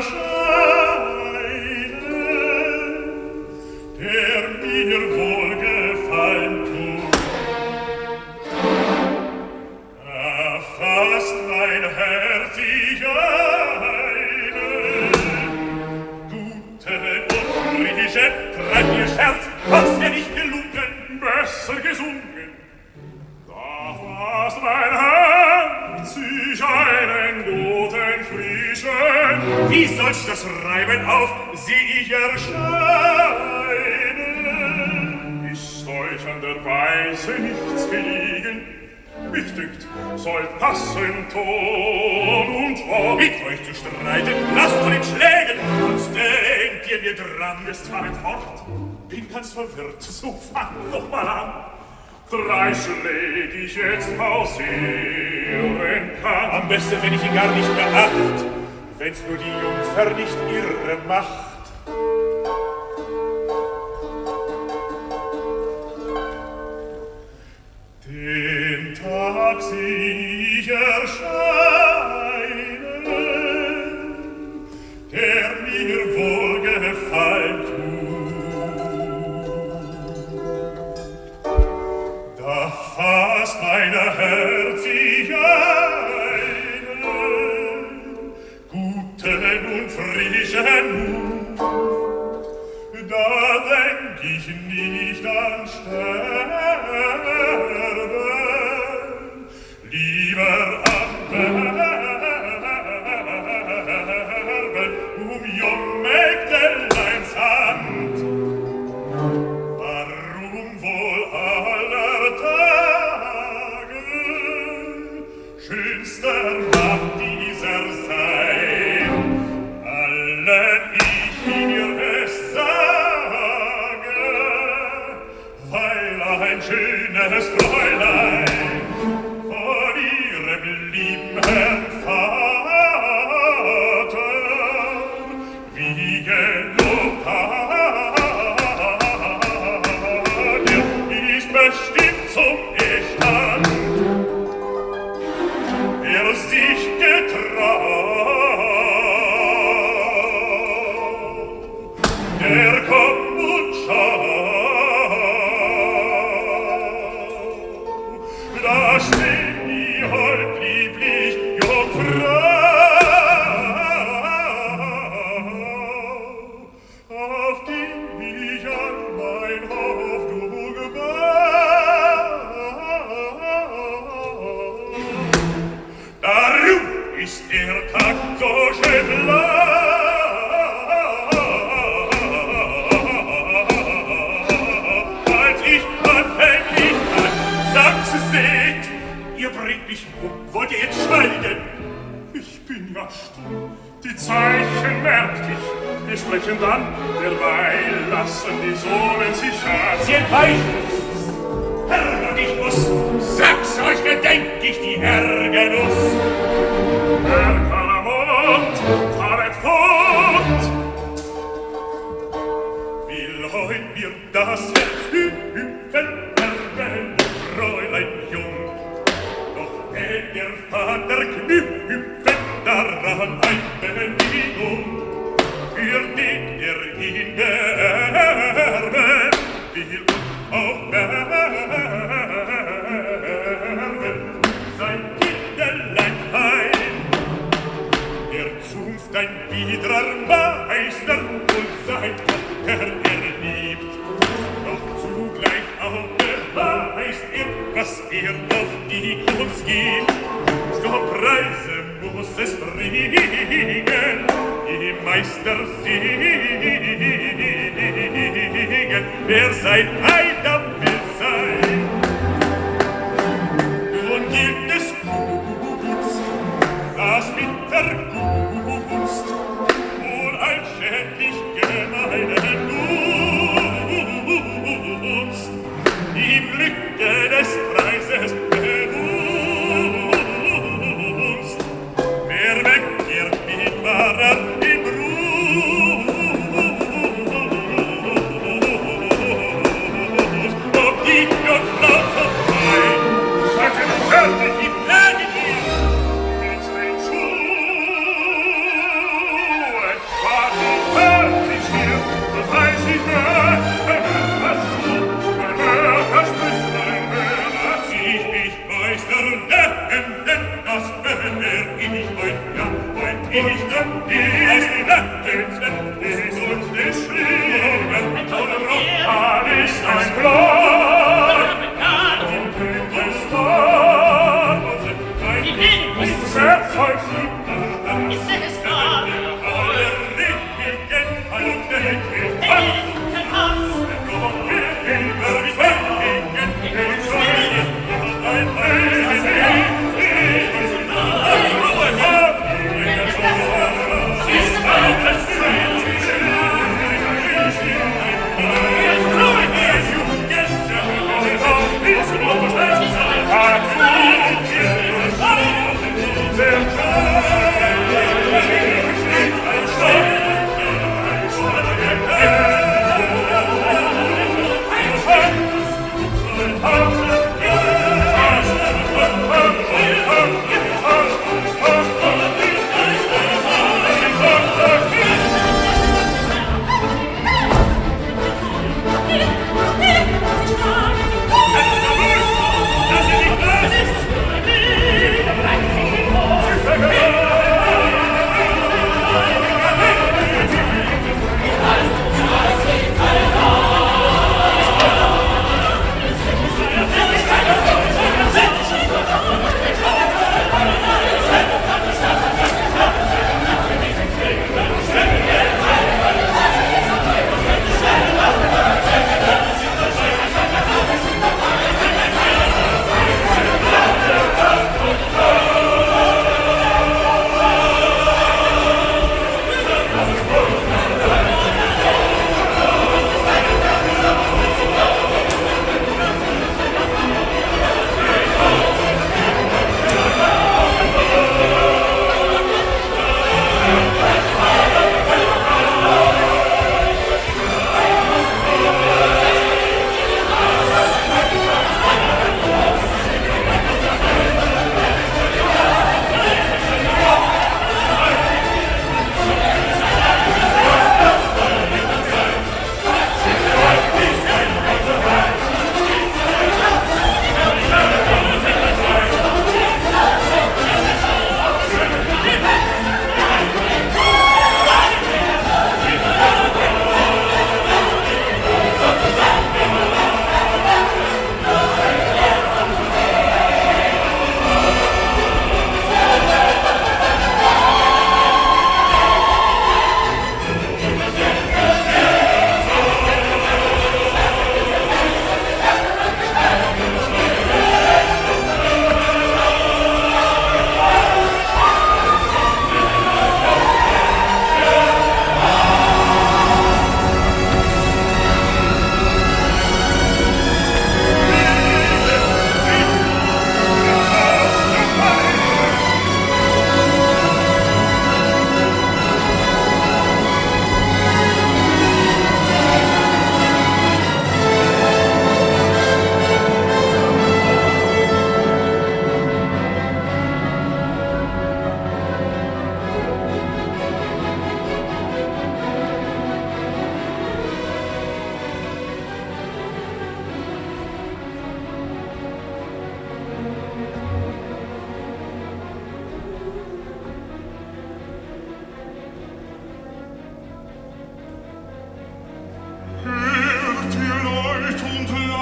erscheinen, der mir wohlgefallen tut. Erfasst mein Herz ich einen, gute und frische, treibt ihr Scherz, was dir nicht gelungen, besser gesungen. Da fasst mein Herz ich einen guten, frischen, wie soll's das Reiben auf, sieh ich erscheinen? Ist euch an der Weise nichts gelegen? Mich dünkt, soll passen Ton und Wort. Mit euch zu streiten, lasst von den Schlägen, sonst denkt ihr, mir dran ist fahret fort. Bin ganz verwirrt, so fangt doch mal an. Drei Schläg ich jetzt pausieren kann. Am besten, wenn ich ihn gar nicht beacht, wenn's nur die Jungfer nicht irre macht. Den Tag sieh ich erscheinen, der mir wohlgefallen tut. Da fasst mein Herz ich einen guten und frischen Mut. Da denk ich nicht an Sterben, lieber an Werben um jung Mägdeleins Hand. Warum wohl aller Tage schönster mag dieser sein, allen ich mir es sage, weil ein schönes Fräulein von ihrem lieben Herrn Vater wie gelobt hat, ist bestimmt zum Ehestand. Wer sich getraut, der kommt und schaut. Da steht die hold lieblich Jungfrau, auf die ich an mein Hoffnung gebaut. Darum ist der Tag so schön lang, als ich anfänglich an sag's seht, ihr bringt mich um, wollt ihr jetzt schweigen? Ich bin ja stumm, die Zeichen merkt ich, wir sprechen dann, derweil lassen die Sohlen sich an. Sie entweichen, Herr, und ich muss, sag's euch, gedenk ich die Ärgernuss. Herr Kalamont, fahret fort, will heut mir das Herz hüpfen, erben, Fräulein jung. Doch hätt der Vater knüpfen daran ein Bedienung, für den er ihn beerben will und auch beerben. Sein Kinderlein fein ein biedrer Meister und sein Tochter erliebt. Doch zugleich auch beweist er, was er auf die uns gibt. So Preise muss es bringen, die Meister singen, wer sein Eidam will sein. Nun gilt es Guts, das mit der Gunst, wohl ein schädlich gemeinen Gunst, im Glücke des Preises bewusst. Wer wegkehrt mit wahrer im Brust,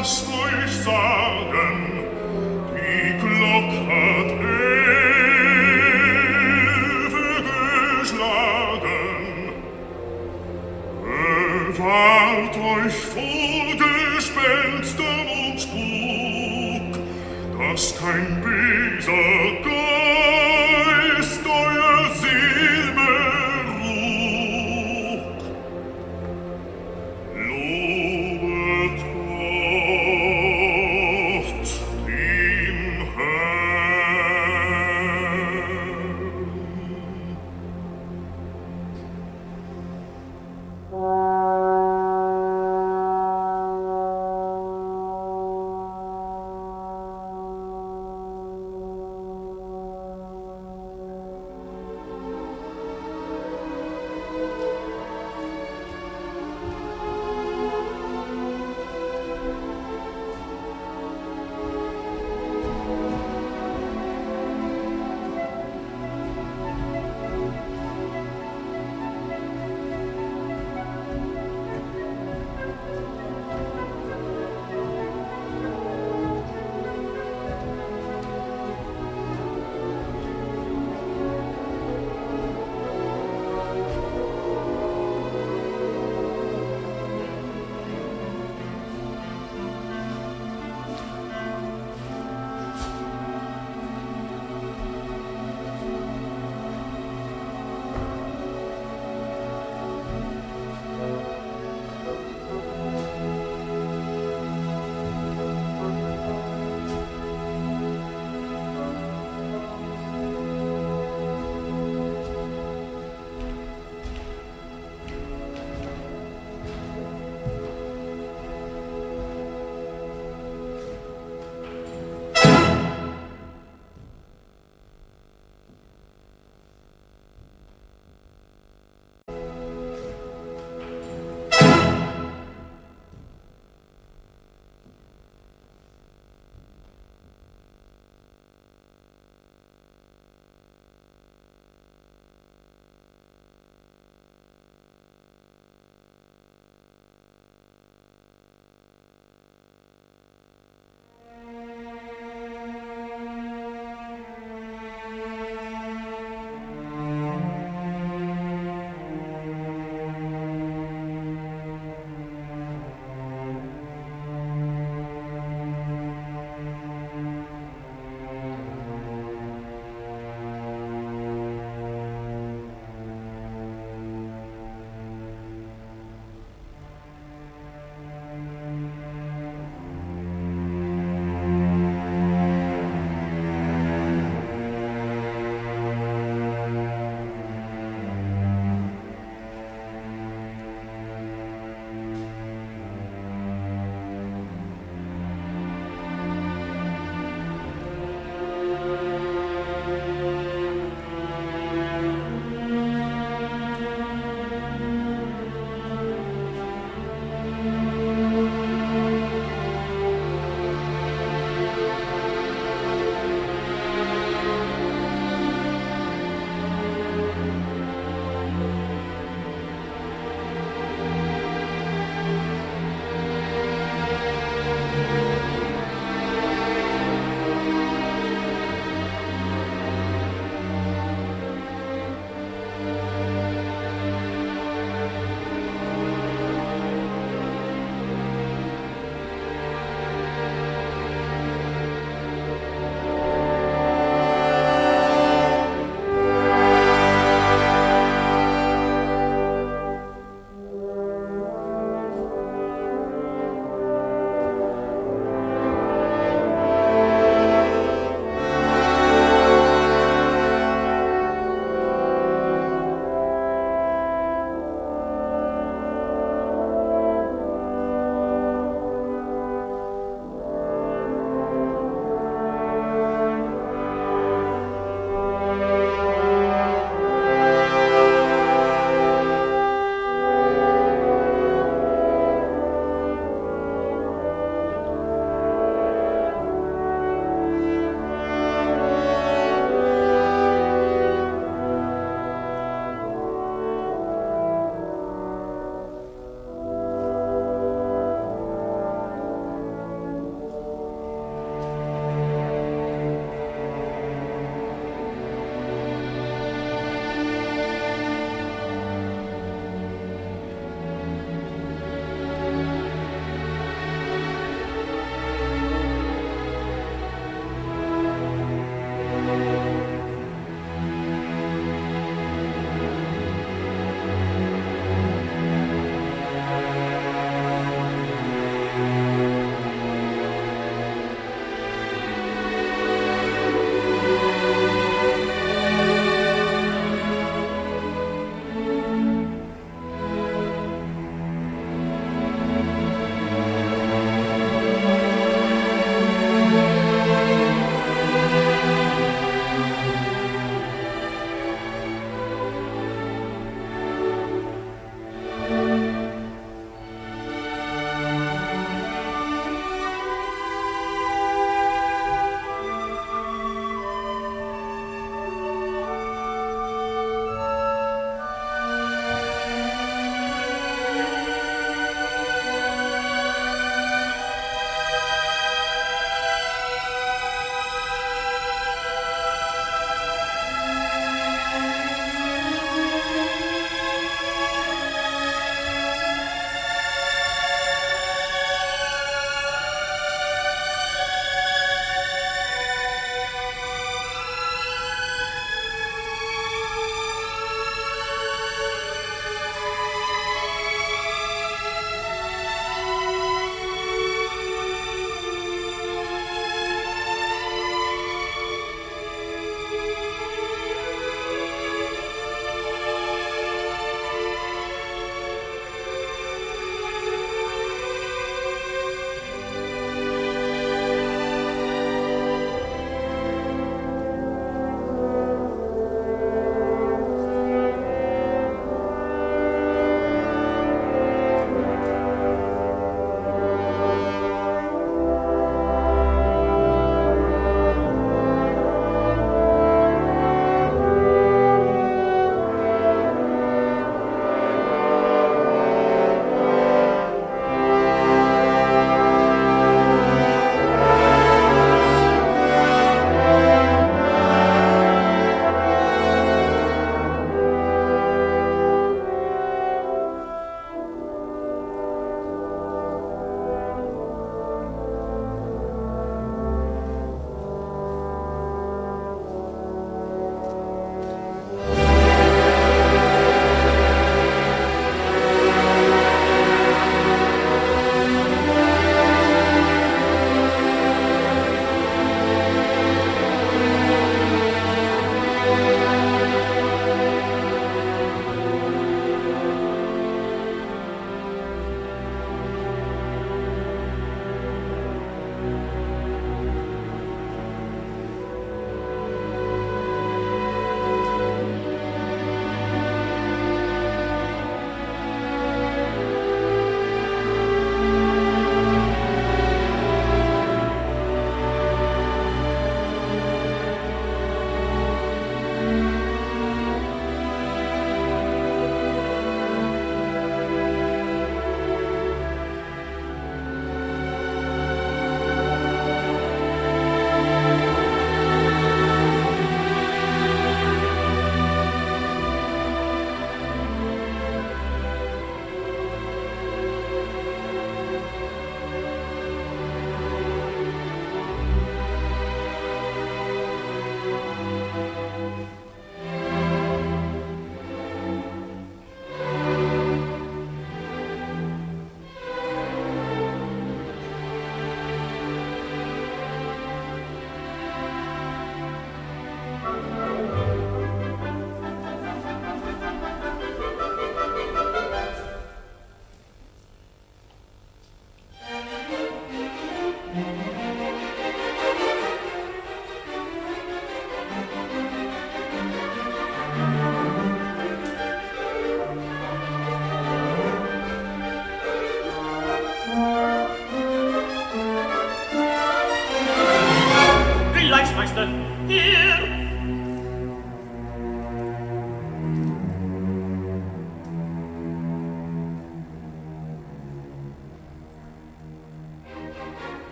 lasst euch sagen, die Glock hat elfe geschlagen. Bewahrt euch vor Gespenstern und Spuk, dass kein böser Geist euer Seel beruht. Lobet Gott, den Herrn.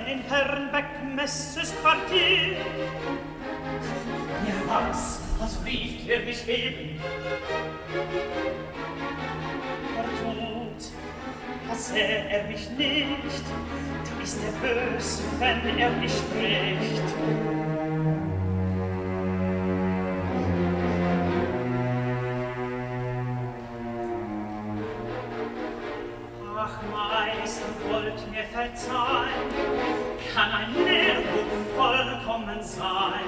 in Herrenbeck-Messes Quartier. Ja, was, was rief er mich eben? Er tut, als sähe er mich nicht, da ist er bös, wenn er nicht spricht. Ach, Meister, wollt mir verzeihen, kann ein Lehrbuch vollkommen sein.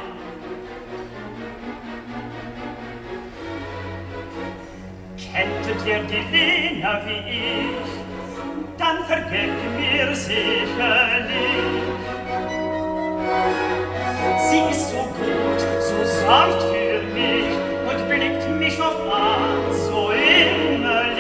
Kenntet ihr die Lena wie ich, dann vergebt mir sicherlich. Sie ist so gut, so sanft für mich und blickt mich oft an, so innerlich.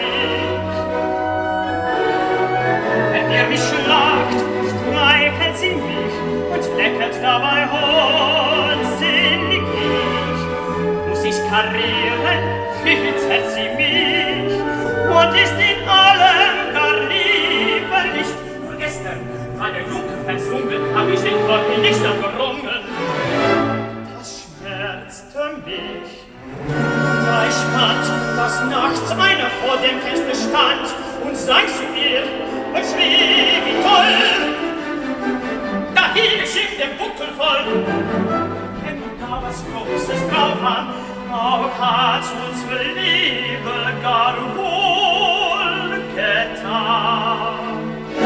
Wenn ihr mich schlagt, streichelt sie mich und leckert dabei hohnsinnig mich. Muss ich karieren, füttert sie mich und ist in allem gar lieberlich. Nur gestern war der Junker versungen, hab ich den Gott nicht gerungen. Das schmerzte mich. Da ich fand, dass nachts einer vor dem Fenster stand und sang zu ihr und schrie wie toll. Da hielt ich ihm den Buckel voll. Denn da was Großes drauf an, auch hat unsere Liebe gar wohl getan.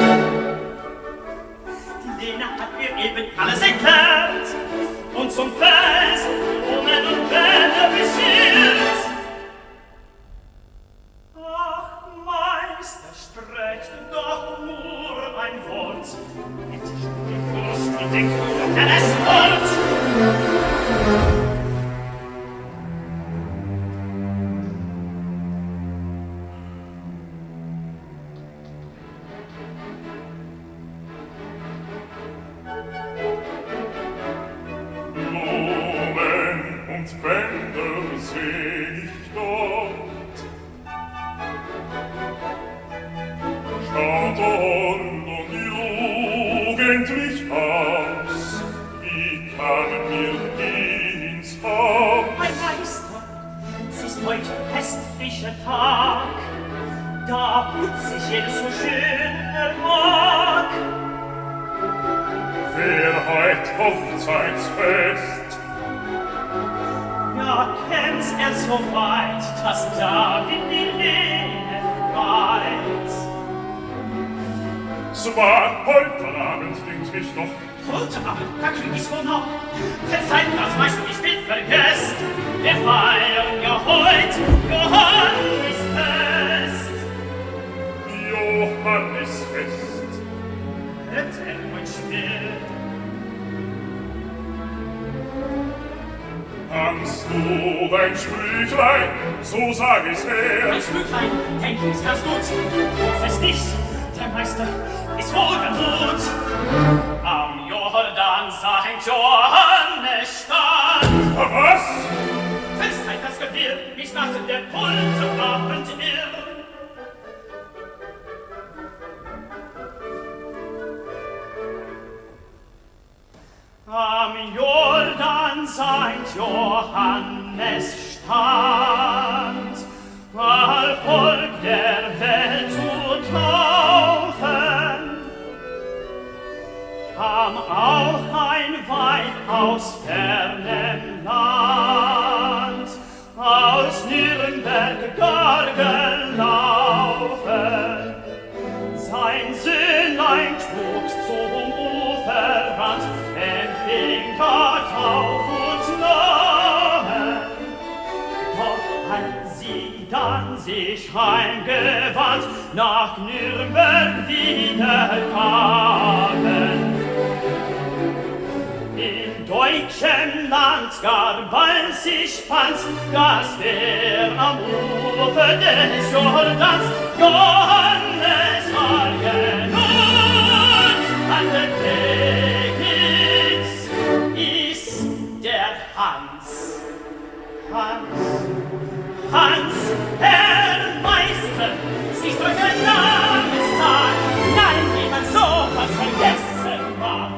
Die Lena hat mir eben alles erklärt und zum Fest Blumen und Bänder beschert. Ach, Meister, sprecht doch nur ein Wort, mit die Brust und den Kuchen des Worts. Bänder seh ich dort. Schaut und und jugendlich aus, wie kamen wir die ins Haus? Mein Meister, es ist heut festlicher Tag, da putz ich jedes so schön er mag. Wer heut Hochzeitsfest? Ja, kennst er so weit, dass David die Lene freit. Zwar heute Abend dünkt mich doch. Heute Abend, da krieg ich's wohl noch. Verzeiht, das weißt du, ich bin vergesst. Wir feiern ja heut Johannisfest. Johannisfest. Erzähl mein Schwert. Kannst du dein Sprüchlein, so sag ich's her. Ein Sprüchlein, denk ich's, kannst du's. Fest nichts, der Meister ist wohl gemut. Am Jordan Sankt Johannes stand. Was? Festzeit das Gewirr, mich nach der Pulte abend irr. Am Jordan Sankt Johannes stand, all Volk der Welt zu taufen, kam auch ein Weib aus fernem Land, aus Nürnberg gar gelaufen. Sein Söhnlein trug zum Uferrand, empfing dort auf und Namen. Doch als sie dann sich heimgewandt, nach Nürnberg wieder kamen, in deutschem Land gar bald sich fand, dass wer am Ufer des Jordans Johannes war genannt, an der Pegnitz ist der Hans. Hans, Hans, Herr Meister, siehst du ein Namenstag? Nein, wie man so was vergessen mag.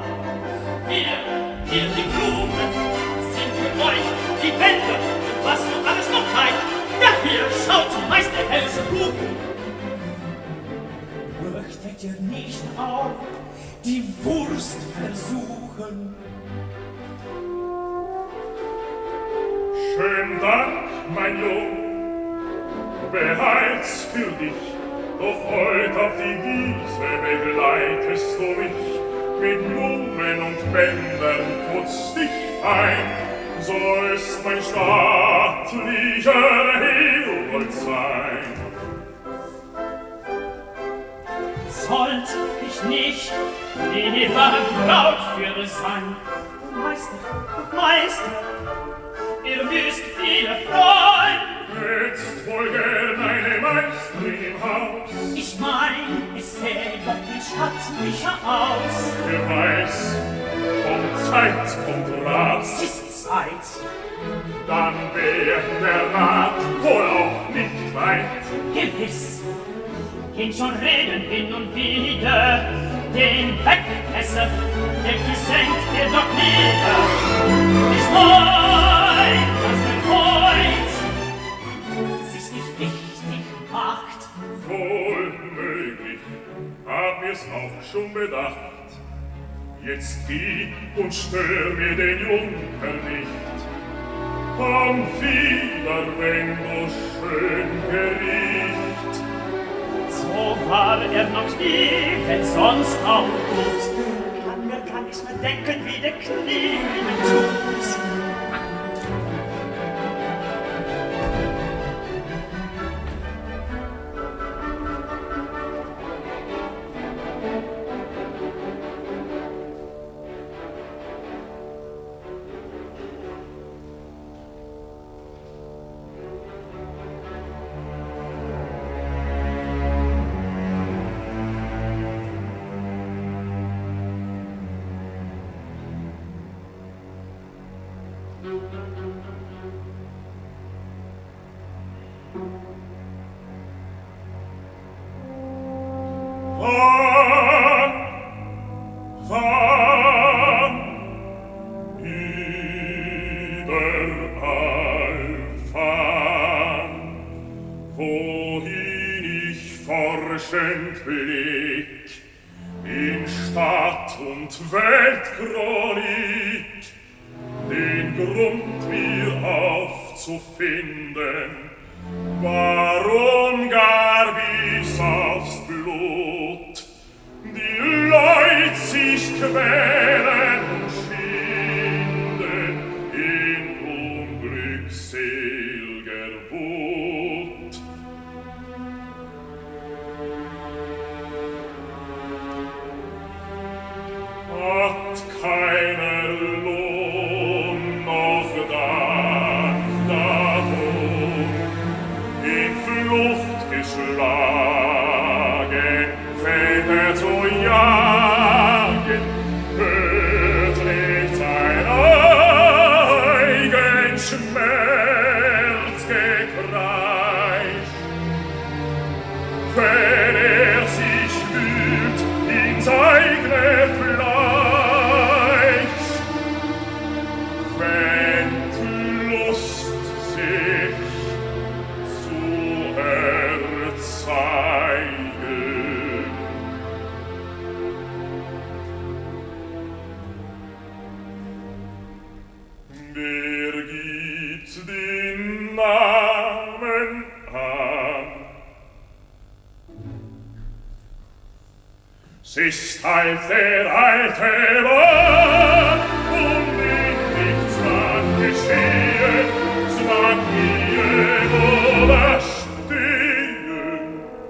dir nicht auf, die Wurst versuchen. Schön Dank, mein Jung, behalt's für dich, doch heut auf die Wiese begleitest du mich, mit Blumen und Bändern putz dich fein, so ist mein stattlicher Herold sein. Sollt ich nicht lieber Braut für sein? Meister, Meister, ihr müsst viele freuen. Jetzt wohl gern eine Meisterin im Haus. Ich mein, es sähe doch viel stattlicher aus. Wer weiß, kommt Zeit, kommt Rat. Es ist Zeit. Dann wär der Rat wohl auch nicht weit. Gewiss, gehen schon Reden hin und wieder, den Wegmesser, der gesenkt dir doch nieder. Ich mein, dass der heut sich nicht wichtig macht. Wohl möglich, hab mir's auch schon bedacht. Jetzt geh und stör mir den Junker nicht. Komm wieder, wenn du schön gericht. So war er noch nie, wenn sonst auch gut. Kann mir gar nichts mehr denken, wie der Knie tut. Ist halt der alte Mann, und wenn nichts mag geschehen, so mag gehen oder stehen.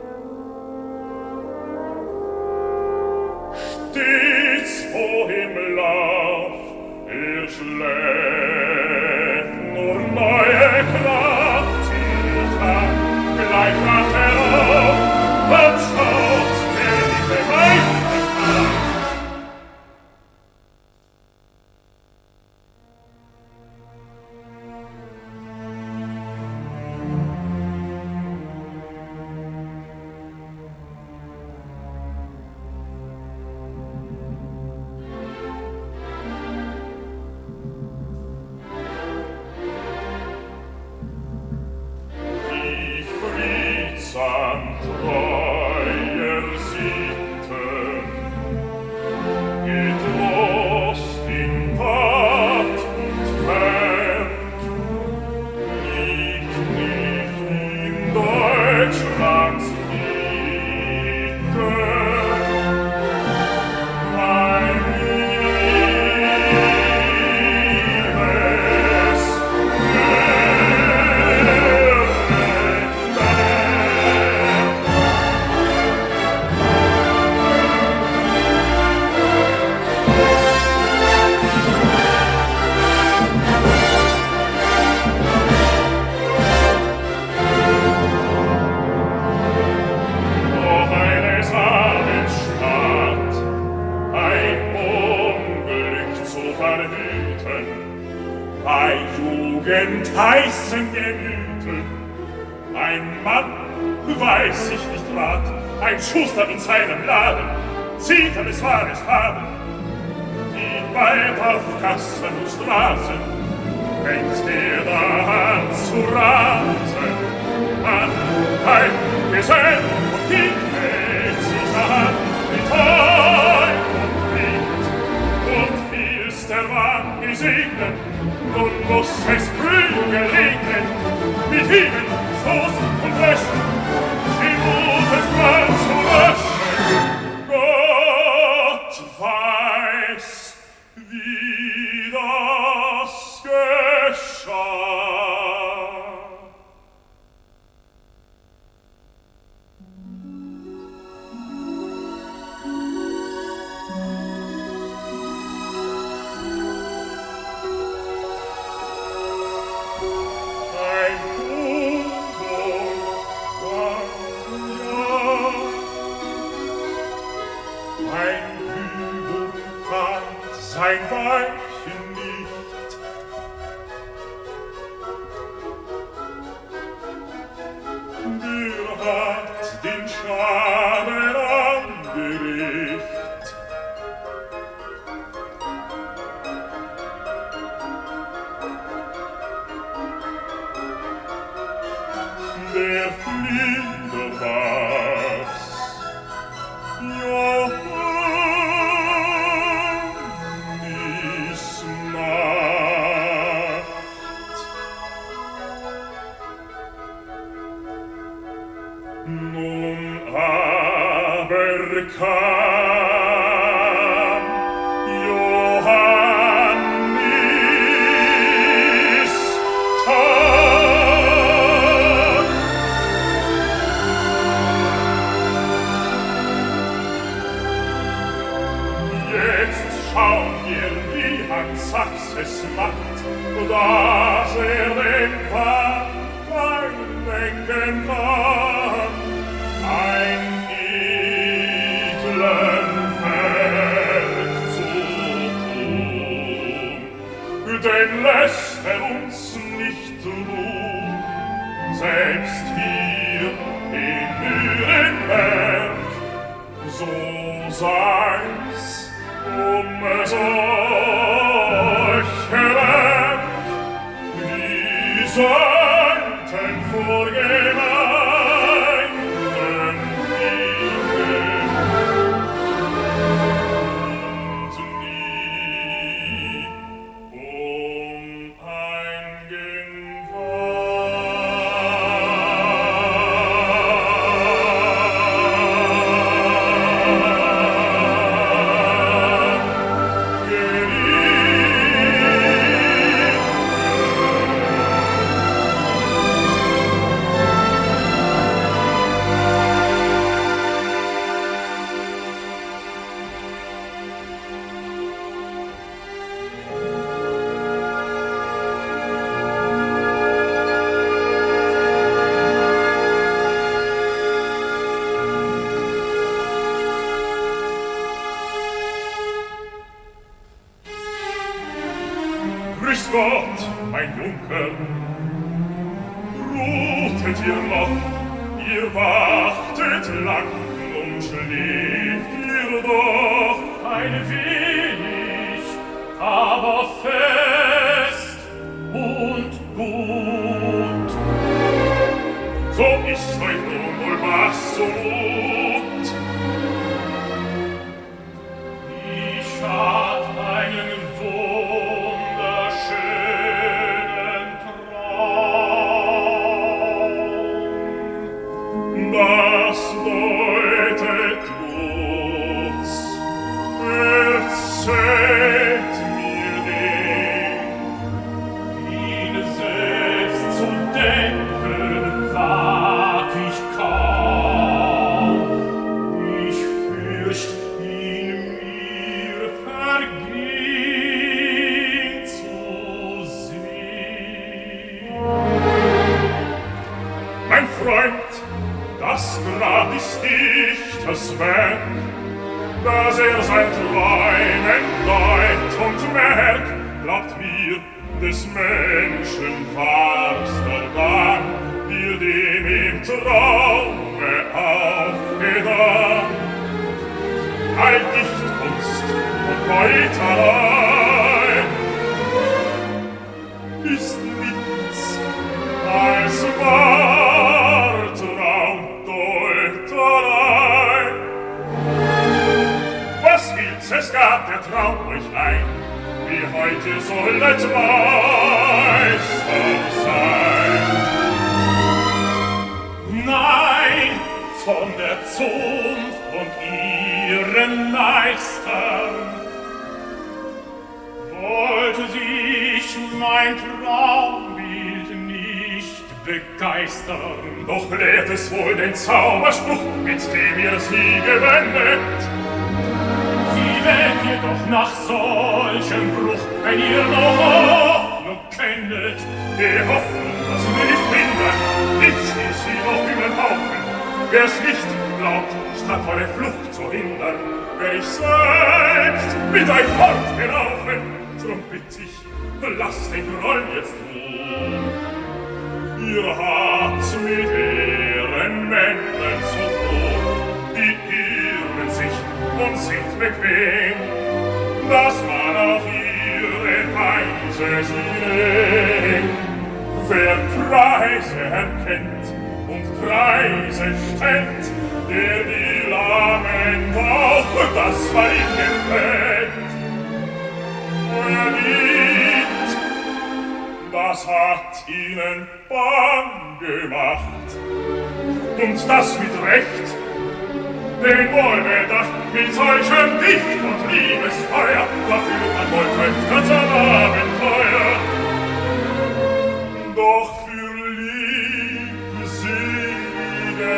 Stets vor im Lauf, er schläft, nur neue Kraft zieht an, gleich wacht er auf und schaut, wer diese Meister wie friedsam treuer sieht ein Mann, weiß ich nicht rat, ein Schuster in seinem Laden, zieht er es wahres Haben, die bald auf Gassen und Straßen, fängt er da an zu rasen. An ein Gesell und die hält sich an, mit Heu und Wind, und will's der Mann gesegnen, nun muss es Prügel regnen, mit Hieben, Stoß und Löschen, die Mutes Mann zu löschen. Gott weiß, wie das geschah. Sein Weibchen nicht. Der hat den Schaden angericht. Der Flieder war's. Johann Nun aber kam Johannis Tag. Jetzt schauen wir, wie Hans Sachs es macht, dass er den Pfad lenken kann. Ein edlen Werk zu tun, denn lässt er uns nicht ruhen, selbst hier in Nürnberg, so sei's um solche Werk, die sollten vorgehen. Grüß Gott, mein Junker, ruhtet ihr noch, ihr wachtet lang und schläft ihr doch ein wenig, aber fest und gut. So ist euch nun wohl was so gut. Ich hat einen das deutet Lutz, erzählt mir den, ihn selbst zu denken wag ich kaum, ich fürcht, ihn mir vergehen zu sehen. Mein Freund, das Grab ist Dichters Werk, dass er sein Träumen deut und merkt, glaubt mir, des Menschen wahrster Gang, wir dem Traume aufgedacht. All Dichtkunst und Meuterei ist nichts als wahr Traumdeuterei. Was will's, es gab der Traum euch ein, wie heute soll als Meister sein. Nein, von der Zunft und ihren Meistern wollte sich mein Traumbild nicht begeistern. Doch lehrt es wohl den Zauberspruch, mit dem ihr sie gewendet. Wie wählt ihr doch nach solchem Bruch, wenn ihr noch Hoffnung kennet? Die Hoffnung, dass mir nicht hindert, nicht stieß sie noch über den Haufen. Wer's nicht glaubt, statt eure Flucht zu hindern, wär ich selbst mit euch fortgelaufen. Drum bitt ich, lasst den Groll jetzt ruhen. Ihr habt's mit Ehrenmännern zu tun, die irren sich und sind bequem, dass man auf ihre Weise sie nennt. Wer Preise erkennt und Preise stellt, der will am Ende auch das, was ihm gefällt. Euer Lied, das hat ihnen bang gemacht, und das mit Recht. Den Wohlbedacht mit solchem Dicht und Liebesfeuer verführt man wohl Töchter zum Abenteuer. Doch für liebselige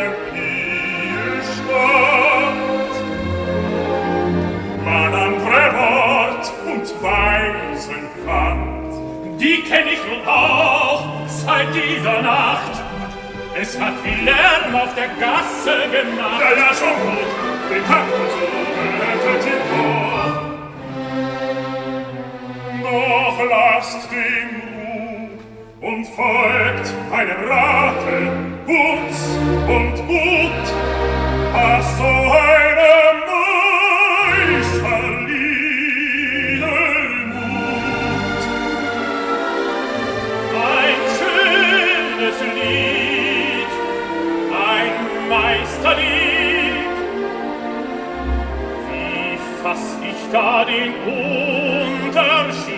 Ehestand man andere Wort und Weisen fand. Die kenn ich nun auch seit dieser Nacht. Es hat viel Lärm auf der Gasse gemacht. Ja, ja, schon gut, den Takt und so rettet ihn hoch. Doch lasst den Ruh und folgt einem Rate, kurz und gut, was so einem Meisterlieden mut. Ein schönes Lied, Meisterlied, wie fass ich da den Unterschied?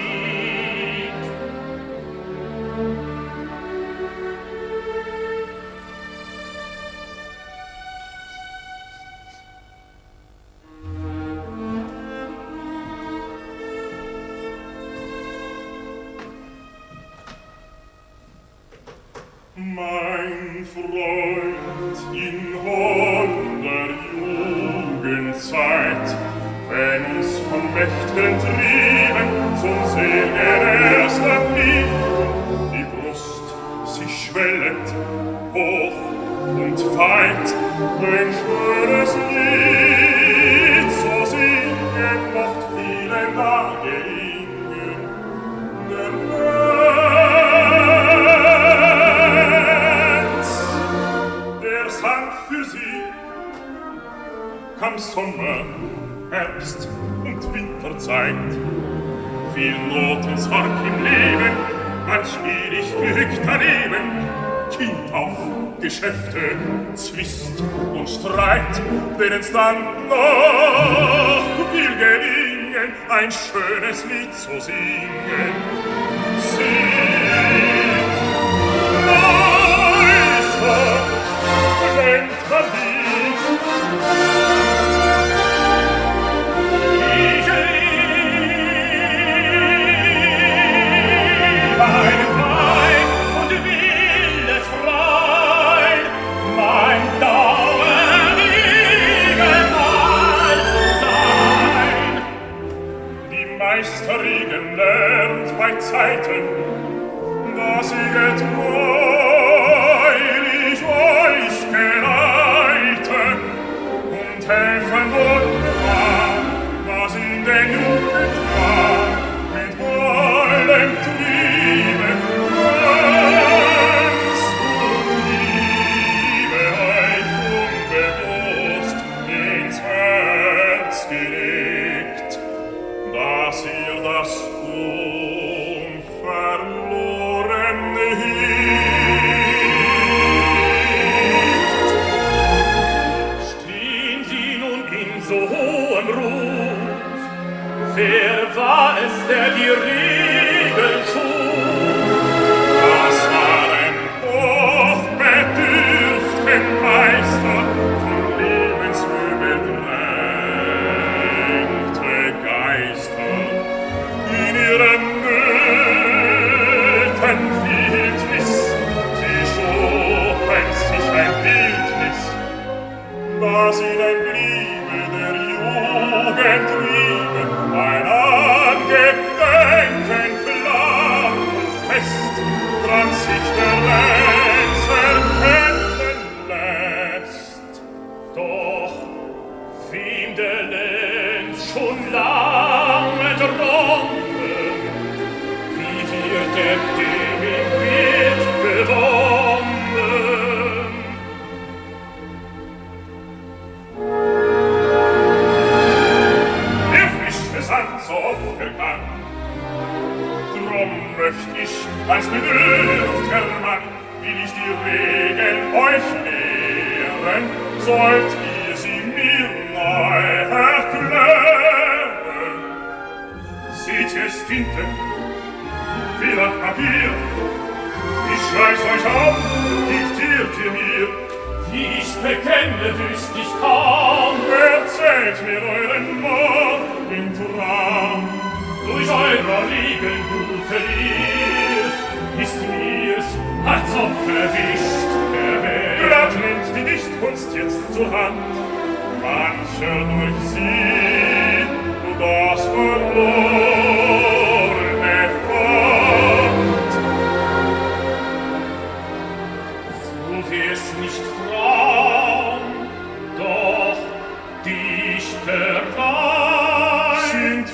Mein Freund in holder Jugendzeit, wenn uns von Mächten trieben zum Segen erster Liebe, die Brust sich schwellend, hoch und weit, ein schönes Lied zu singen, mocht vielen da gelingen. Der für sie kam Sommer, Herbst und Winterzeit. Viel Not und Sorg im Leben, manch ewig Glück daneben. Kind auf, Geschäfte, Zwist und Streit, denen's dann noch will gelingen, ein schönes Lied zu singen. Singt, Meister, Lenkt verliebt. Ich liebe einen Weib und will es freuen, mein Dauer niemals sein. Die Meisterriegen lernt bei Zeiten, dass will ich die Regeln euch lehren, sollt ihr sie mir neu erklären. Seht ihr Tinten, Feder Papier, ich schreib's euch auf, diktiert ihr mir. Wie ich's bekenne, wüsst ich kaum. Erzählt mir euren Morgentraum. Durch eurer Regeln gute Lehr ist mir's, als ob verwischt der Welt. Grad nimmt die Dichtkunst jetzt zur Hand, mancher durch sie das Verlorene fand. Sucht ihr's nicht Traum, doch Dichterei sind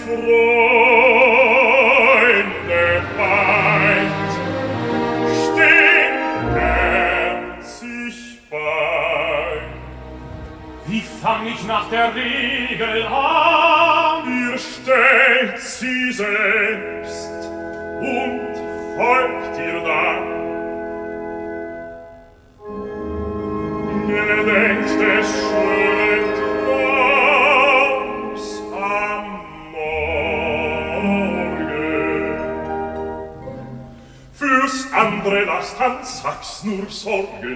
Freunde weit, stehen sich bei. Wie fang ich nach der Regel an? Ihr stellt sie selbst und folgt ihr dann. Gedenkt des schönen Traums am Morgen. Fürs andere lasst Hans Sachs nur sorgen.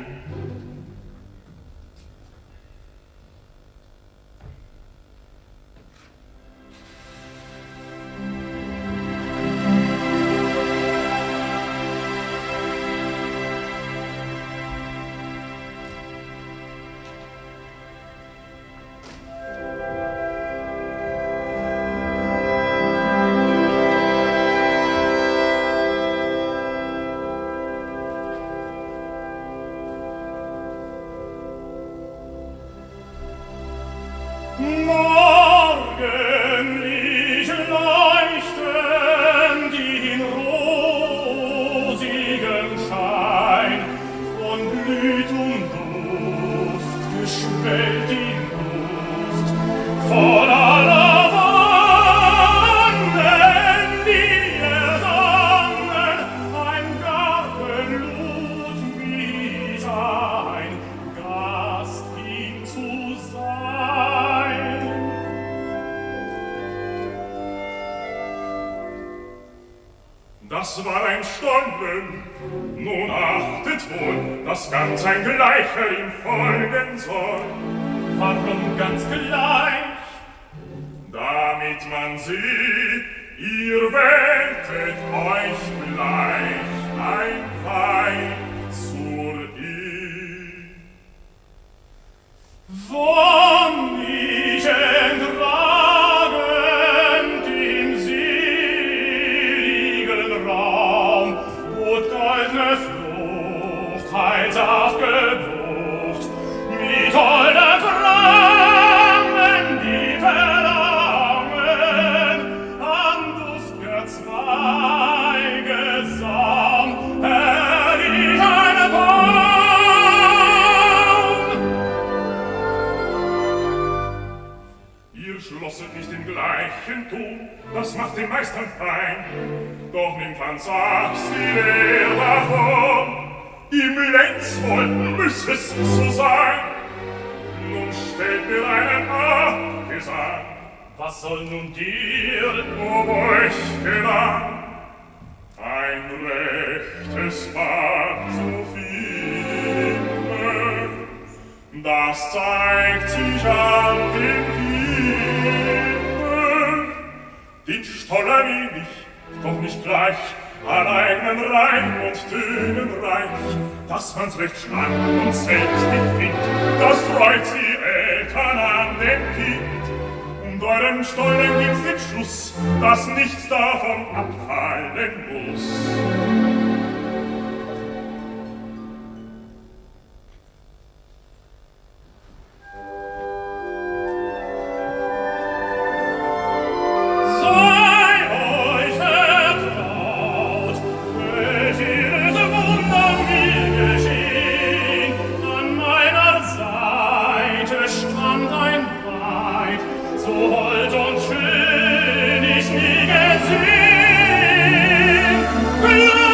Morgenlicht leuchten die in rosigem Schein, von Blütum Duft geschwellt die Luft, voll aller Wonnen, die ihr sangen, ein Garten lud mich ein, Gast ihm zu sein. Das war ein Stollen, nun achtet wohl, dass ganz ein Gleicher ihm folgen soll. Warum ganz gleich? Damit man sieht, ihr wähltet euch gleich ein Weib zur Ehe. Von mich entragend im seligen Raum, wo goldne Flucht heilsaft gebucht, mit holde Krangen, die verlangen, an duft'ger Zweige Saum, erliegt eine Baum. Ihr schlosset nicht den gleichen Ton, das macht den Meistern fein. Doch nimmt Hans Sachs die Lehr davon, im Lenzvoll müß es so sein. Nun stellt mir einen Abgesang. Was soll nun dir, ob euch gelang ein rechtes Bad zu finden? Das zeigt sich an den Himmel. Den Stoller will ich, doch nicht gleich, an eigenen Reim und Tönen reich, dass man's recht schlank und selbstig findet. Das freut sie Eltern an dem Kind. Und eurem Stollen gibt's den Schluss, dass nichts davon abfallen muss. Hold und schön ich nie gesehen.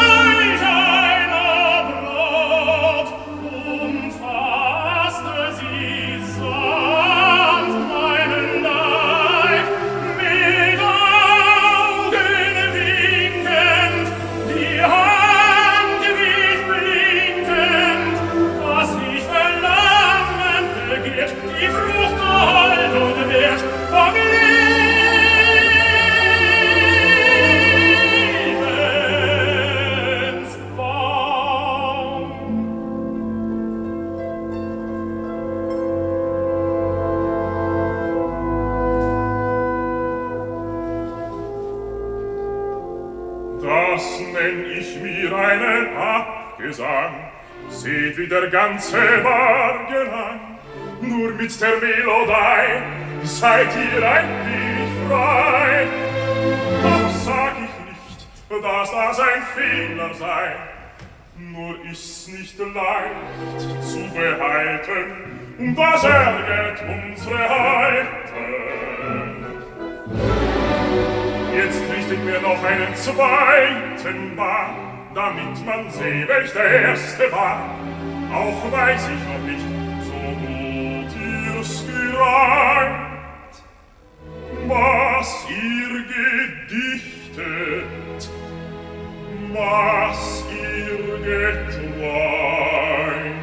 Gesang. Seht, wie der ganze Morgen lang nur mit der Melodei seid ihr ein wenig frei. Doch sag ich nicht, dass das ein Fehler sei, nur ist's nicht leicht zu behalten, und das ärgert unsere Halten. Jetzt richtet mir noch einen zweiten Bahn, damit man seh, welch der erste war. Auch weiß ich noch nicht, so gut ihr's gereimt, was ihr gedichtet, was ihr geträumt.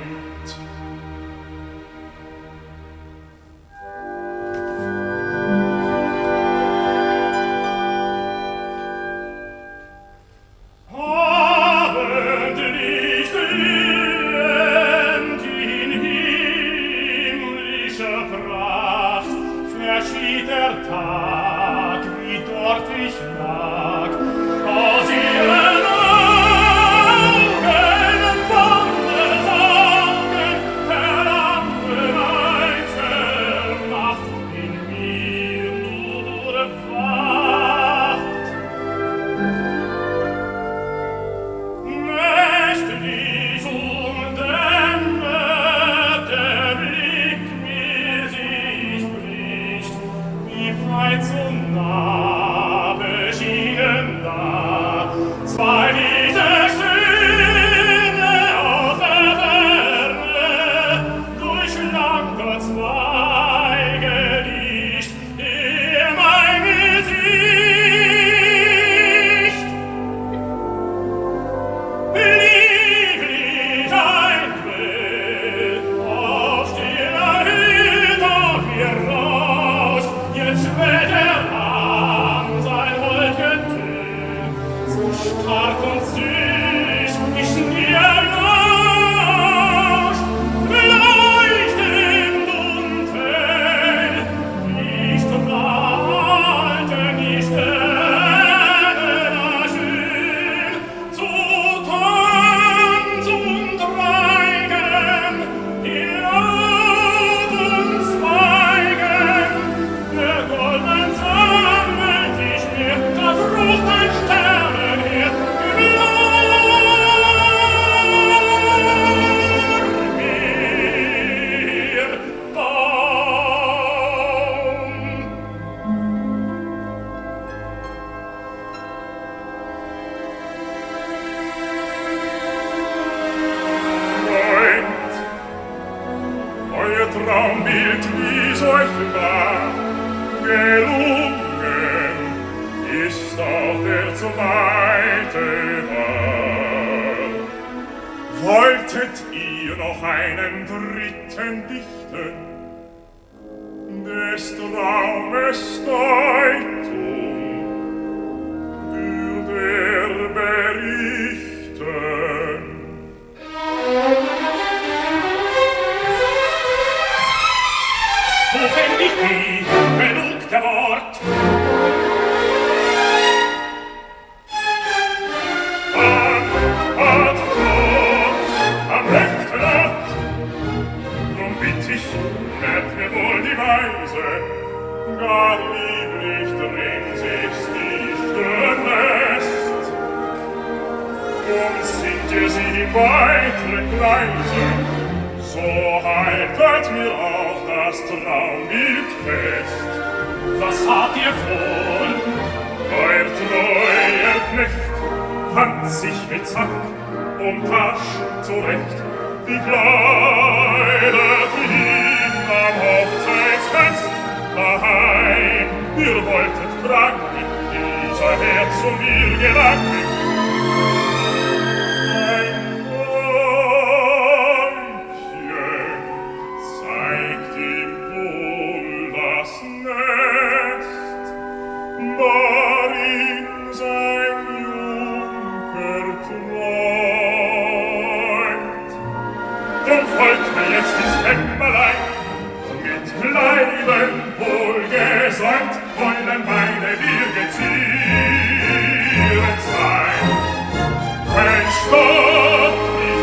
Wollen meine Wirge zieren sein, wenn Stott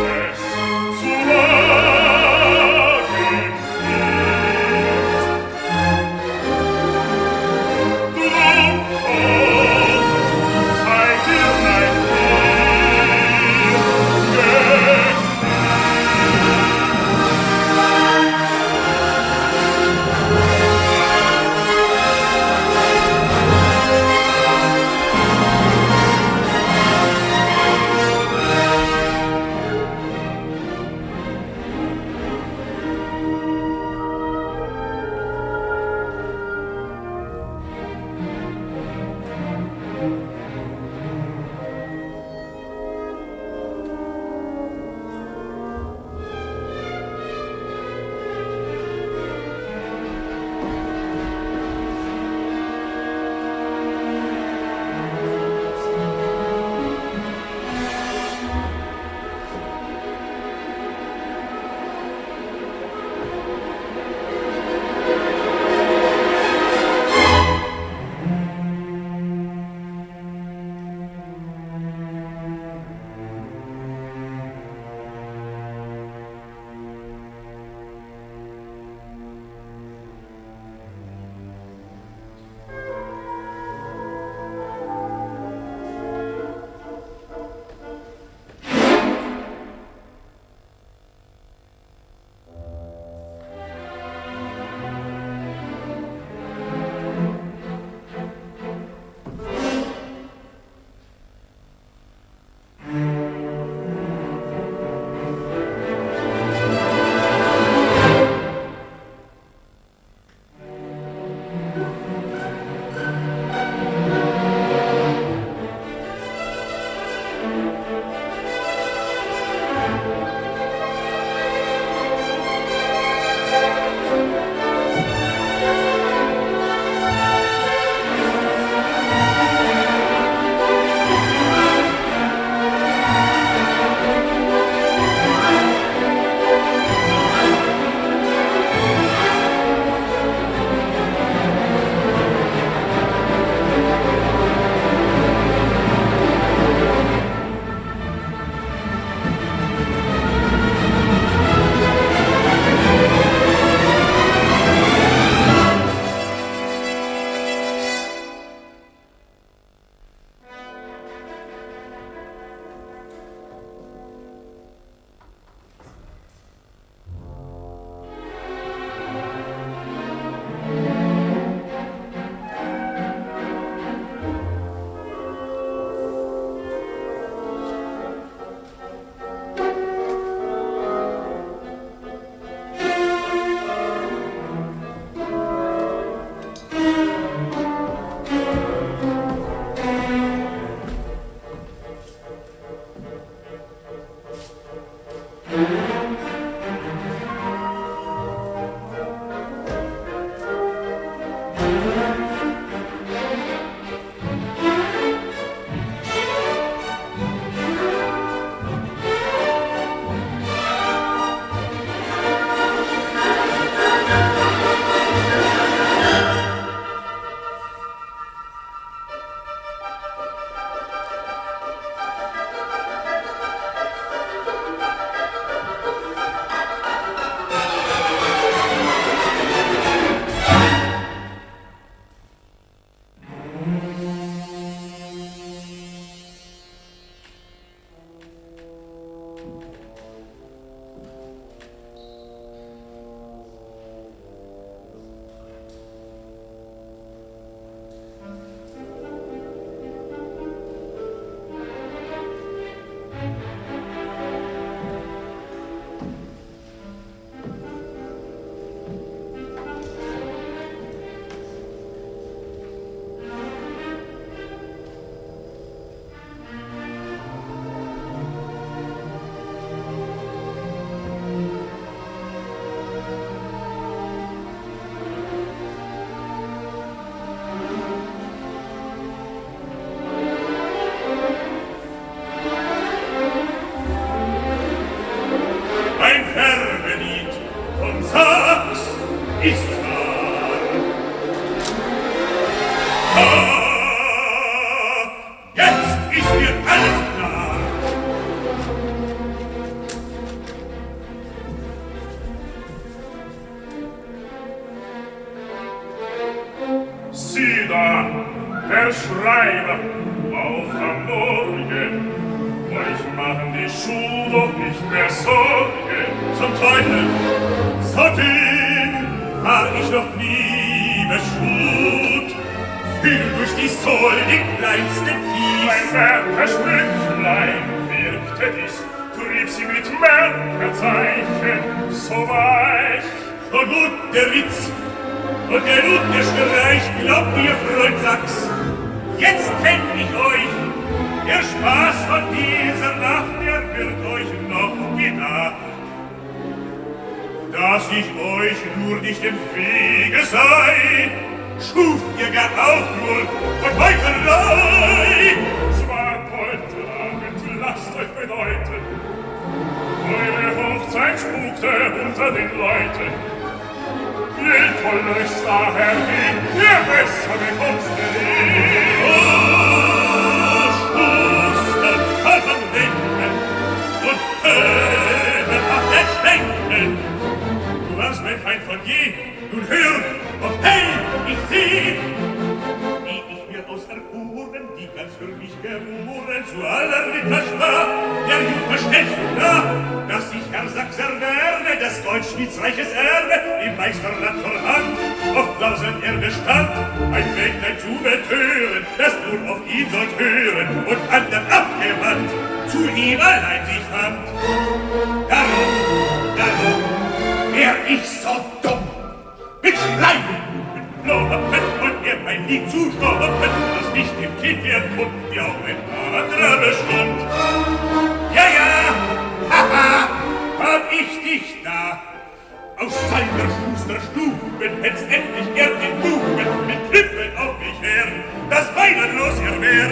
der Schreiber, auch am Morgen. Euch machen die Schuhe doch nicht mehr Sorgen. Zum Teufel, so dünn war ich noch nie beschut. Fühl durch die Sohle den kleinsten Kies. Mein Werkersprüchlein wirkte dies, trieb sie mit Merkerzeichen so weich. Und gut der Witz, und genug der Streich, glaubt mir, Freund Sachs, jetzt kenn ich euch. Der Spaß von dieser Nacht, der wird euch noch gedacht. Dass ich euch nur nicht im Wege sei, schuf ihr gar Aufruhr und Heuchelei. Zwar Goldtragend, lasst euch bedeuten, eure Hochzeit spukte unter den Leuten. Je toller es daher ging, je besser bekommst du ihn. Oh, Schuster, kann man denken und hörenhaft erschwenken. Du warst mein Feind von je, nun hör und hey, ich seh, wie ich mir aus Erhuren, die ganz für mich geboren, zu aller Ritterschar, der Jung verstellst du da, dass ich Herr Sachser werde, des Deutschschweizreiches Erbe, im Meisterland zur Hand, auf Klausen er bestand, ein Mägdlein zu betören, das nur auf ihn sollt hören, und andern abgewandt, zu ihm allein sich fand. Darum, darum, wär ich so dumm, mit Schleim, mit Blohappen und mir mein Lied zu stoppen, das nicht im Kind werden konnte, wie auch ein anderer bestund. Ja, ja, haha, hab ich dich da, aus seiner Schusterstuben hätt's endlich gern den Buben mit Klippen auf mich her, das beiderlos er wär.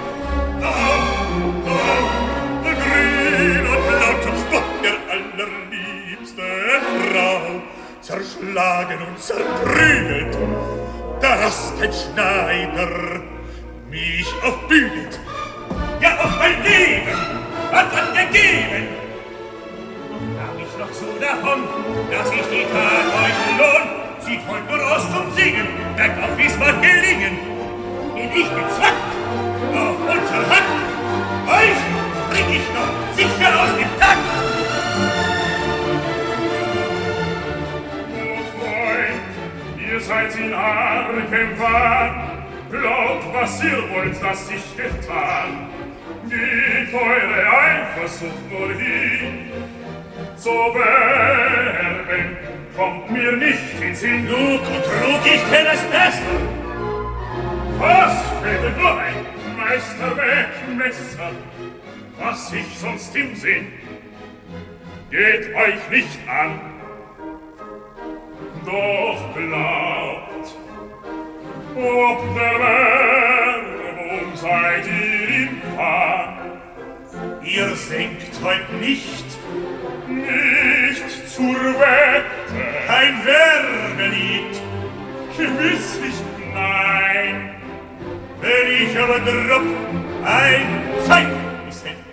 Oh, oh, grün und blau zum Spott der allerliebsten Frau, zerschlagen und zerprügelt, dass kein Schneider mich aufbügelt. Ja, auf mein Leben hat's angegeben. Hab ich noch so davon, dass ich die Tat euch lohn, zieht heut nur aus zum Singen, bergauf wie's mag gelingen. Bin ich gezwackt, auf unser Hand, euch bring ich noch sicher aus dem Takt. Ihr seid in argem Wahn, glaubt, was ihr wollt, dass ich getan. Geht eure Eifersucht nur hin, so werben, kommt mir nicht in Sinn. Lug und Trug, ich kenn es besser. Was fällt nur ein Meisterwerkmesser, was ich sonst im Sinn? Geht euch nicht an, doch glaubt, ob der Werbung seid ihr im Fahn. Ihr singt heut nicht, nicht zur Wette, kein Werbelied, gewisslich nein. Wenn ich aber drupp ein Zeugnis hätte.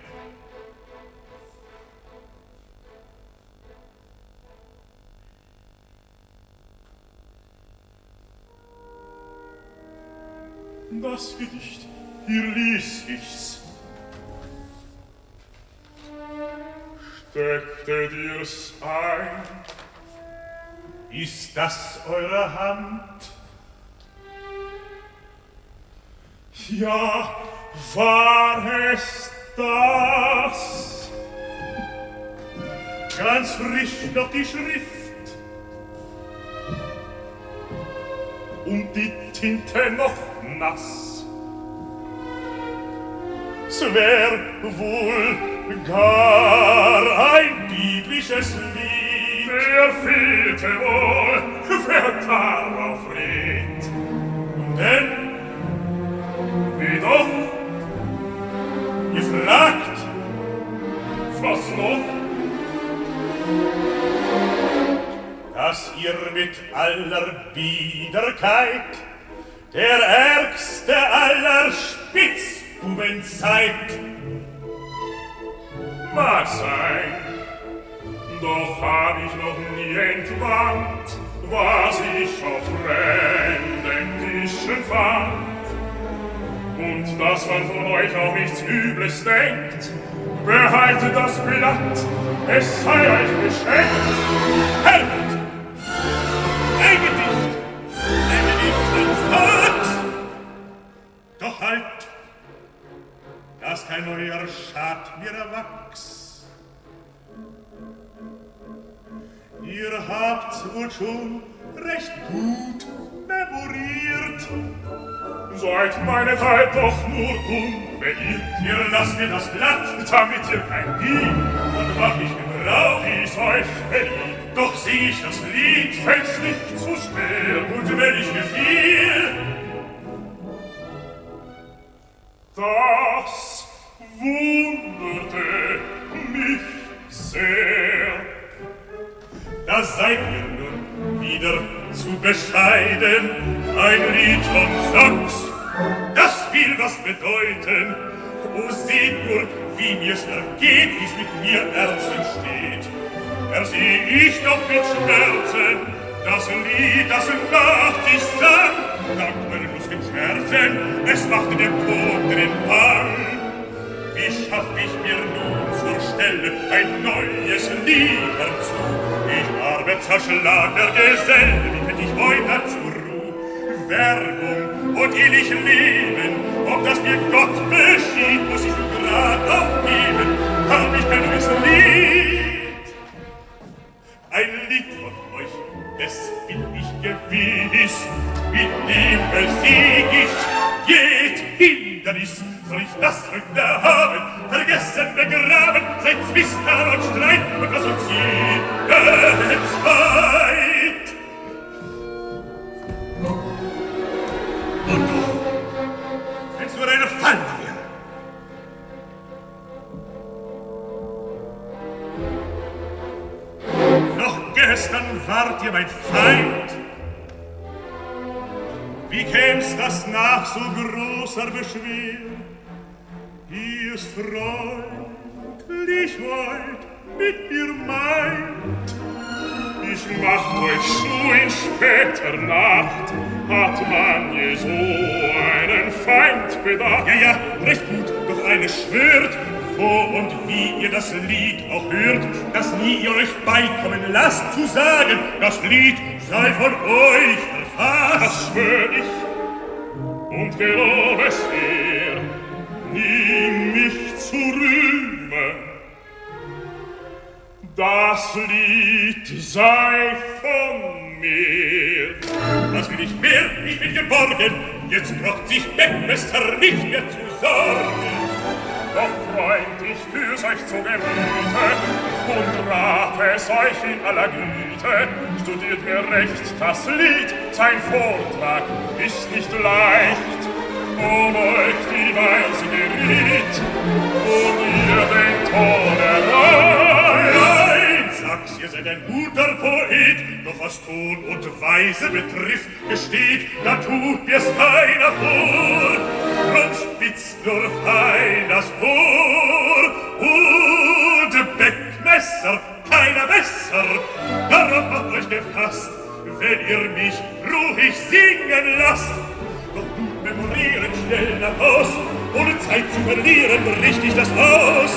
Das Gedicht, hier ließ ich's. Steckte dir's ein? Ist das eure Hand? Ja, war es das? Ganz frisch noch die Schrift und die Tinte noch nass. Es wär wohl gar ein biblisches Lied. Der fehlte wohl, wer darauf redet. Denn, wie doch, ihr fragt, was noch? Dass ihr mit aller Biederkeit der ärgste aller Spitzbuben seid. Mag sein, doch hab ich noch nie entwandt, was ich auf fremden Tischen fand. Und dass man von euch auch nichts Übles denkt, behaltet das Blatt, es sei euch geschenkt. Helmut! Ein Gedicht! Ein Gedicht von Fax! Doch halt! Dass kein neuer Schad mir erwachs. Ihr habt's wohl schon recht gut memoriert. Seid meine Zeit doch nur unbeirrt. Ihr lasst mir das Blatt, damit ihr kein Dieb und mach ich Gebrauch, wie's euch beliebt. Doch sing ich das Lied, fällt's nicht zu schwer, und wenn ich gefiel, das wunderte mich sehr. Da seid ihr nun wieder zu bescheiden, ein Lied von Sachs, das will was bedeuten. O seht nur, wie mir's ergeht, wie's mit mir Ärzten steht. Erseh ich doch mit Schmerzen das Lied, das Nacht ich sang, dank meinen lustigen Schmerzen, es machte dem Tod drin Bang. Wie schaff ich mir nun zur Stelle ein neues Lied herzu? Ich arme zerschlagener Gesell, wie find ich heute zur Ruh? Werbung und ehrlich Leben, ob das mir Gott beschied, muss ich grad aufgeben, hab ich kein neues Lied. Ein Lied von euch, das bin ich gewiss, mit dem besieg ich jed Hindernis. Soll ich das heute haben, vergessen, begraben, seit Zwistern und Streit, und was uns jede Zeit. Und du, wenn's nur eine Falle wäre. Noch gestern wart ihr mein Feind. Wie käm's das nach so großer Beschwer? Ihr's freundlich wollt mit mir meint. Ich macht euch so in später Nacht, hat man je so einen Feind bedacht. Ja, ja, recht gut, doch eine schwört, wo und wie ihr das Lied auch hört, dass nie ihr euch beikommen lasst zu sagen, das Lied sei von euch verfasst. Das schwör ich und gelob es ihr, nie mich zu rühmen. Das Lied sei von mir. Das will ich mehr, ich bin geborgen. Jetzt braucht sich Bettmester nicht mehr zu sorgen. Doch Freund, ich führ's euch zu Gemüte und rate es euch in aller Güte. Studiert mir recht das Lied, sein Vortrag ist nicht leicht. Um euch die Weise geriet und ihr den Ton erreicht. Nein, sag's, ihr seid ein guter Poet, doch was Ton und Weise betrifft, gesteht, da tut mir's keiner vor. Drum spitzt nur fein das Ohr und Beckmesser, keiner besser. Darauf macht euch gefasst, wenn ihr mich ruhig singen lasst. Doch nun memorieren schnell nach Haus, ohne Zeit zu verlieren, richtig das aus.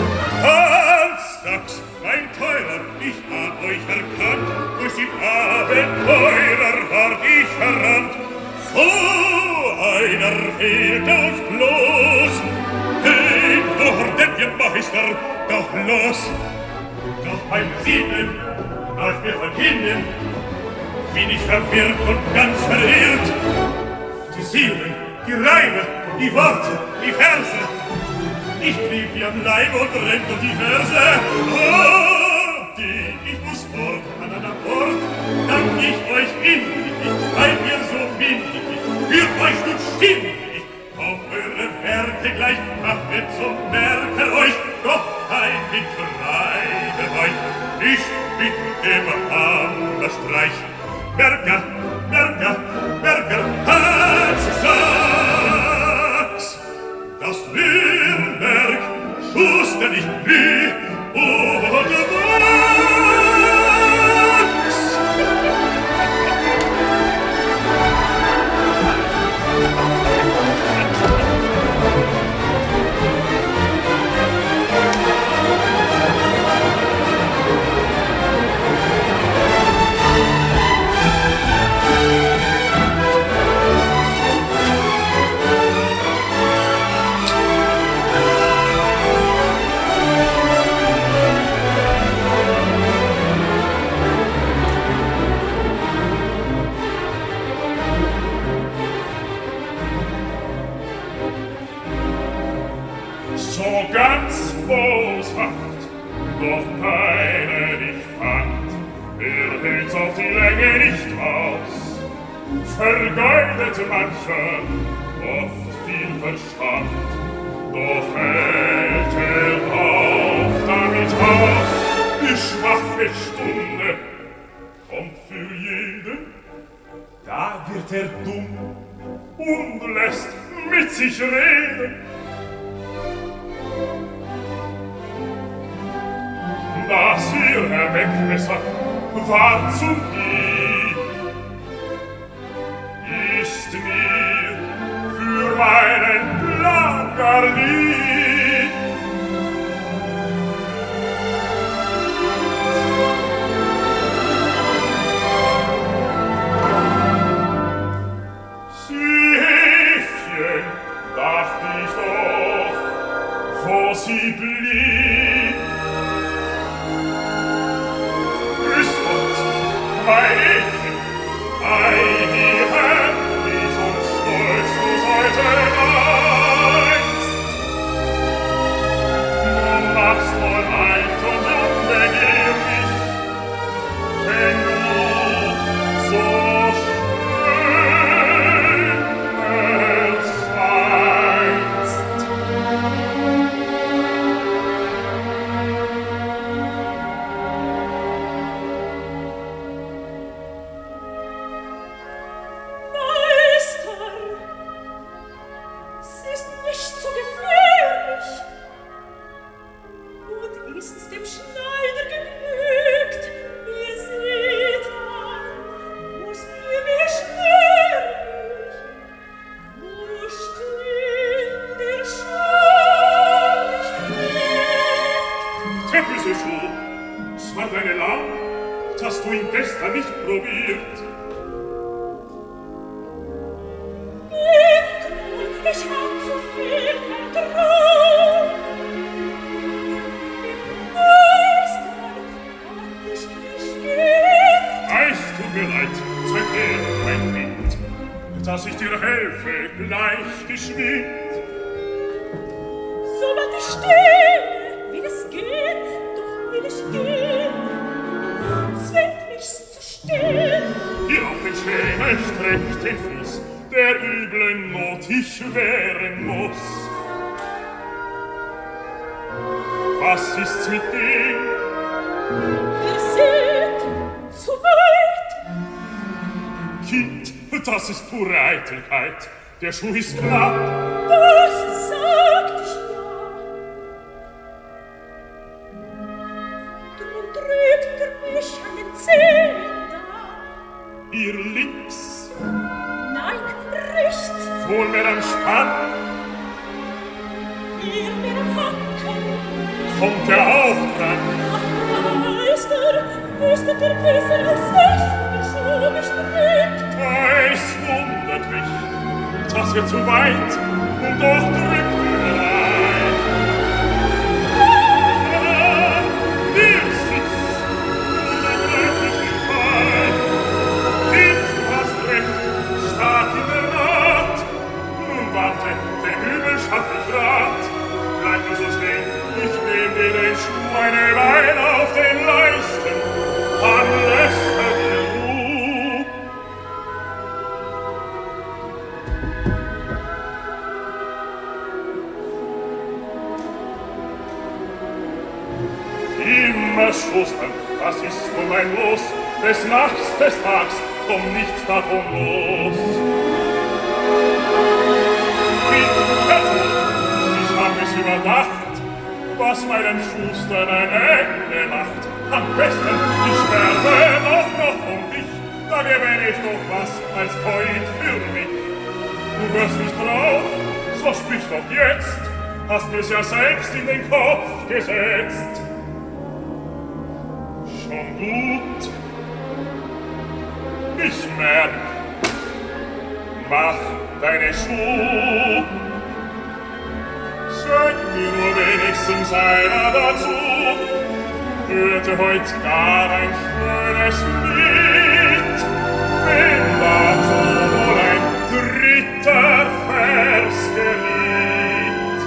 Hans Sachs, mein Teurer, ich hab euch erkannt, durch den Abenteurer ward ich verrannt. So einer fehlt uns bloß, den dort wir Meister, doch los. Doch beim Sieben läuft mir von hinnen, bin ich verwirrt und ganz verirrt. Die Silben, die Reime, die Worte, die Verse, ich trieb wie am Leib und rennt um die Verse. Oh, die, ich muss fort an einer Ort, dank ich euch innig, weil ihr so mindig, für euch nun stimmig, auf eure Werke gleich, macht mir zum Merker euch, doch kein Mitreibe euch, nicht mit dem Hammerstreich. Merker, Merker, Merker, Hans Sachs, das Nürnberg Schuster nicht wie oder Max. hält's auf die Länge nicht aus. Vergeudet mancher oft viel Verstand, doch hält er auch damit aus. Die schwache Stunde kommt für jeden, da wird er dumm und lässt mit sich reden. Das ihr, Herr Wegmesser, war zu lieb, ist mir für meinen Plan gar lieb. Süffchen, dacht ich doch, wo sie blieb. Grüß Gott, mein Mädchen, ein ihr Herr, die so stolz du heute einst. Du machst wohl alt und unbegehrig, wenn du so schön erscheinst. Meister, es ist nicht so gefährlich und ist's dem Schneider genügt, ihr seht an, wo's mir beschwerlich, wo still der Schorch liegt. Der böse Schuh, es war deine Lamm, dass du ihn gestern nicht probiert. Merkwohl, ich hab zu viel Vertrauen. Meister, hat ich mich geirrt. Es tut mir leid, zeig her, mein Kind, dass ich dir helfe, gleich geschwind. So weit ich stehe, will es gehen, doch will ich gehen. Zwingt mich's zu stehen. Hier auf den Schwäne streckt den Fuß, der üblen Not ich wehren muss. Was ist's mit dem? Ihr seht, zu weit. Kind, das ist pure Eitelkeit. Der Schuh ist knapp. Das sagt ich ja. Drum drückt er mich an den Zehen da. Ihr links, Nein, rechts, wohl mehr am Spann, ihr mir am Hacken. kommt er auch dran. Ach, Meister, wüsstet ihr besser als ich, wie Schuh mich drückt. Es wundert mich, dass er zu weit und doch drückt er ein. Ah, hier sitzt unglücklichen Fall. Kind, du hast recht, stark in der Naht. Nun warte, dem Übel schaff ich Rat. Bleib nur so stehen, ich nehm dir den Schuh eine Weile auf den Leisten. Dann lässt er dir Ruhe. Immer schustern, das ist nun mein Los. Des Nachts, des Tags, komm nichts davon los. Kind, hör zu, ich hab es überdacht, was meinem Schuster ein Ende macht. Am besten, ich sterbe doch noch um dich, da gewänn ich doch was als Poet für mich. Du hörst nicht drauf, so sprich doch jetzt, hast mir's ja selbst in den Kopf gesetzt. Schon gut, ich merk, mach deine Schuhe. Sag mir nur wenigstens einer dazu, hörte heut gar ein schönes Lied, wenn dazu wohl ein dritter Vers geliebt.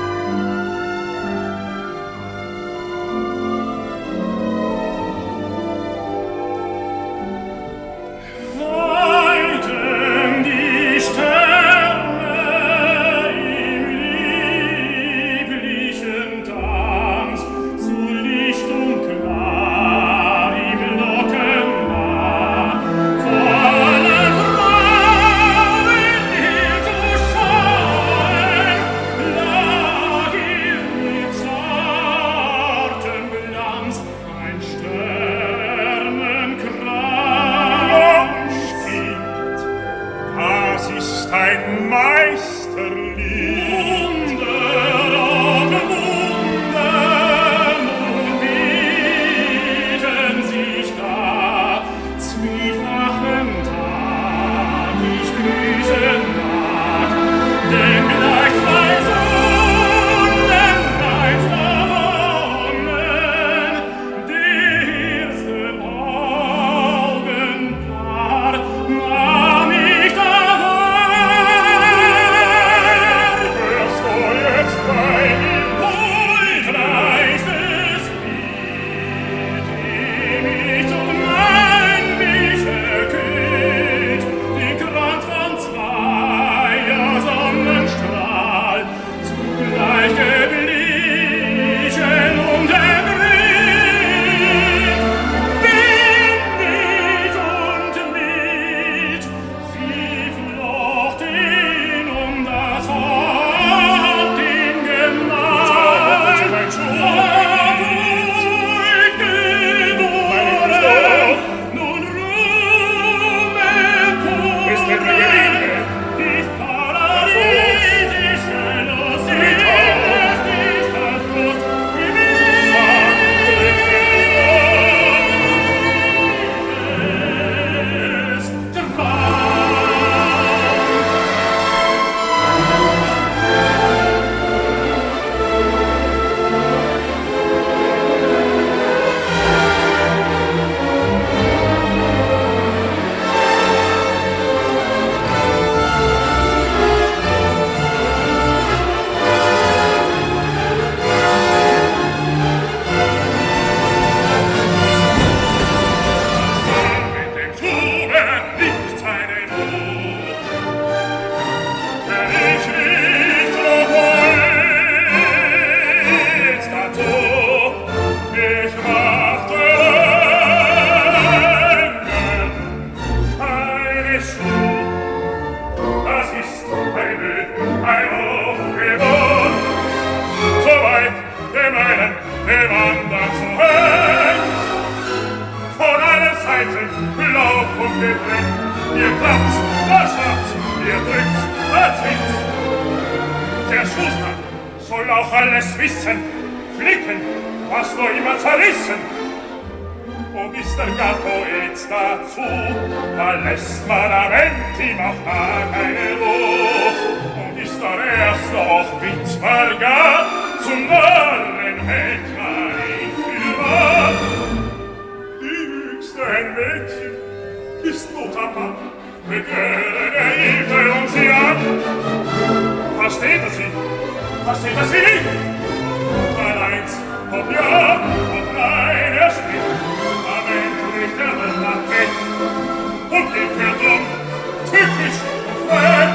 Seiten, Lauf und Gedrängt. Ihr klappt, da schnappt, ihr drückt, da zwingt. Der Schuster soll auch alles wissen, flicken, was nur immer zerrissen. Und ist der Gatto jetzt dazu, da lässt man am Ende ihm auch gar keine Ruhe. Und ist er erst noch Witwer gar, zum Narren hält man ihn für wahr. Die höchste ein Mädchen ist not am Mann, begehre der Hilfe um sie an. Versteht er sie? Versteht er sie nicht? Nein, eins, ob ja, ob nein, er spricht. Nicht der Mann weg und geht für dumm, tückisch und frei.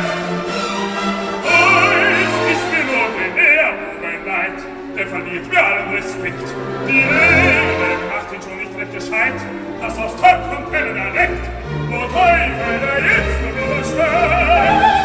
Euch ist mir nur den Ehr, mein Leid, der verliert mir allen Respekt. Die Lehre macht ihn schon nicht recht gescheit, dass aus Topf und Pellen er leckt, wo Teufel der jetzt nur übersteigt.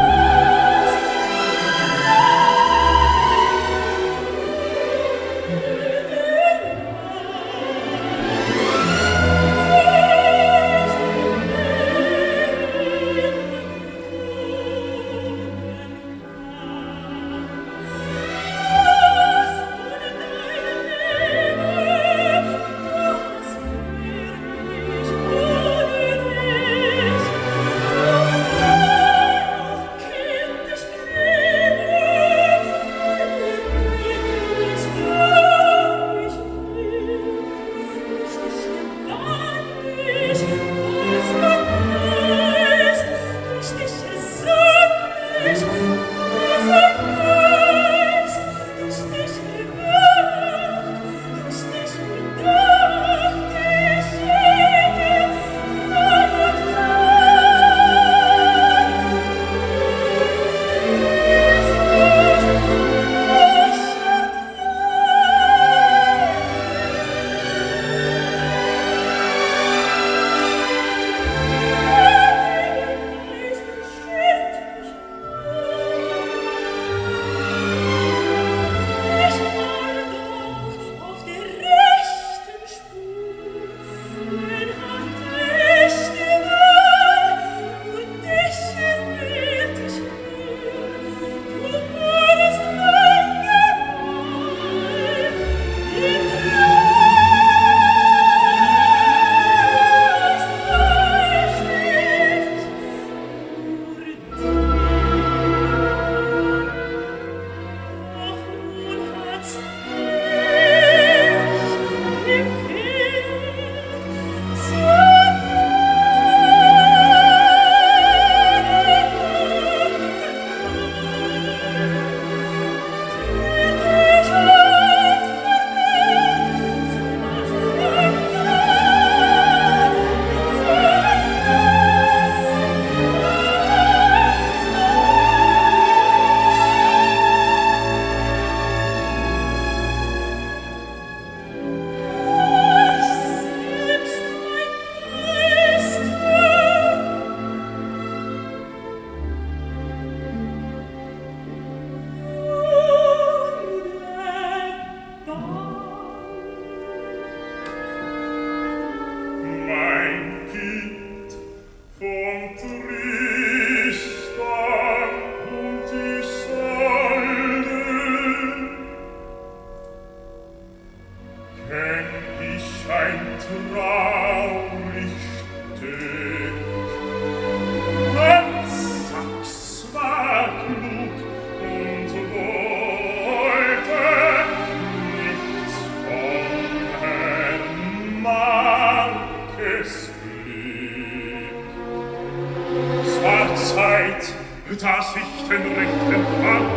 dass ich den rechten fand,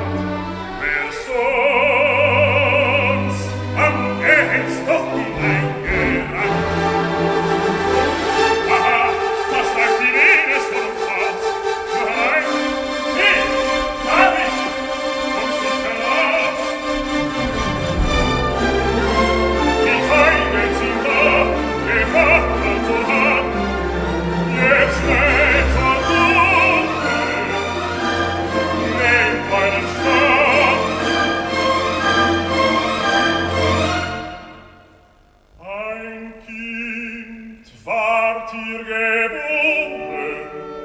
wer sonst am Ernst doch hineingerannt. Aha, das lag die Venus vom Haus. Nein, nee, hab ich, komm's nicht heraus. Die Feinde sind da, gewacht zu haben, jetzt schnell zur Suche. Nehmt euren Stab, ward ihr geboren.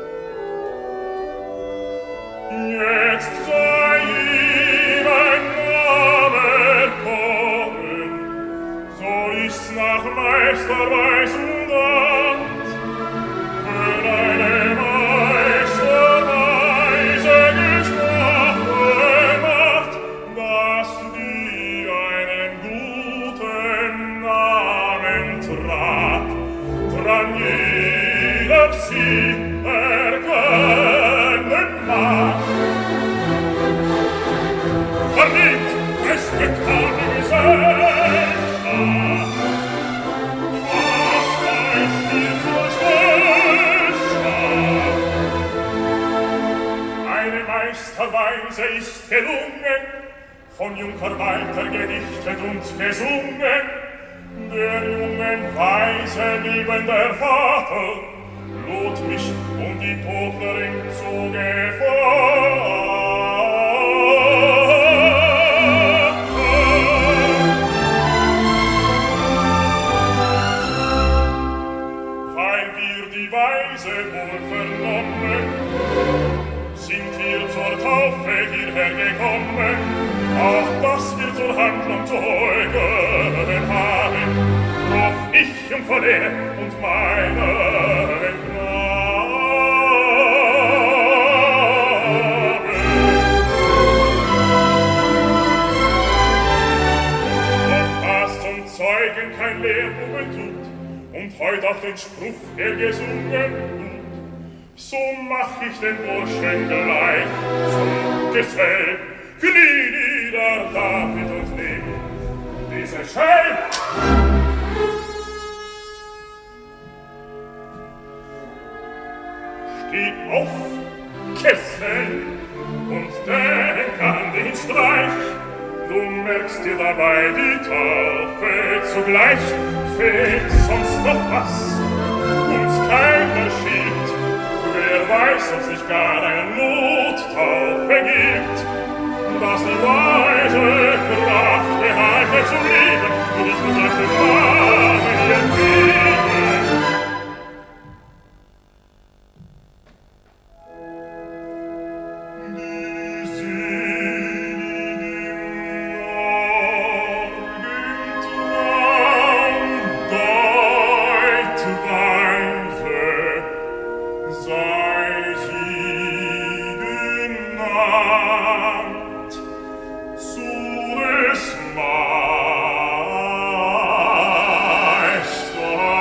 Jetzt sei ihm ein Name kommen, so ist's nach Meisterweisung Gott, wenn eine Meisterweise gesprochen macht, dass die einen guten Namen tragt, dran jeder sie erkennen mag. Verliebt ist getan die Gesellschaft, was euch viel Gesellschaft. Eine Meisterweise ist gelungen, von Junker Walter gedichtet und gesungen. Der jungen Weise liebender Vater lud mich um die Todlerin zu Gefahr. Weil wir die Weise wohl vernommen, sind wir zur Taufe hierher gekommen, auch dass wir zur Handlung Zeugen haben, drauf ich um Verlehr und meine Gnade. Doch was zum Zeugen kein Lehrbuben tut, und heut auch den Spruch, der gesungen tut, so mach ich den Burschen gleich zum Gesell. Knie nieder, David, und nimm diese Schell. Steh auf, Kessel, und denk an den Streich. Du merkst dir dabei die Taufe zugleich. Fehlt sonst noch was, uns keiner schiebt. Wer weiß, ob sich gar eine Nottaufe gibt, dass die weise Kraft behalte zu leben und ich nur durch den Namen ihr gebe. Die seligen Morgentraum deutweise sei sie genannt zu des Meisters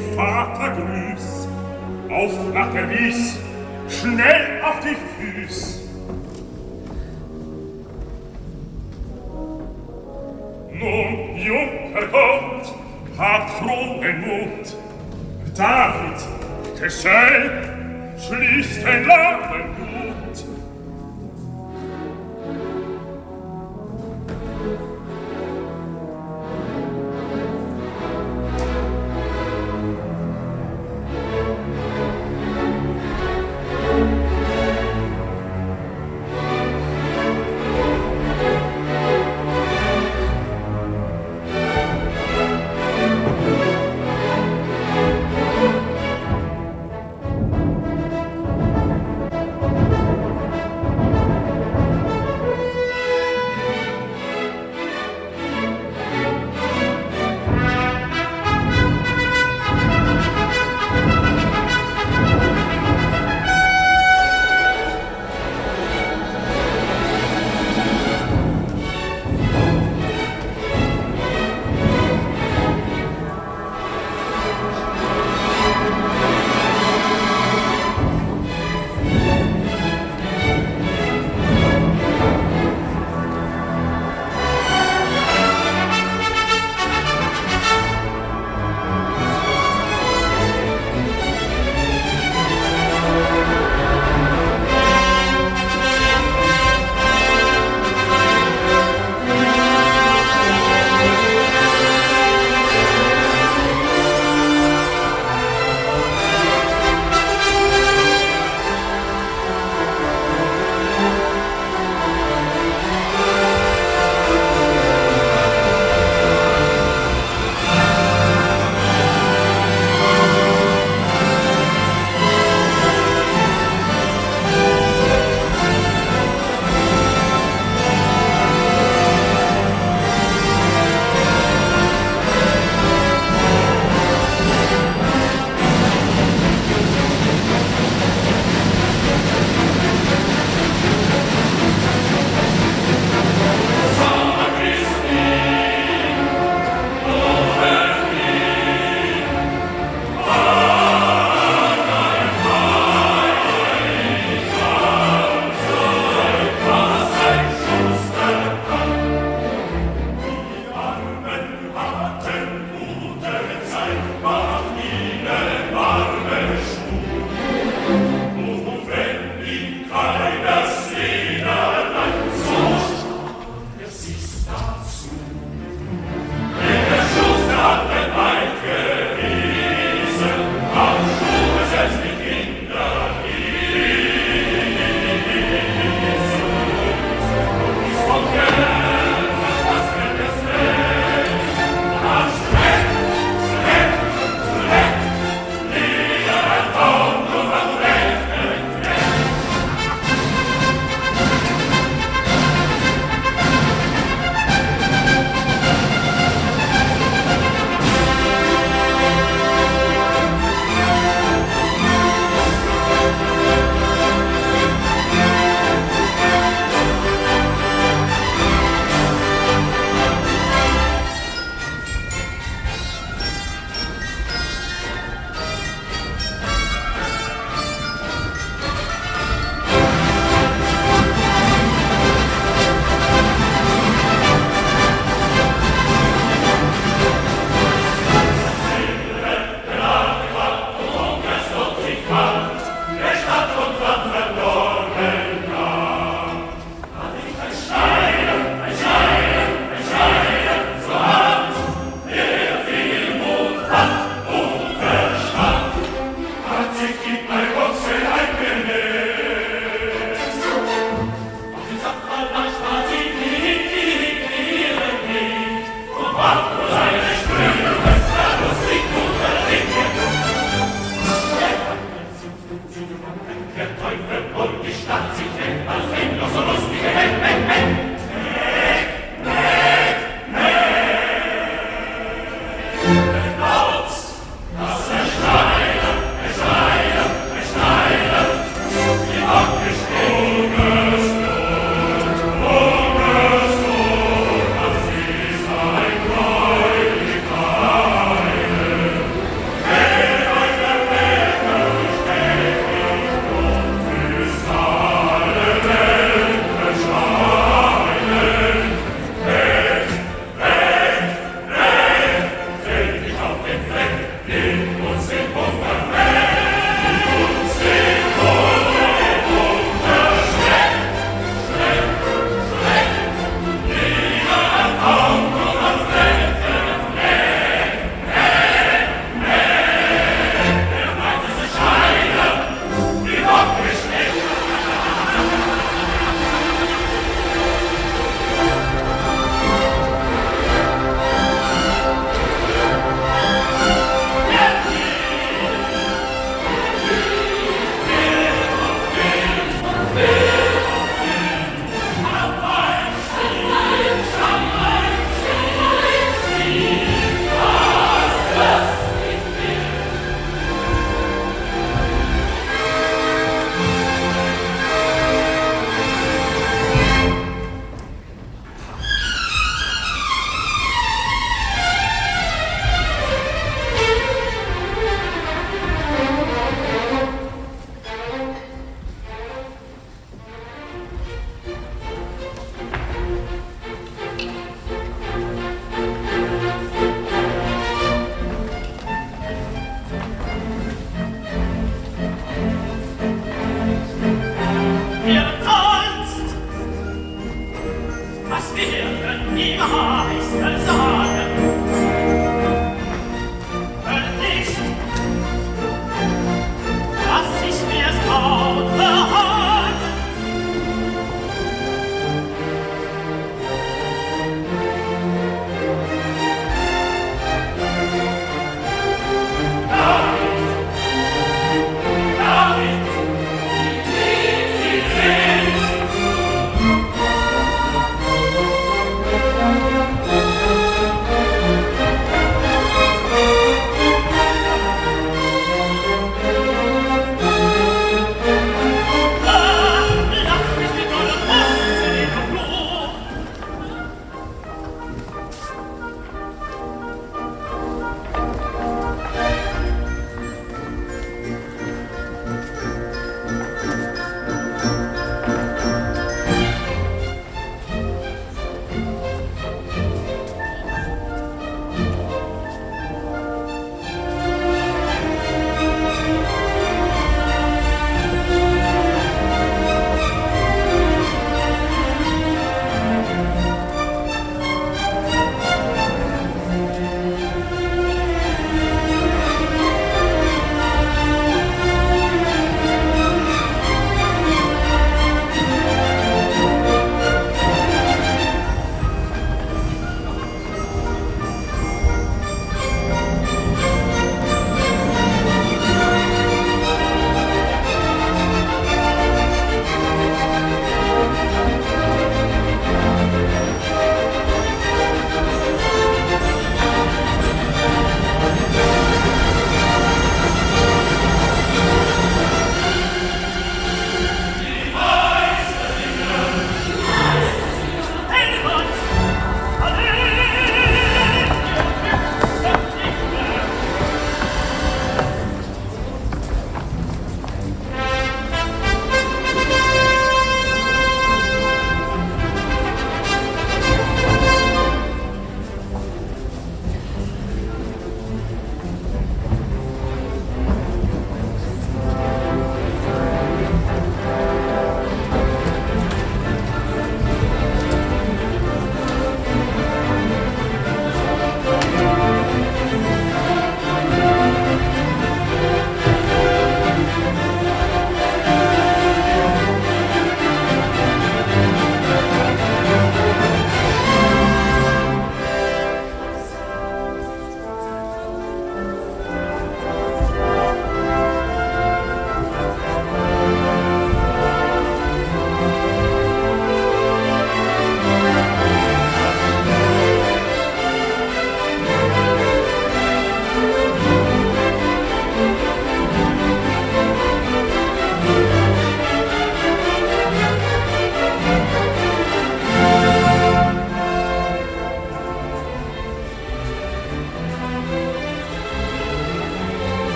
Vater grüß. Auf nach der Wies, schnell auf die Füß. Nun, Junker, kommt, habt frohen Mut. David, Gesell, schließt den Laden gut.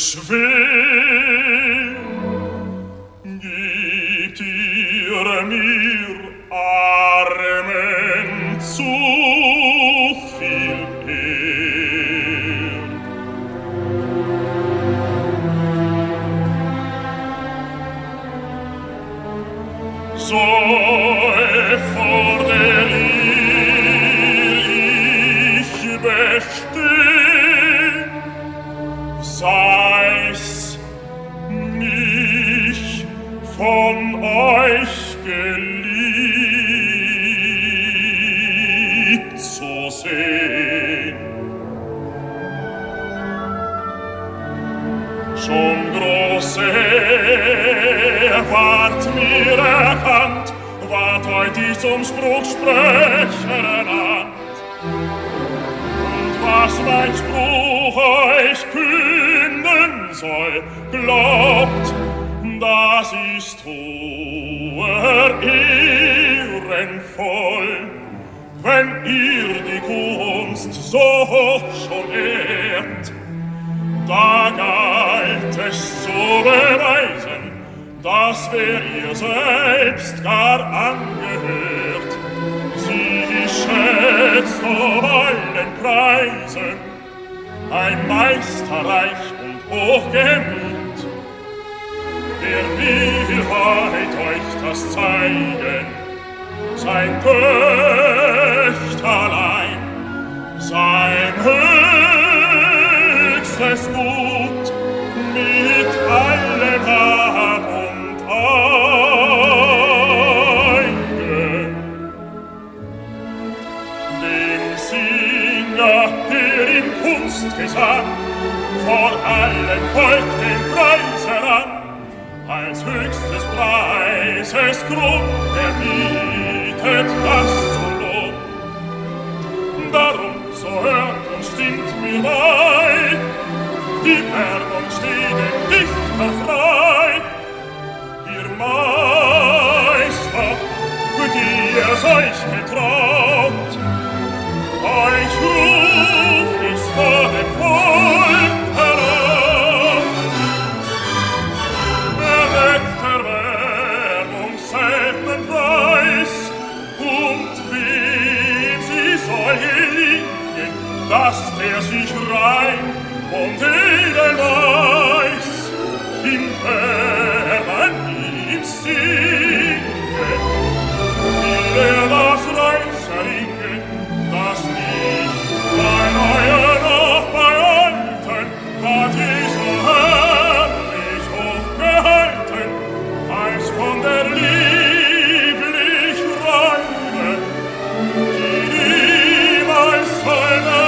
beschweren. Gibt ihr mir Armen zu viel Ehr. So fordere ich bestehen, sei's mich von euch geliebt zu sehen. Schon große ward mir erkannt, ward heut ich zum Spruchsprecher ernannt. Und was mein Spruch euch künden soll, glaubt, das ist hoher ehrenvoll, wenn ihr die Kunst so hoch schon ehrt. Da galt es zu beweisen, dass wer ihr selbst gar angehört, sie schätzt auf allen Preisen, ein Meisterreich und Hochgemut. Wer will heut euch das zeigen, sein Töchterlein, sein höchstes Gut mit allen Hab und Eigen. Dem Singer, der in Kunstgesang vor allem Volk den Preis heran, als höchstes Preises Grund erbietet das zu Lohn. Darum so hört und stimmt mir bei, die Werbung steht dem Dichter frei. Ihr Meister, die es euch getraut, euch ruf ich vor dem Volk heraus. Erweckt der Werbung selben Preis, und wem sie soll gelingen, dass der sich rein und edel weiß, im Herrn ihm singe, will er das Reich erringen, das nicht bei neuen noch bei alten hat ich so herrlich hochgehalten, als von der lieblich Reine, die niemals seine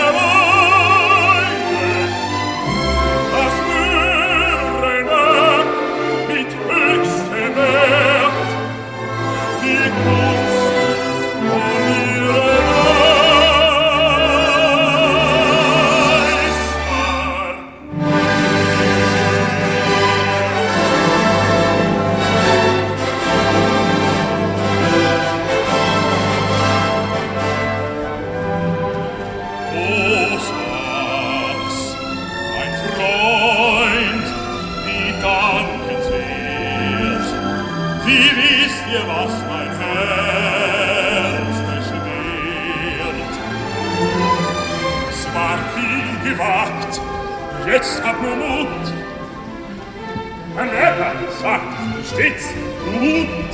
jetzt hab nur Mut. Ein Herr sagt stets Mut.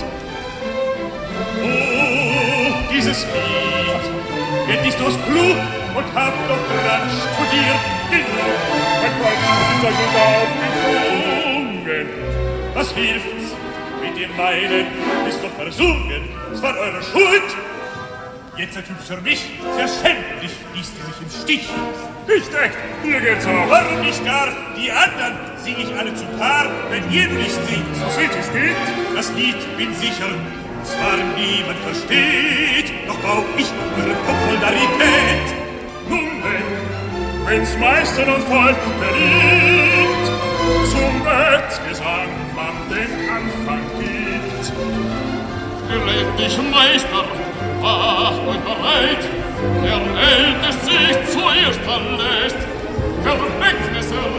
Oh, dieses Lied geht nicht durchs Blut und hab doch dran studiert genug. Mein Freund ist euch nicht aufgezwungen. Was hilft's? Mit dem meinen ist doch versungen. Es war eure Schuld. Jetzt seid ihr für mich sehr schändlich, ließ ihr mich im Stich. Nicht echt, mir geht's auch. Warum nicht gar? Die anderen sing ich alle zu Paar, wenn ihr nicht singt. So sieht es geht. Das Lied, bin sicher, zwar niemand versteht, doch bau ich eure Popularität. Nun denn, wenn's Meistern und Volk beliebt, zum Wettgesang man den Anfang gibt. Gerät dich, Meister, macht euch bereit, der Ältest sich zuerst verlässt. Verweckt es er,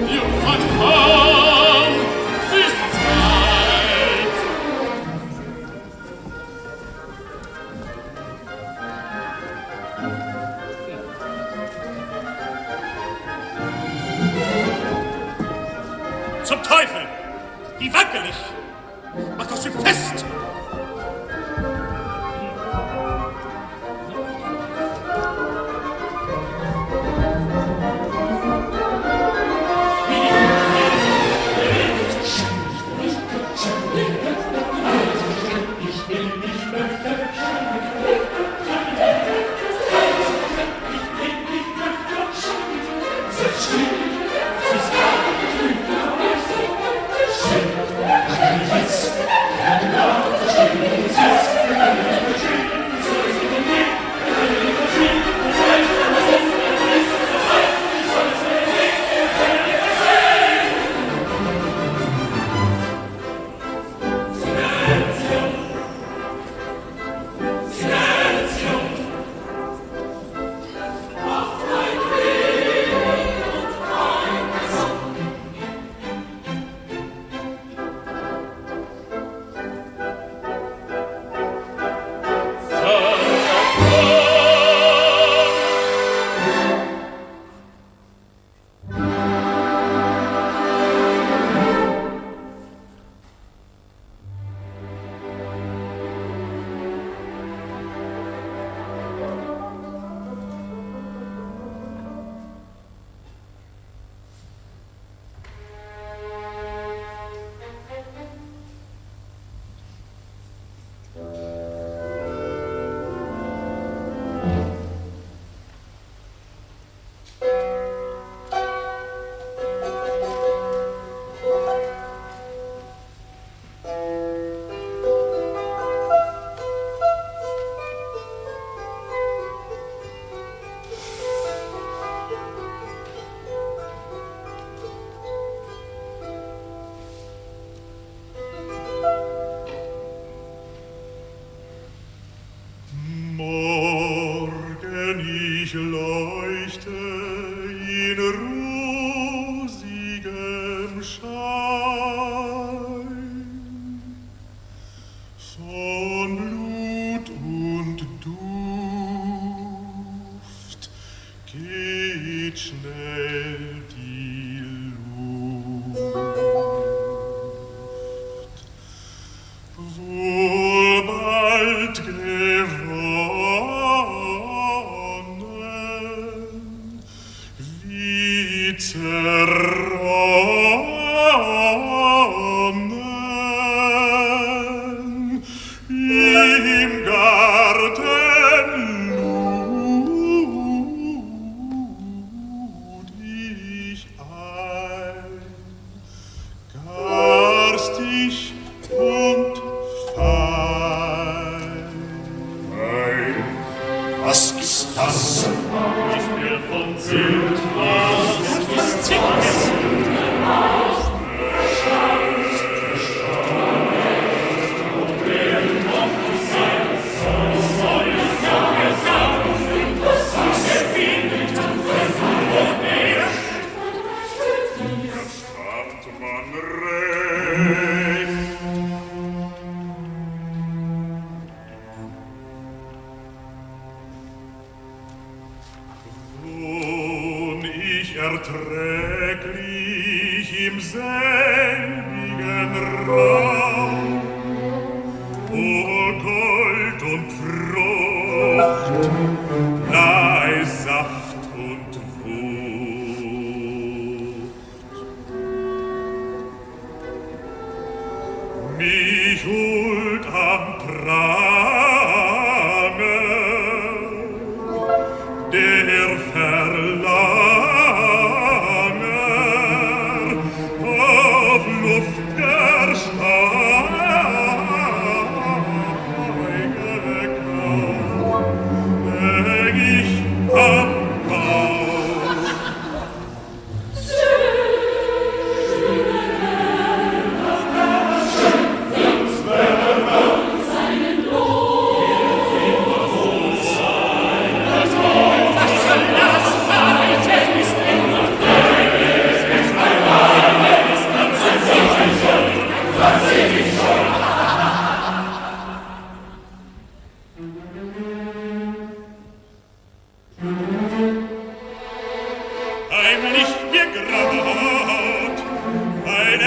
Schön,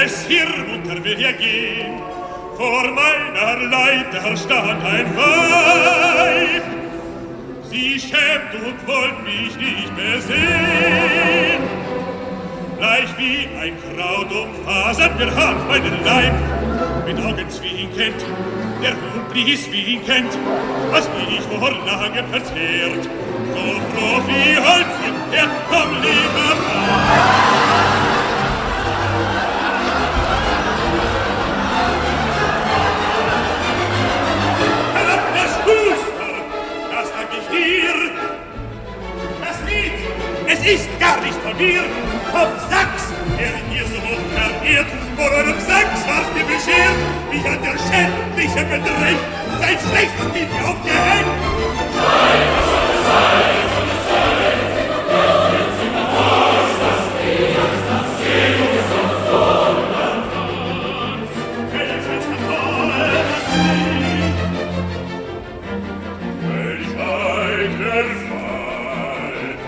es hier munter will ja gehen, vor meiner Leiter stand ein Weib. Sie schämt und wollt mich nicht mehr sehen. Gleich wie ein Kraut umfasert mir hart meinen Leib. Mit Augen zwinkend, der Hund blies winkend, was ich vor langem verzehrt. So froh wie Holz und Pferd, komm lieber das dank ich dir. Das Lied, es ist gar nicht von mir. Vom Sachs, der ihr so hoch verehrt, vor eurem Sachs war's mir beschert, mich an der Schändliche bedrängt, sein schlechtes Lied aufgehängt. Nein, was soll es sein, soll es sein, erst jetzt in der Faust, das Leben, das geht uns noch vor und was. Welches Katole, das Lied, welch eitler Fall,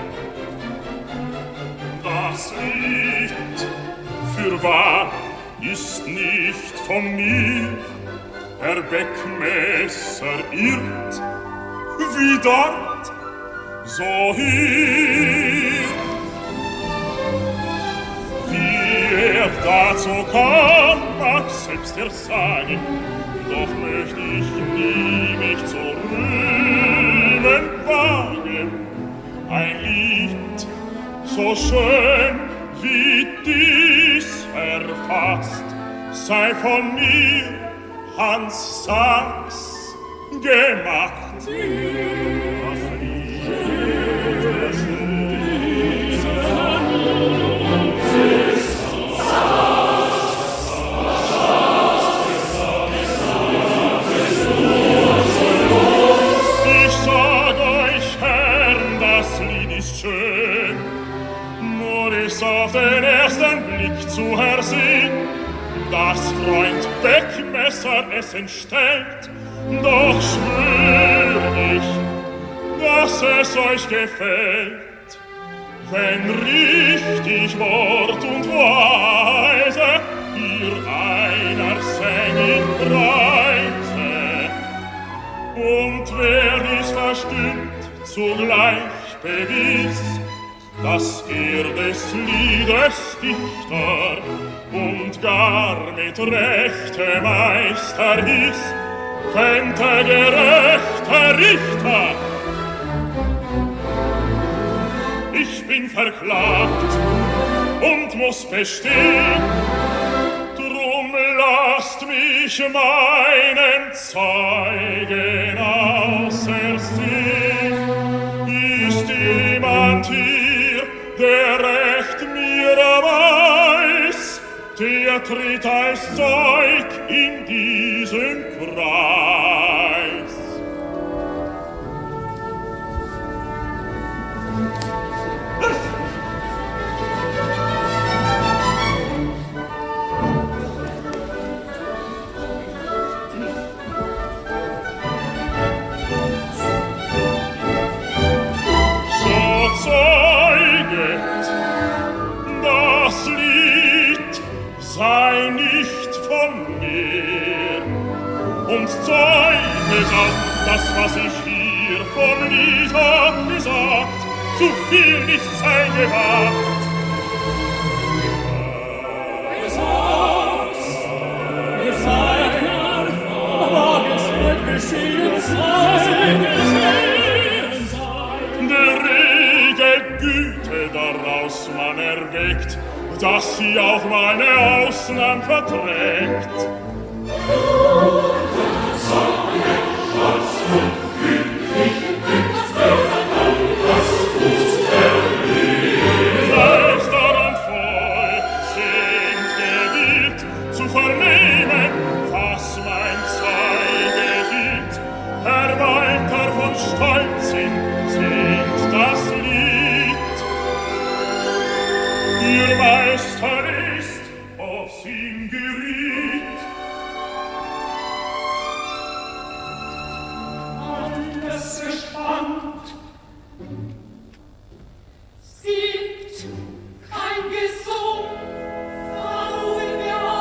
das Lied, fürwahr, ist nicht von mir, Herr Beckmesser irrt, wie dort, so hier. Wie er dazu kam, mag selbst er sagen, doch möcht ich nie mich zu rühmen wagen. Ein Lied so schön wie dies erfasst, sei von mir, Hans Sachs, gemacht. Das Lied, das Lied, ich sag euch, Herrn, das Lied ist schön, nur ist auf den ersten Blick zu ersehen, dass Freund Beckmesser es entstellt, doch schwör ich, dass es euch gefällt, wenn richtig Wort und Weise ihr einer sängen Preise. Und wer dies verstündt, zugleich bewies, dass er des Liedes Dichter und gar mit Rechte Meister hieß, könnte gerechter Richter. Ich bin verklagt und muss bestehen, drum lasst mich meinen Zeugen ausersehen. Ist jemand hier, der recht mir weiß, der tritt als Zeug in diesen Kreis. So zeuget, das Lied sei nicht von mir, und zeuget auch das, was ich hier vom Lied hab gesagt, zu viel nicht sei gewagt. Es sagt's, es sei kein mag es wird geschehen sein, geschehen sein. Der rege Güte daraus man erweckt, dass sie auch meine Ausnahmen verträgt. Selbst daran voll sind gewillt zu vernehmen, was mein Zeige gilt. Herr Walter von Stolzin singt das Lied. Ihr Meister ist aufs ihn geriet. Alles gespannt. Singt kein Gesang, warum wir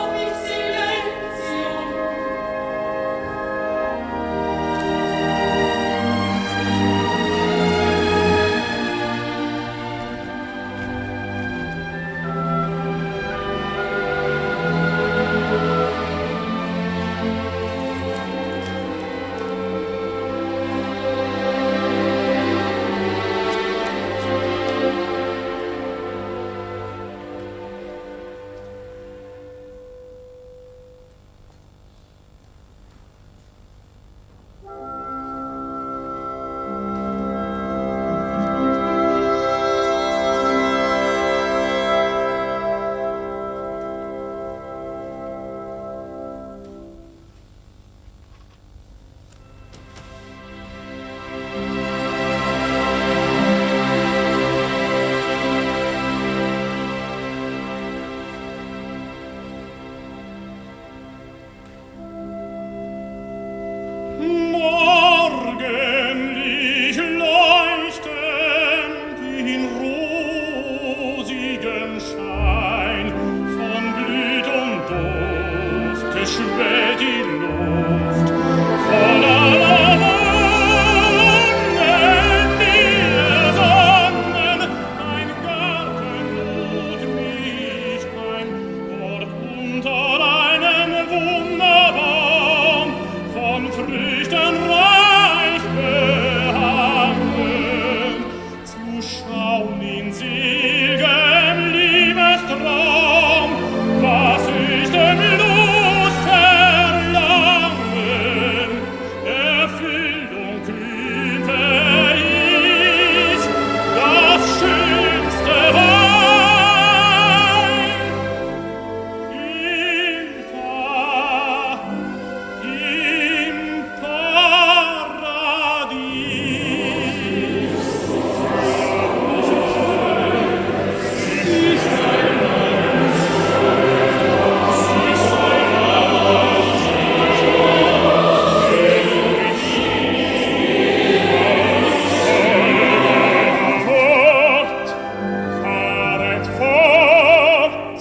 schwellt die Luft voller Wonnen, die Sonnen. Ein Garten lud mich ein, dort unter einem Wunderbaum, von Früchten reich behangen, zu schauen in seligem Liebestraum, was ich dem Lust verlangen, Erfüllung kühnte ich, das schönste Wein. Eva im Paradies. Fort, fahret fort.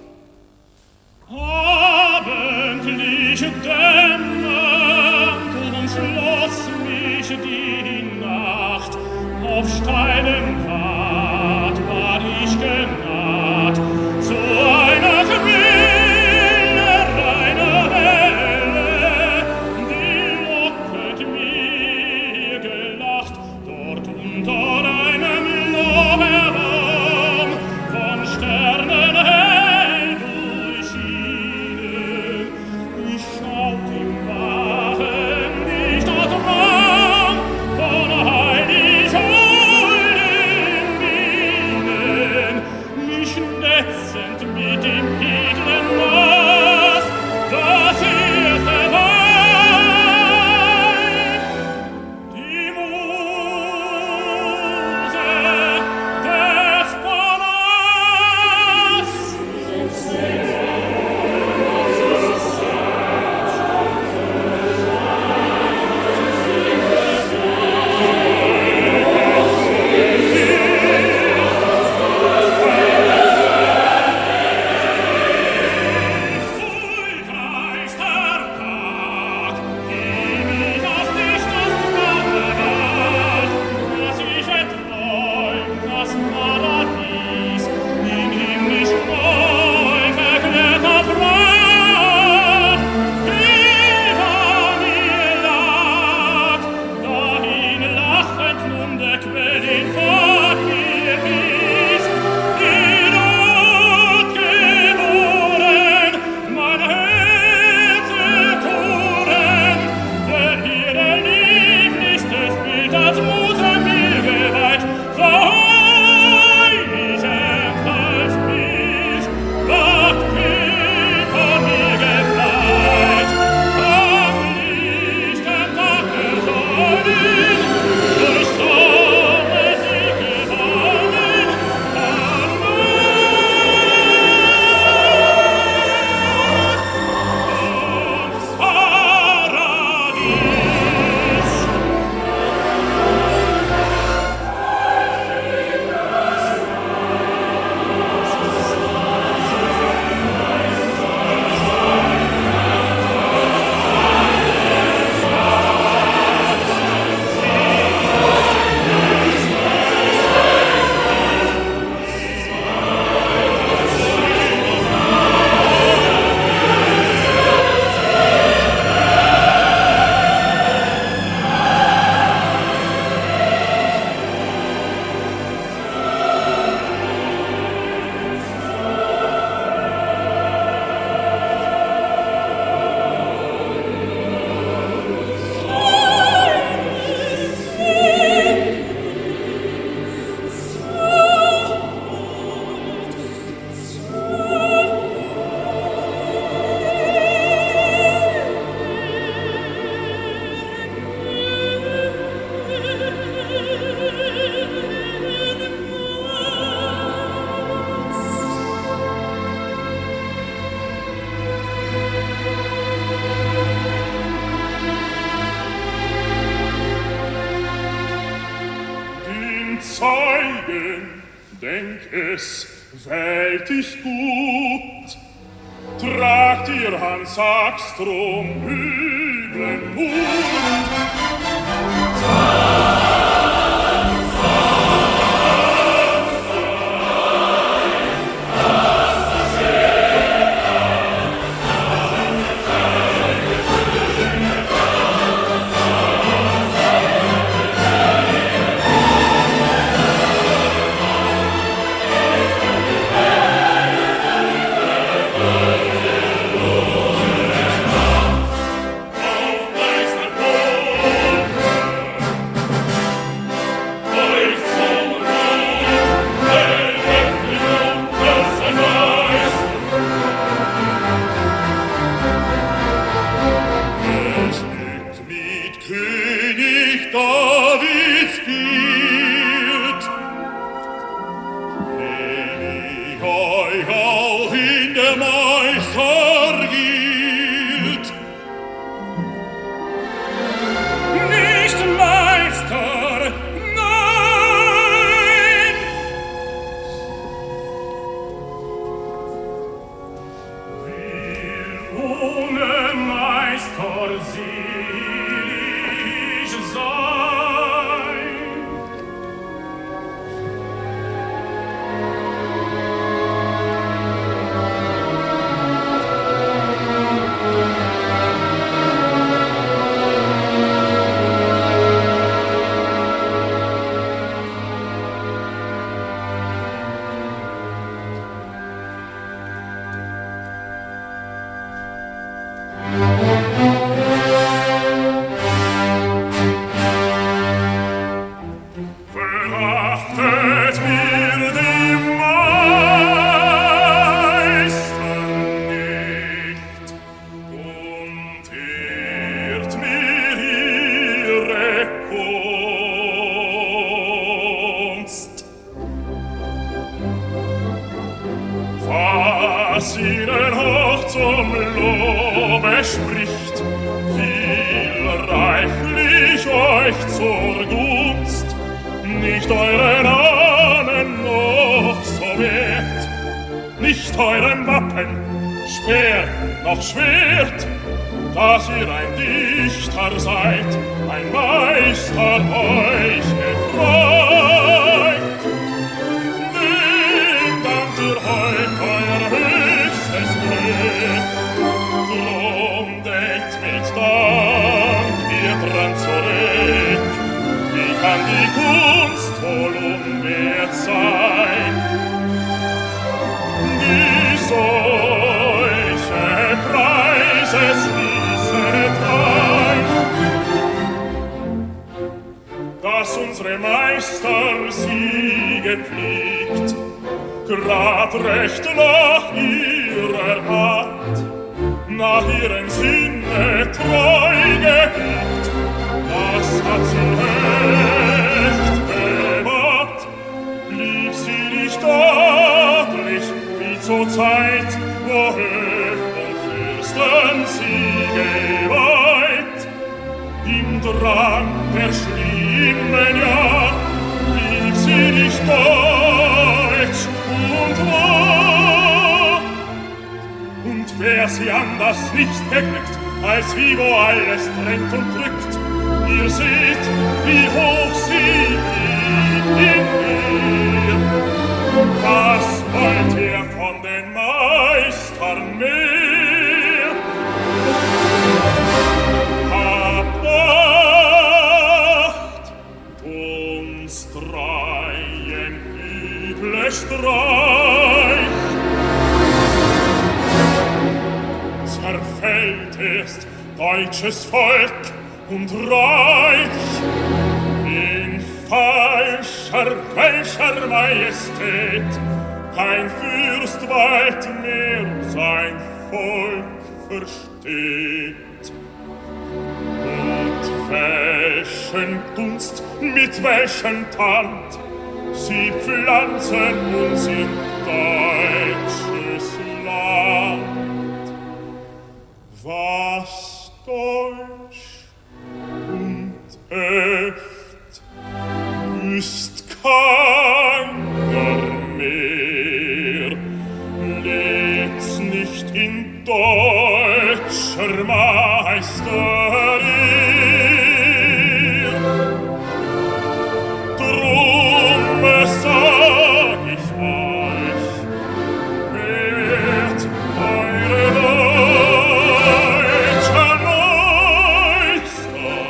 Abendlich dämmert, umschloss mich die Nacht. Auf steilem Pfad war ich genaht zu einer Quelle, reiner Welle, die locket mir gelacht, dort unter einem Lorbeerbaum, von Sternen hell durchschienen. Ich schaut im Wachen nicht aus Raum, von heilig holden Bienen, mich netzend mit dem edlen Maß, das erste Wein. Die Muse des Palas. Wohlgeister Tag, die mich aus Lichtes Flamme ward, dass ich erträumt das Paradies in himmlisch neu verklärter Pracht. Eva mir lag, dahin lachend nun der Quellin vor mir wies, die Not geboren, mein Herze Toren, der ihre lieblichstes Bild als Muse mir geweiht, verheulich als Bild, ward vor mir gefleit, am lichten Tag der Sonnen, durch Sonne sie gewonnen, ins Paradies. Zeugen, denk es, wählt dich gut, trag sagt ihr Hans Sackstrom üblen Mut? Tand, sie pflanzen uns in deutsches Land. Was deutsch und echt ist keiner mehr, lebt's nicht nicht in deutscher Meisterie. Drum sag ich euch, wird eure deutscher Meister,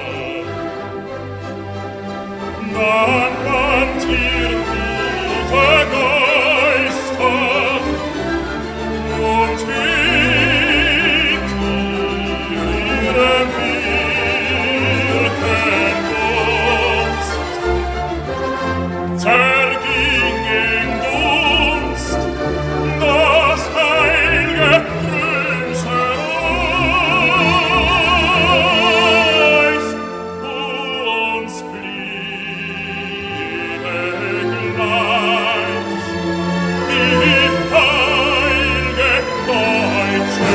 dann mannt ihr gute Geister und wiegt ihrem Wirken Gunst. Zerging in Dunst das heilge Römserreich, uns bliebe gleich die heilge deutsche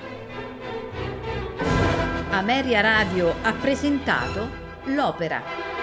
Ameria Radio ha presentato l'opera